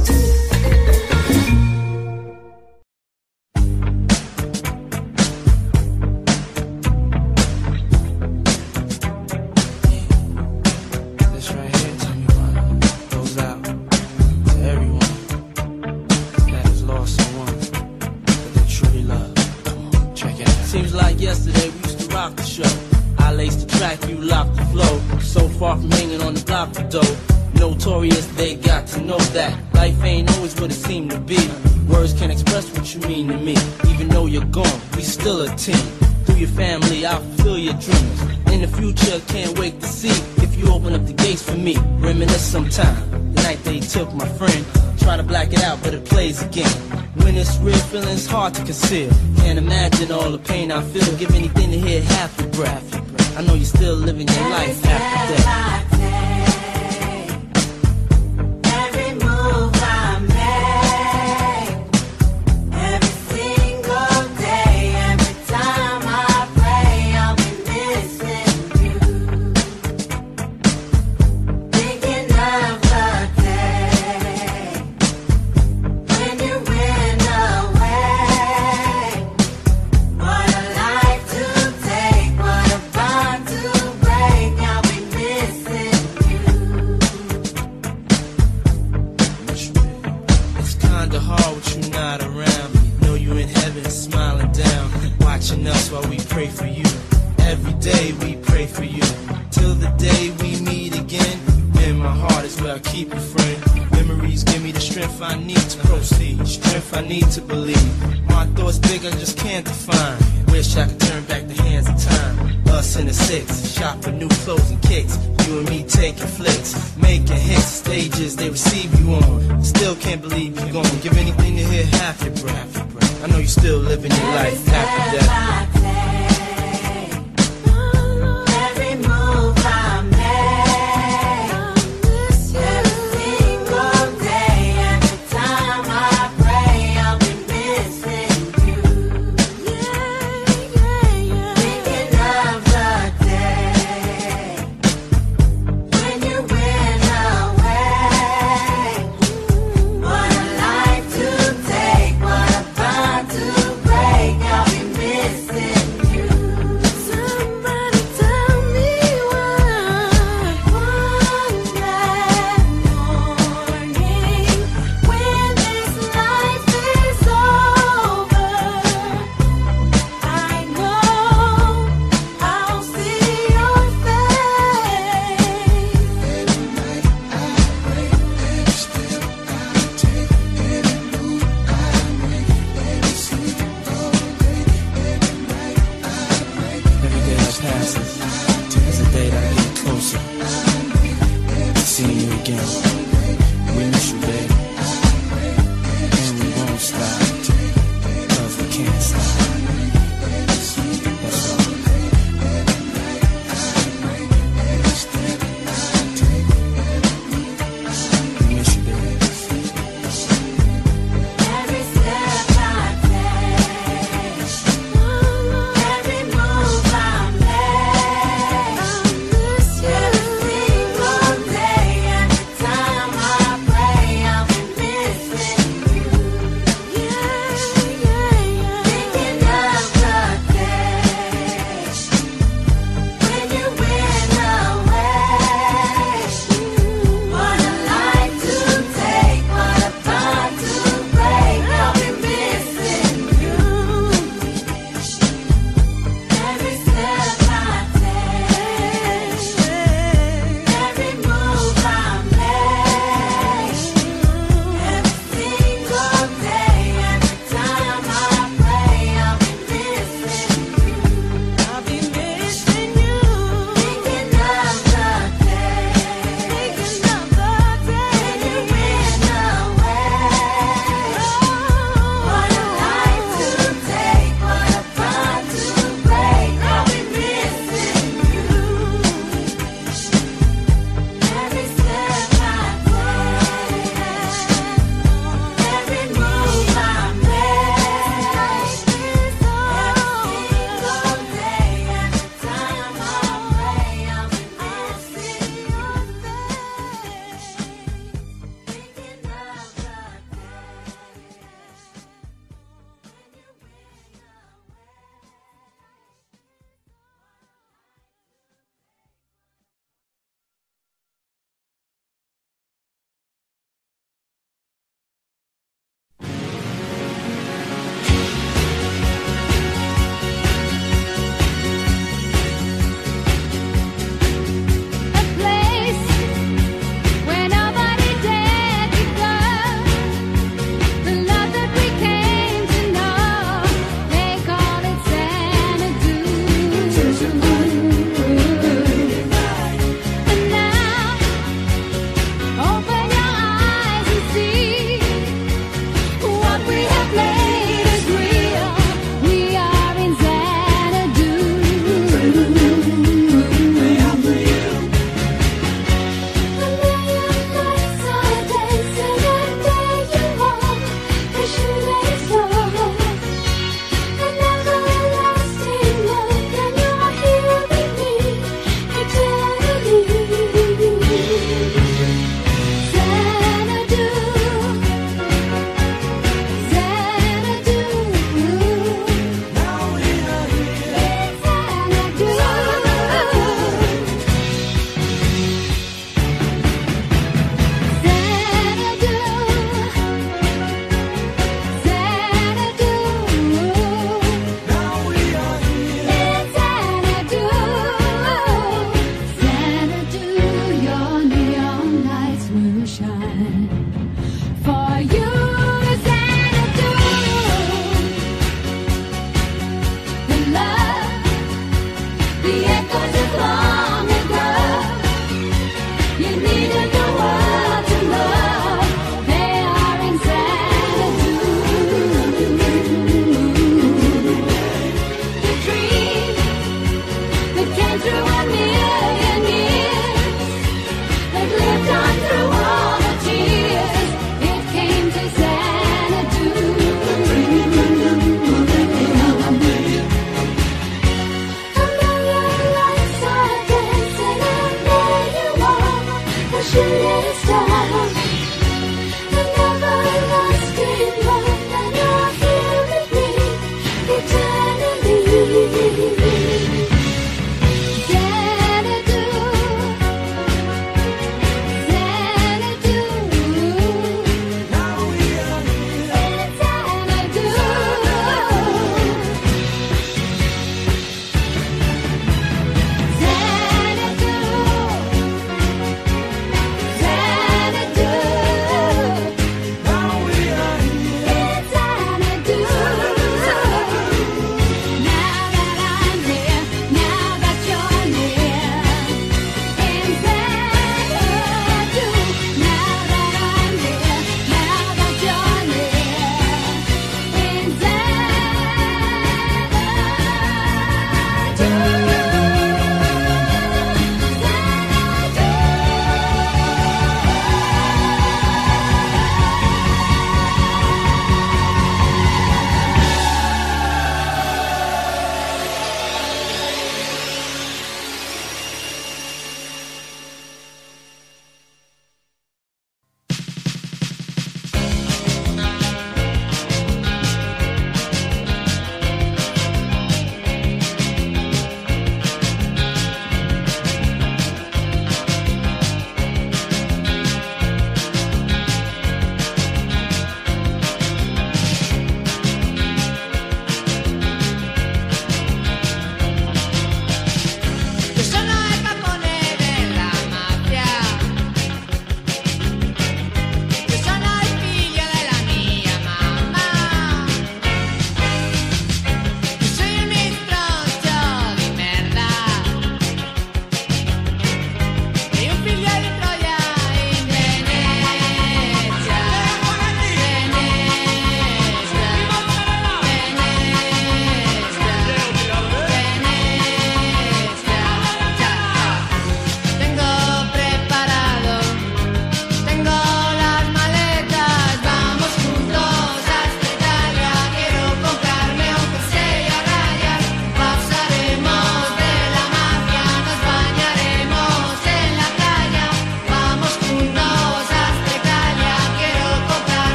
This right here, tell me why, goes out to everyone that has lost someone that they truly love. Come on, check it out. Seems like yesterday we used to rock the show. I laced the track, you locked the flow. So far from hanging on the block for dough. Notorious, they got to know that life ain't always what it seemed to be. Words can't express what you mean to me. Even though you're gone, we still a team. Through your family, I'll fulfill your dreams. In the future, can't wait to see if you open up the gates for me. Reminisce sometime, the night they took my friend. Try to black it out, but it plays again. When it's real, feeling's hard to conceal. Can't imagine all the pain I feel. Give anything to hear half your breath. I know you're still living your life after death. Every move I make, every single day, every time I pray, I'll be missing you. Thinking of the day when you went away. What a life to take, what a bond to break. I'll be missing you. It's kinda hard with you not around. Know you in heaven smiling down, watching us while we pray for you. Every day we pray for you, till the day we meet again. In my heart is where I keep you, friend. Memories give me the strength I need to proceed, strength I need to believe. My thoughts big, I just can't define. Wish I could turn back the hands of time. Us in the six, shop for new clothes and kicks. You and me taking flicks, making hits, stages they receive you on. Still can't believe you're gone. Give anything to hear half your breath. I know you're still living your life after death. Every move I make, every single day, every time I pray, I'll be missing you. Thinking of the day when you went away. What a life to take, what a bond to break. I'll be missing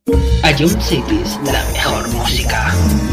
Ion Cities, la mejor música.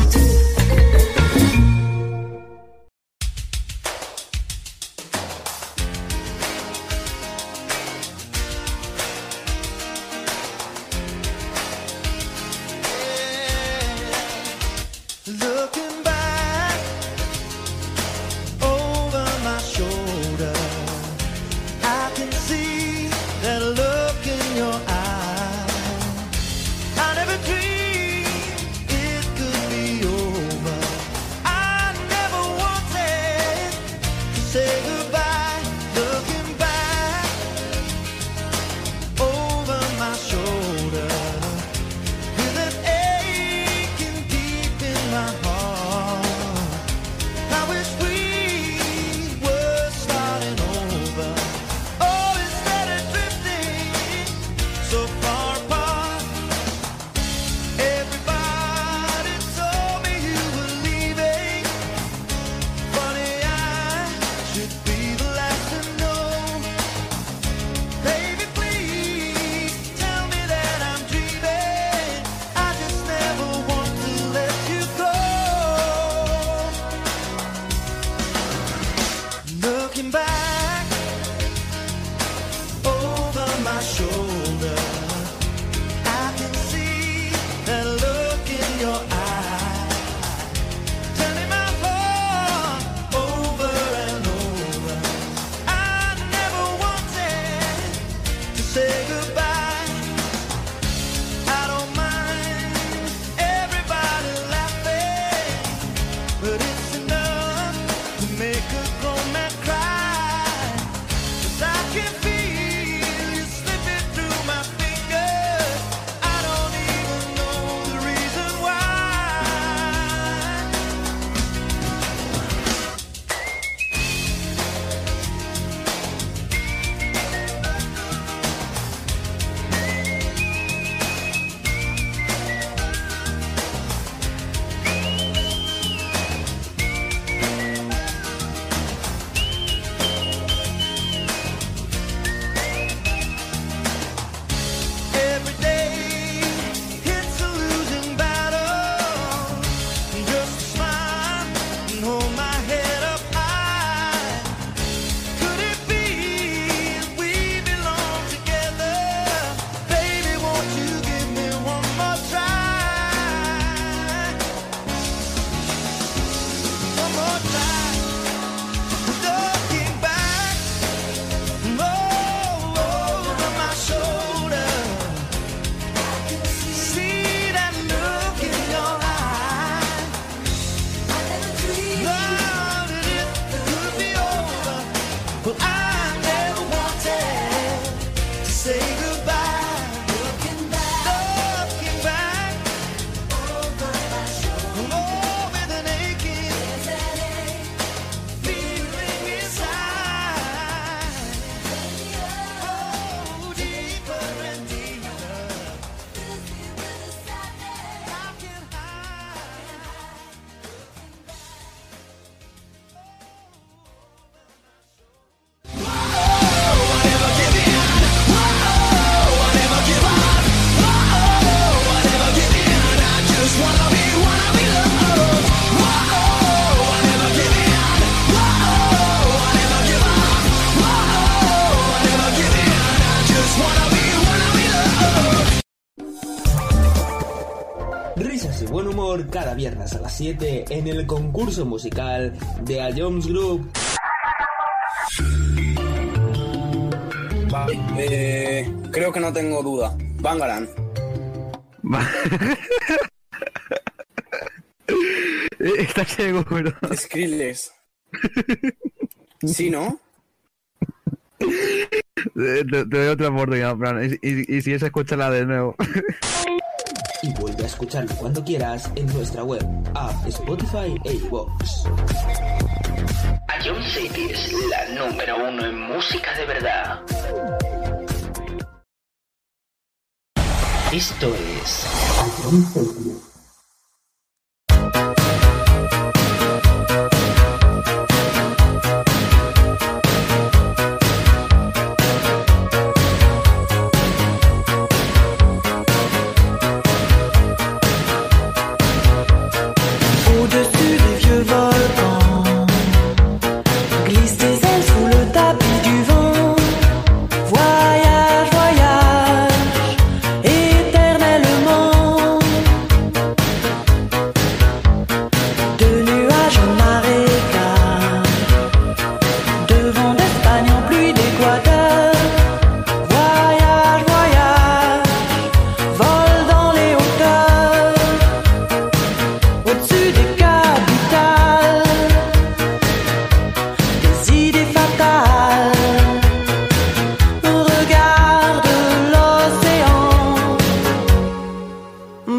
Cada viernes a las 7 en el concurso musical de A Jones Group. Creo que no tengo duda. Bangaran. Está seguro. Skrillex. ¿Sí, no? Te doy otra oportunidad, Fran. Y si es, escúchala de nuevo. Y vuelve a escucharlo cuando quieras en nuestra web, app, Spotify e iVoox. Ion Cities, la número 1 en música de verdad. Esto es Ion Cities.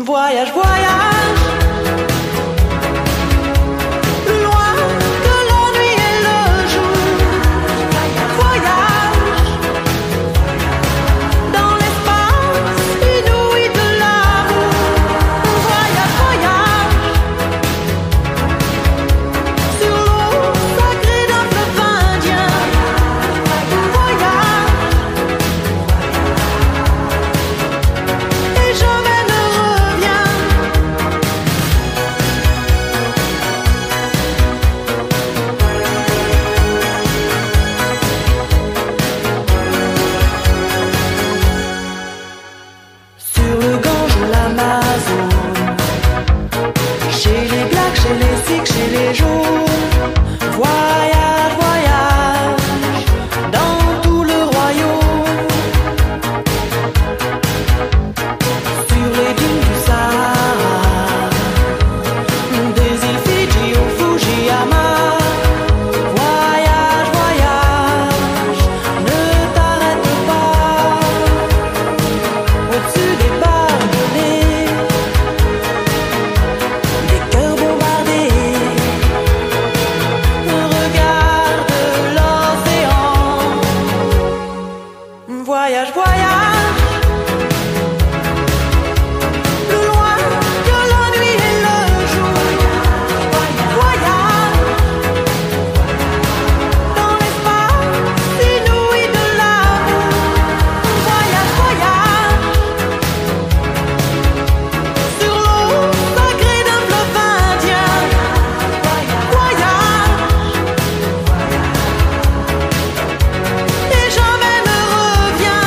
Voyage, voyage, plus loin que la nuit et le jour. Voyage, dans l'espace inouï de l'amour. Voyage, voyage, sur l'eau sacrée d'un fleuve indien. Voyage, et jamais ne reviens. Sur le Gange ou l'Amazone, chez les Blacks, chez les Sikhs, chez les Jaunes. Voyage, voyage, dans tout le royaume. Sur les dunes du Sahara, des îles Fidji au Fujiyama. Voyage, voyage, ne t'arrête pas. Au-dessus des barbelés, des cœurs bombardés. Regarde l'océan. Voyage, voyage, plus loin que la nuit et le jour. Voyage, dans l'espace inouï de l'amour. Voyage, voyage, sur l'eau sacrée d'un fleuve indien. Voyage, et jamais ne reviens.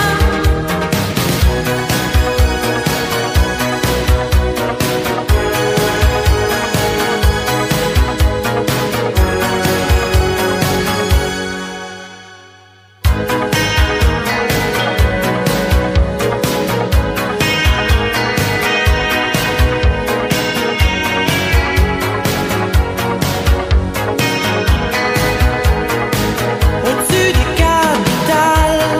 Au-dessus des capitales,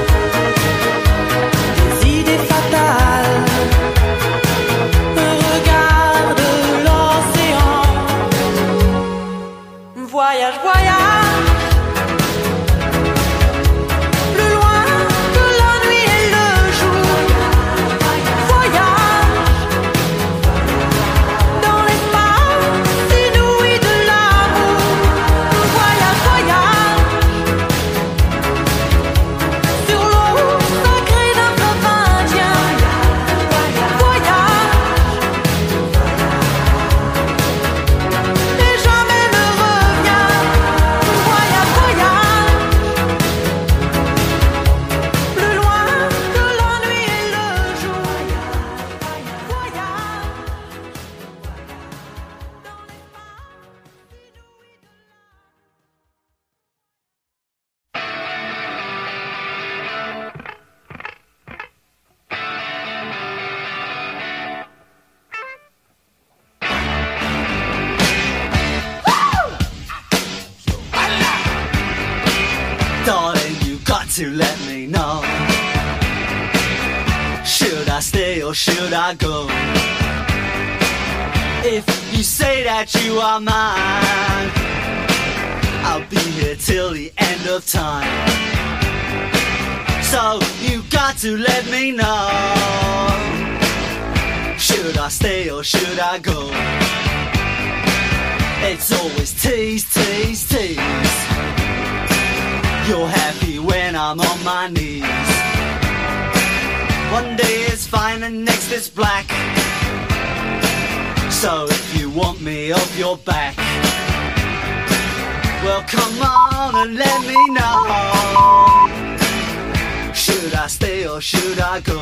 des idées fatales. Regarde l'océan. Voyage, voyage, plus loin que la nuit et le jour. Voyage, dans l'espace inouï de l'amour. Voyage, voyage, sur l'eau sacrée d'un fleuve indien. Voyage, et jamais ne reviens. Voyage, voyage, plus loin que la nuit et le jour. Voyage. Darling, you got to let me know. Should I stay or should I go? If you say that you are mine, I'll be here till the end of time. So you got to let me know. Should I stay or should I go? It's always tease, tease, tease. You're happy when I'm on my knees. One day is fine and next is black. So if you want me off your back, well come on and let me know. Should I stay or should I go?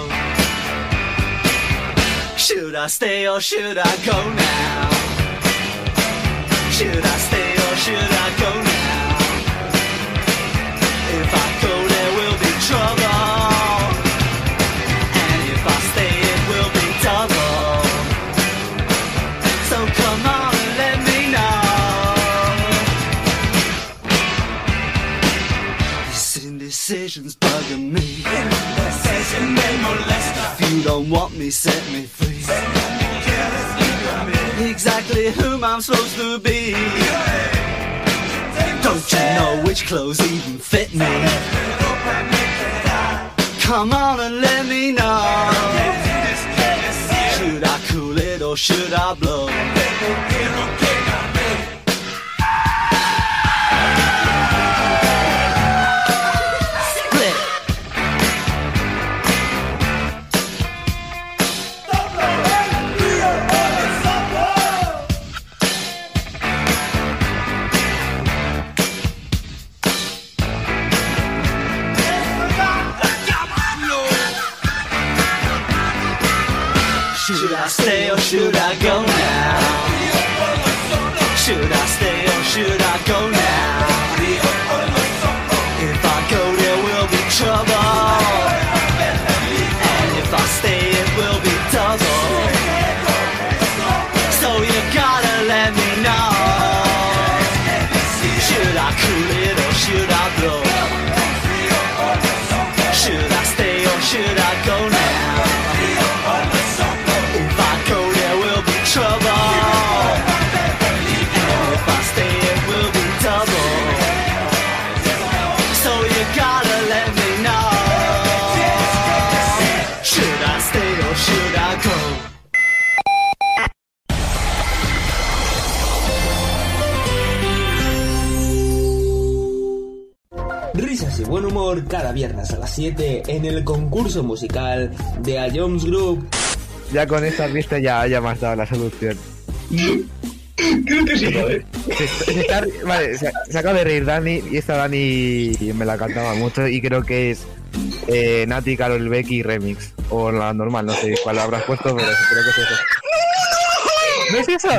Should I stay or should I go now? Should I stay or should I go now? If I go there will be trouble, and if I stay it will be double. So come on and let me know. This indecision's bugging me. If you don't want me, set me free. exactly whom I'm supposed to be. Don't you know which clothes even fit me? Come on and let me know. Should I cool it or should I blow? Should I stay or should I go now? Should I stay or should I go now? If I go there will be trouble, and if I stay it will be double. So you gotta let me know. Should I cool it or should I blow? Should I stay or should I go now? Trouble, and if I stay it will be double. So you gotta let me know. Should I stay or should I go? Risas y buen humor cada viernes a las 7 en el concurso musical de A Jones Group. Ya con esta pista ya me has dado la solución. Creo que sí, joder. Vale, se acaba de reír Dani, y esta Dani me la cantaba mucho y creo que es Nati, Karol Becky remix. O la normal, no sé cuál habrás puesto, pero creo que es eso. ¿No es eso?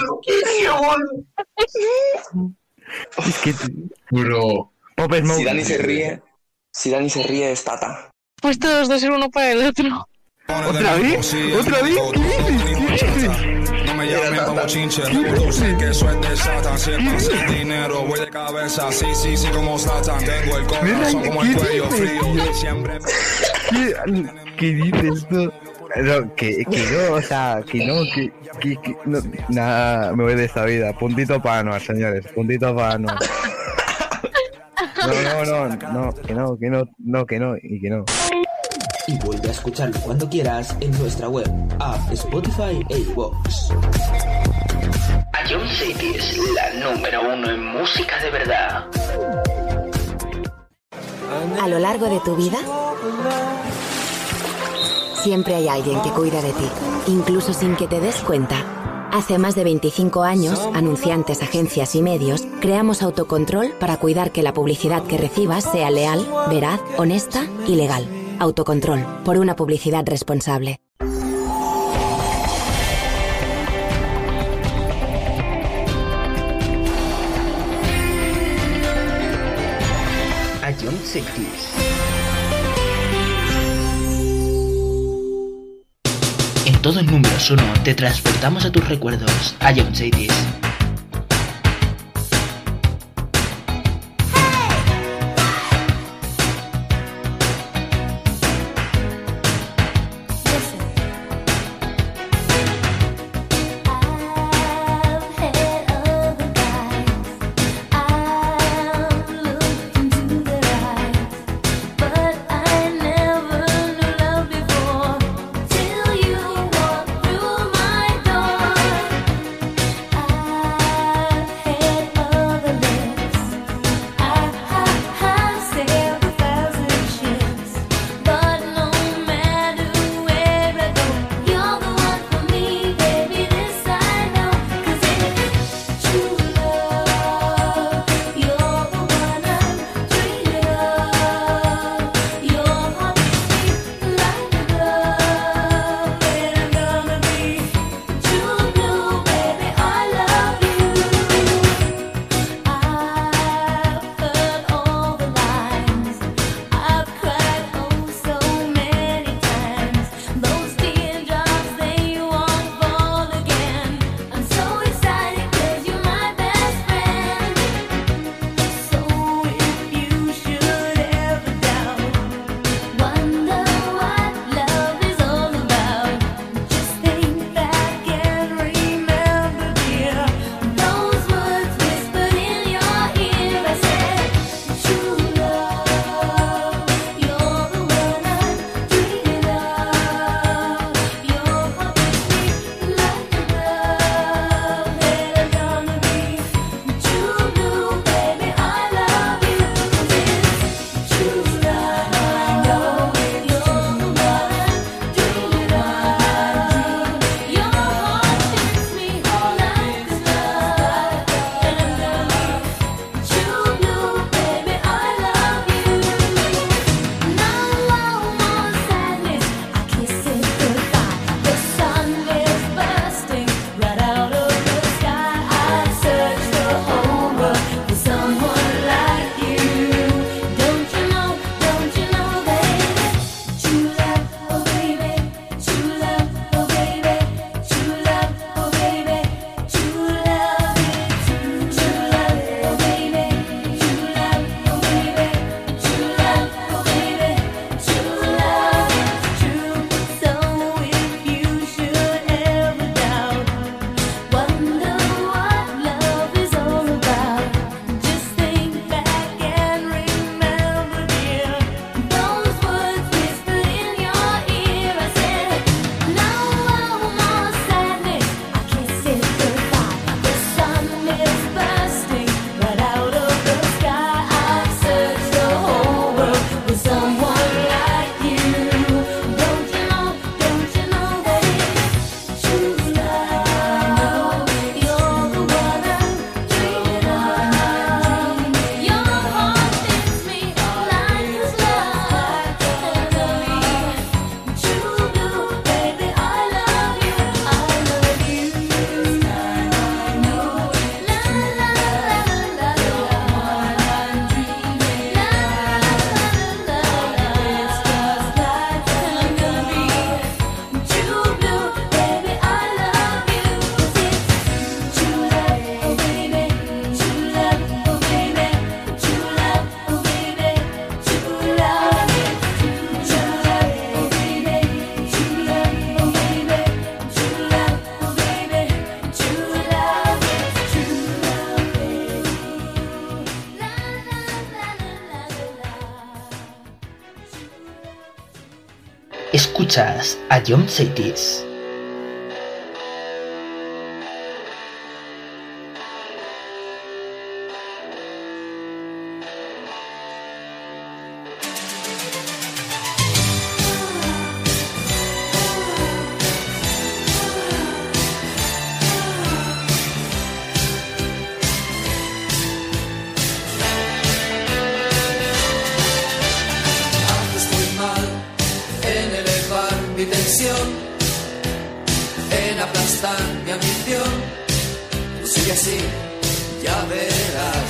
Es que... Bro. Si Dani se ríe es Tata. Pues todos dos ser uno para el otro. ¿Otra vez? ¿Otra vez? ¿Qué dices? No me llamen como chinche, tú sé que eso es de Satan. Si es sin dinero, voy de cabeza, sí, como Satan. Tengo el corazón como el cuello frío, siempre. ¿Qué dices tú? No, que no, o sea, que no, nada, me voy de esta vida. Puntito para Anuar, señores, puntito para Anuar. No, que no. Y vuelve a escucharlo cuando quieras en nuestra web, app, Spotify e iVoox. A John City es la número 1 en música de verdad. A lo largo de tu vida, siempre hay alguien que cuida de ti, incluso sin que te des cuenta. Hace más de 25 años, anunciantes, agencias y medios, creamos Autocontrol para cuidar que la publicidad que recibas sea leal, veraz, honesta y legal. Autocontrol, por una publicidad responsable. A John City. En todo el número 1 te transportamos a tus recuerdos. A John City. Escuchas a John Cities. En aplastar mi ambición, sigue así, ya verás.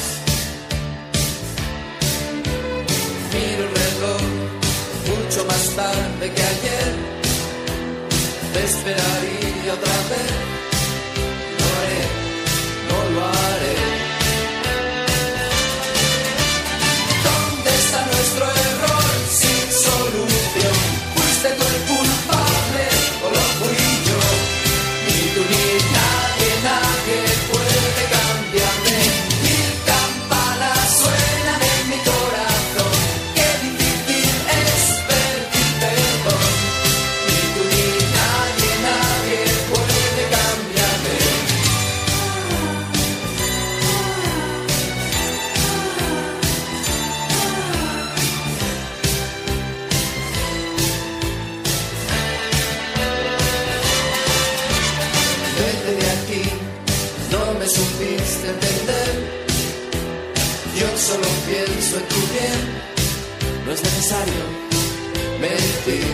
Miro el reloj, mucho más tarde que ayer. Te esperaría otra vez. Lo haré, no lo haré. ¿Dónde está nuestro error sin solución? Fuiste tú el culpable o lo fui yo. Ni tú ni nadie, nadie puede cambiarme. Mil campanas suenan en mi corazón. Qué difícil es pedir perdón. Ni tú ni nadie, nadie puede cambiarme. Vete de aquí, no me supiste entender. Yo solo pienso en tu bien. No es necesario mentir.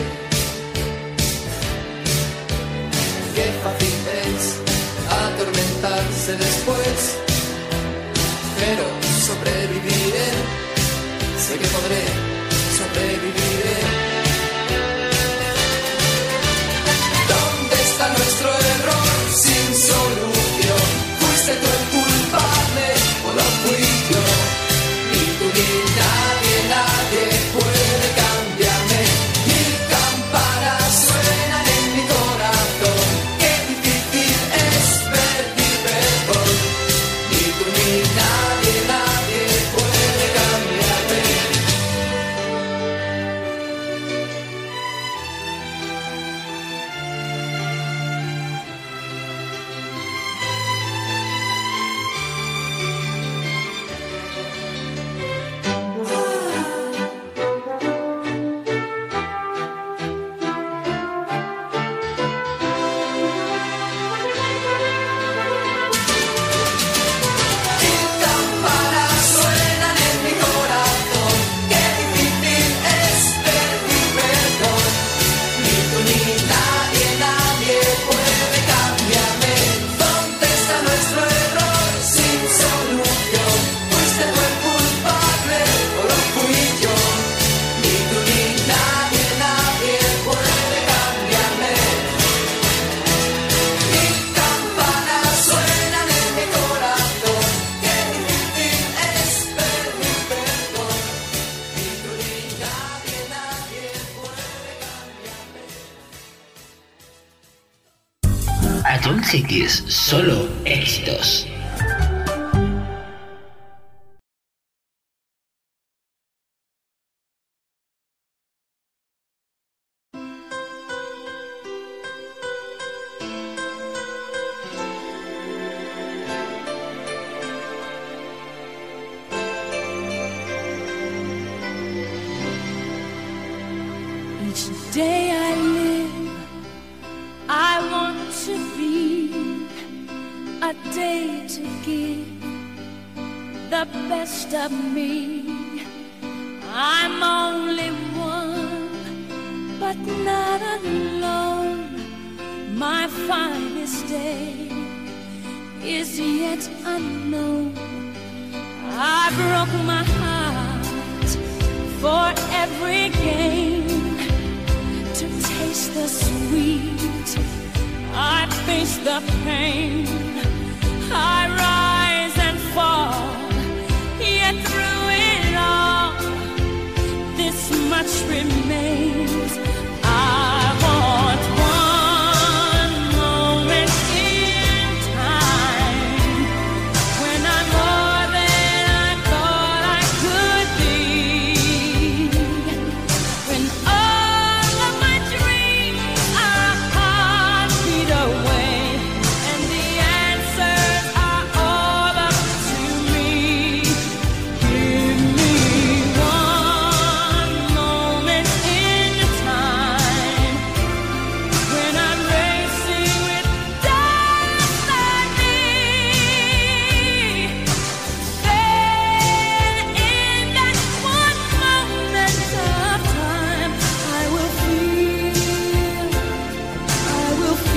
Qué fácil es atormentarse después, pero sobreviviré. Sé que podré, sobreviviré. ¿Dónde está nuestro error sin solución? ¿Fuiste tú el culpable o lo fui yo? Ni tú ni nadie, nadie puede cambiarme. Mil campanas suenan en mi corazón. Qué difícil es pedir perdón. Ni tú ni nadie, nadie puede cambiarme. Mil campanas suenan en mi corazón. Qué difícil es pedir perdón. Ni tú ni nadie, nadie puede cambiarme. ¿Dónde está nuestro error sin solución? ¿Fuiste tú el culpable o lo fui yo? Ni tú ni nadie, nadie puede cambiarme. Mil campanas suenan en mi corazón. Qué difícil es pedir perdón. Ni tú ni nadie, nadie puede cambiarme. A John Cities, solo éxitos. Each day I live, I want to be a day to give the best of me. I'm only one, but not alone. My finest day is yet unknown. I broke my heart for every game. To taste the sweet, I face the pain. I rise and fall, yet through it all, this much remains. I want one moment in time when I'm more than I thought I could be. When all of my dreams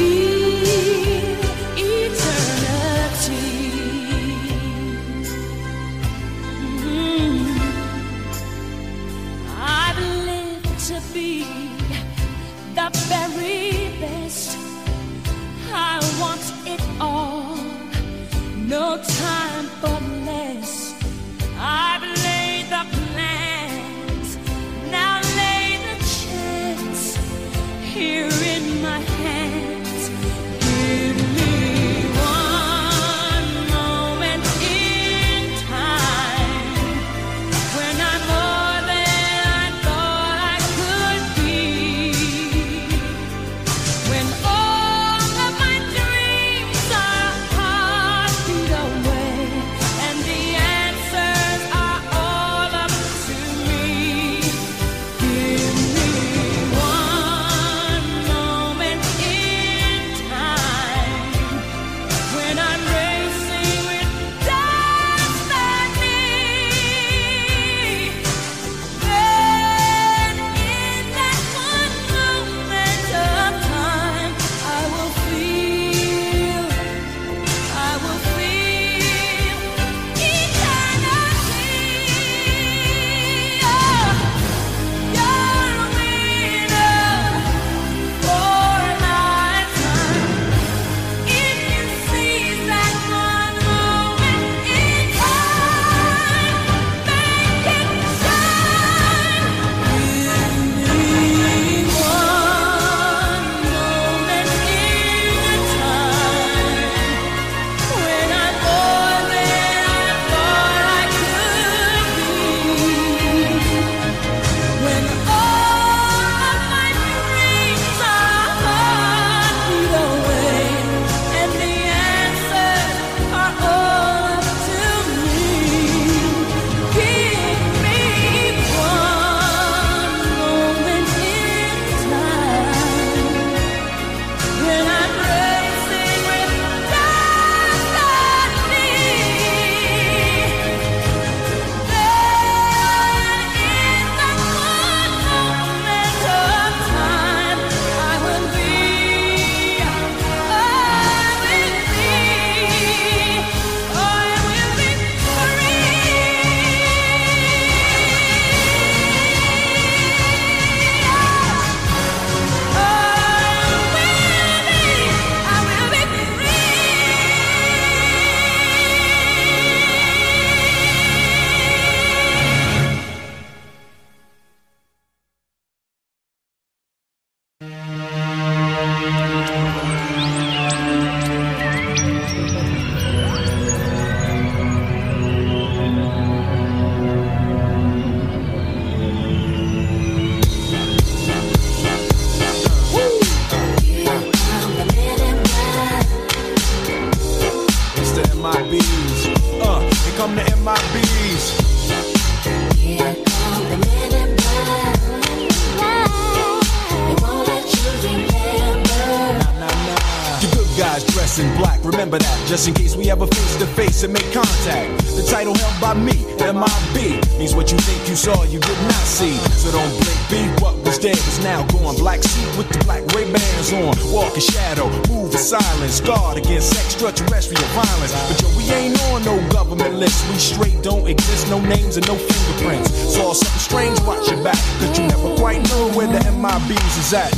Remember that, just in case we ever face to face and make contact. The title held by me, M.I.B. means what you think you saw, you did not see. So don't blink, B. What was dead is now gone. Black suit with the black Ray-Bans on. Walk in shadow, move in silence. Guard against extraterrestrial violence. But yo, we ain't on no government list. We straight don't exist, no names and no fingerprints. Saw something strange, watch your back, cause you never quite know where the M.I.B.s is at.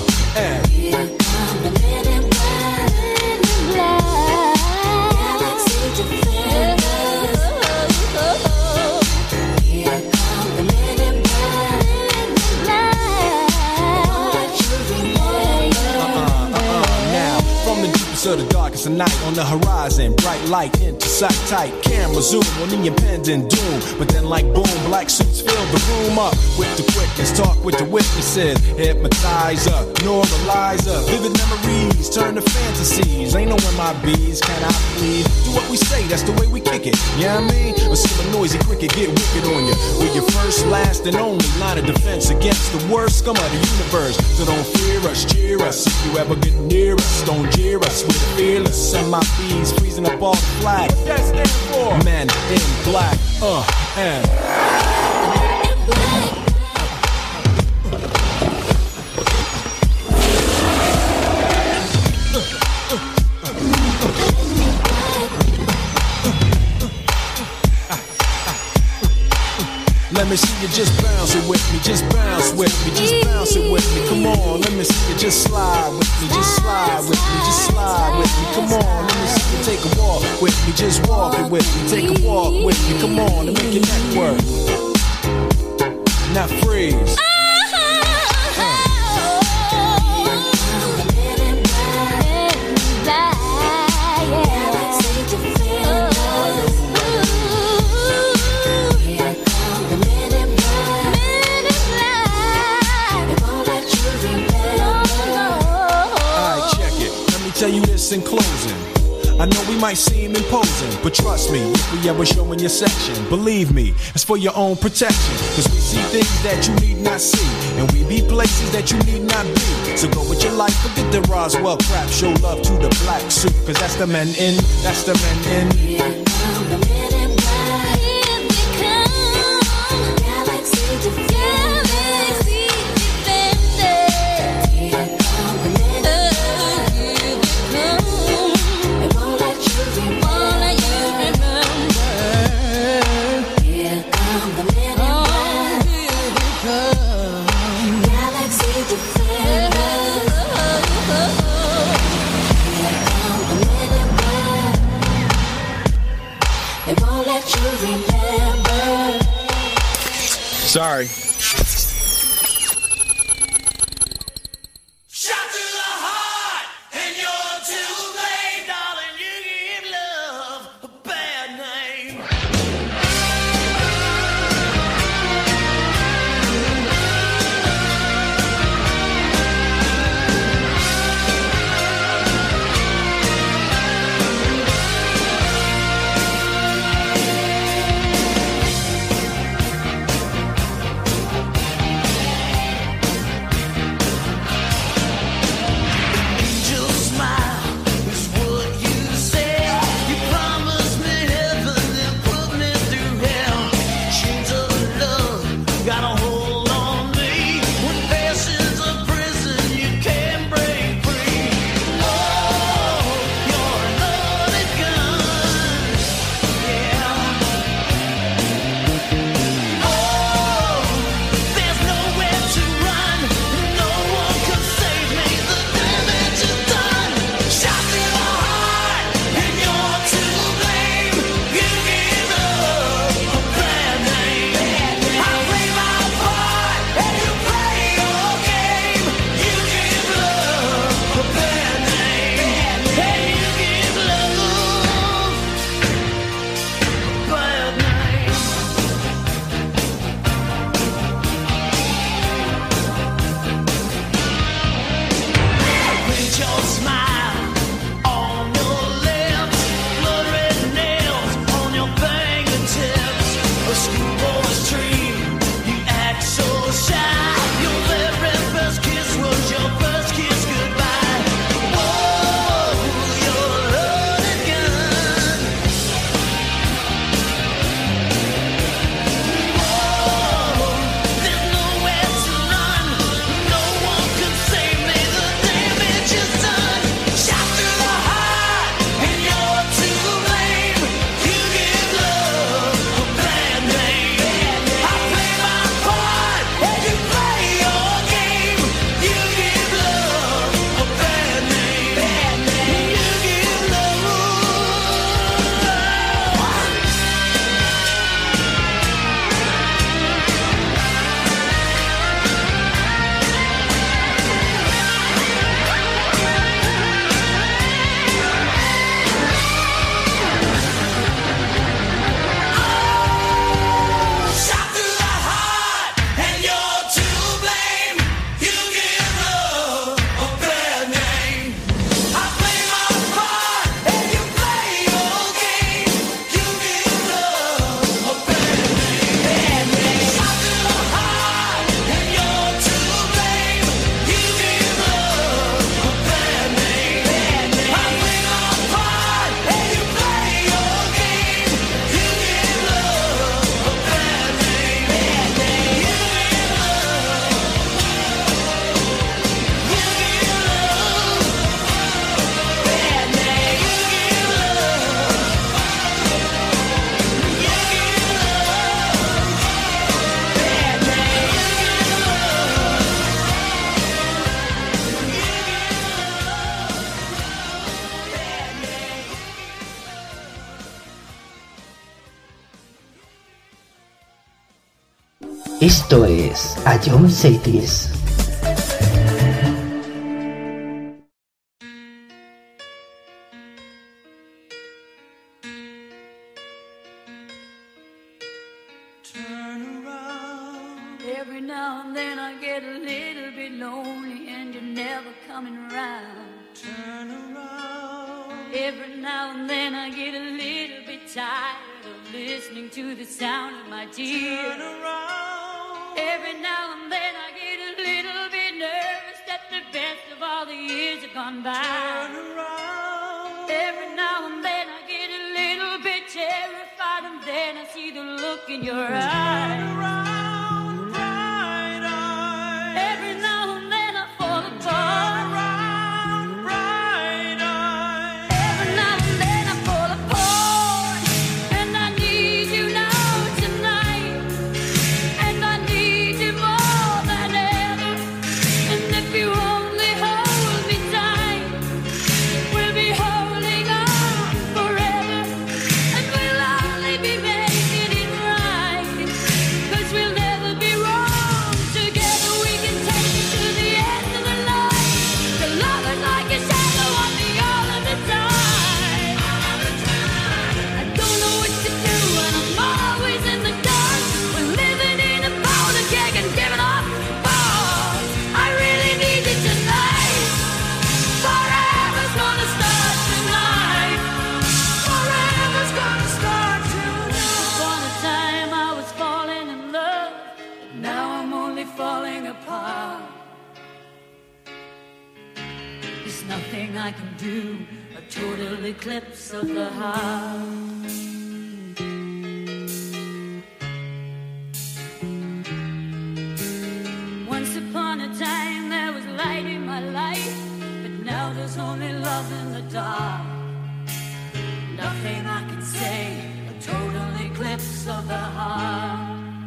And here come the men in black. Galaxy defenders. Here come the men in black. Now, from the deepest of the darkest of night, on the horizon, bright light into sight tight. Camera zoom on the impending doom. But then like boom, black suits fill the room up with the quickness. Talk with the witnesses. Hypnotizer, neuralizer. Vivid memories turn to fantasies. Ain't no M.I.B.s, can I please? Do what we say, that's the way we kick it. You know what I mean? Or see a noisy cricket get wicked on you. We're your first, last, and only line of defense against the worst scum of the universe. So don't fear us, cheer us. If you ever get near us, don't jeer us. We're fearless. M.I.B.s freezing up all the flag. What that stand for? Men in black. And let me see you just bounce it with me, just bounce with me, just bounce it with me. Come on, let me see you just slide with me, just slide with me, just slide with me. Come on, let me see you take a walk with me, just walk it with me, take a walk with me. Come on, and make your neck work. Now freeze. Tell you this in closing. I know we might seem imposing, but trust me, if we ever show in your section, believe me, it's for your own protection. Cause we see things that you need not see, and we be places that you need not be. So go with your life, forget the Roswell crap. Show love to the black suit, cause that's the men in, that's the men in. Here come the men in black. Here they come. Galaxy Defenders. Here come the men in black. Sorry. Esto es A John Cities. Every now and then I get a little bit lonely and you're never coming around. Turn around. Every now and then I get a little bit tired of listening to the sound of my tears. Turn around. Every now and then I get a little bit nervous that the best of all the years have gone by. Turn around. Every now and then I get a little bit terrified and then I see the look in your eyes. Turn around. I can do a total eclipse of the heart. Once upon a time there was light in my life, but now there's only love in the dark. Nothing I can say, a total eclipse of the heart.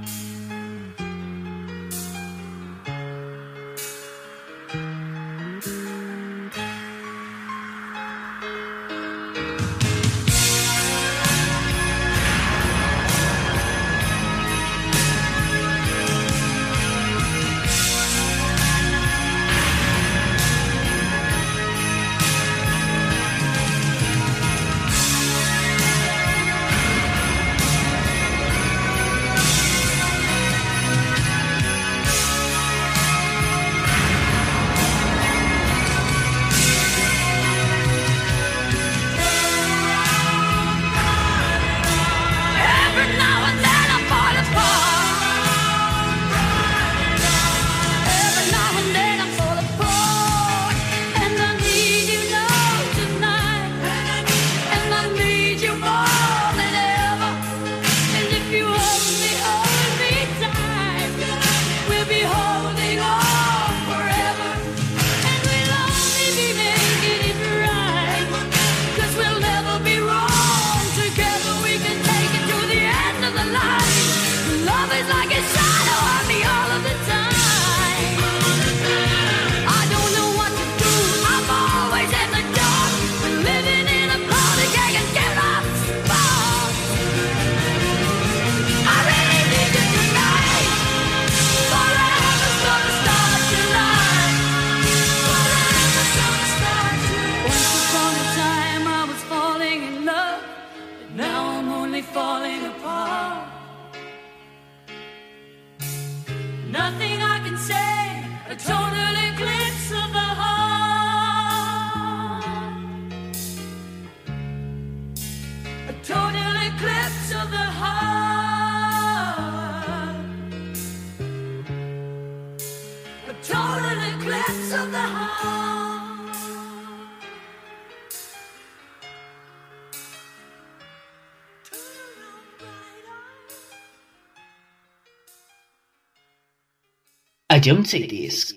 A John Cities.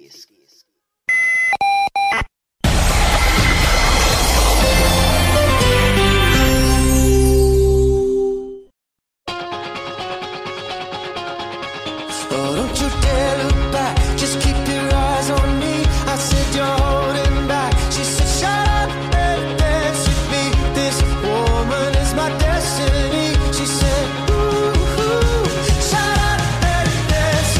Destiny. She said, ooh, shut up and dance.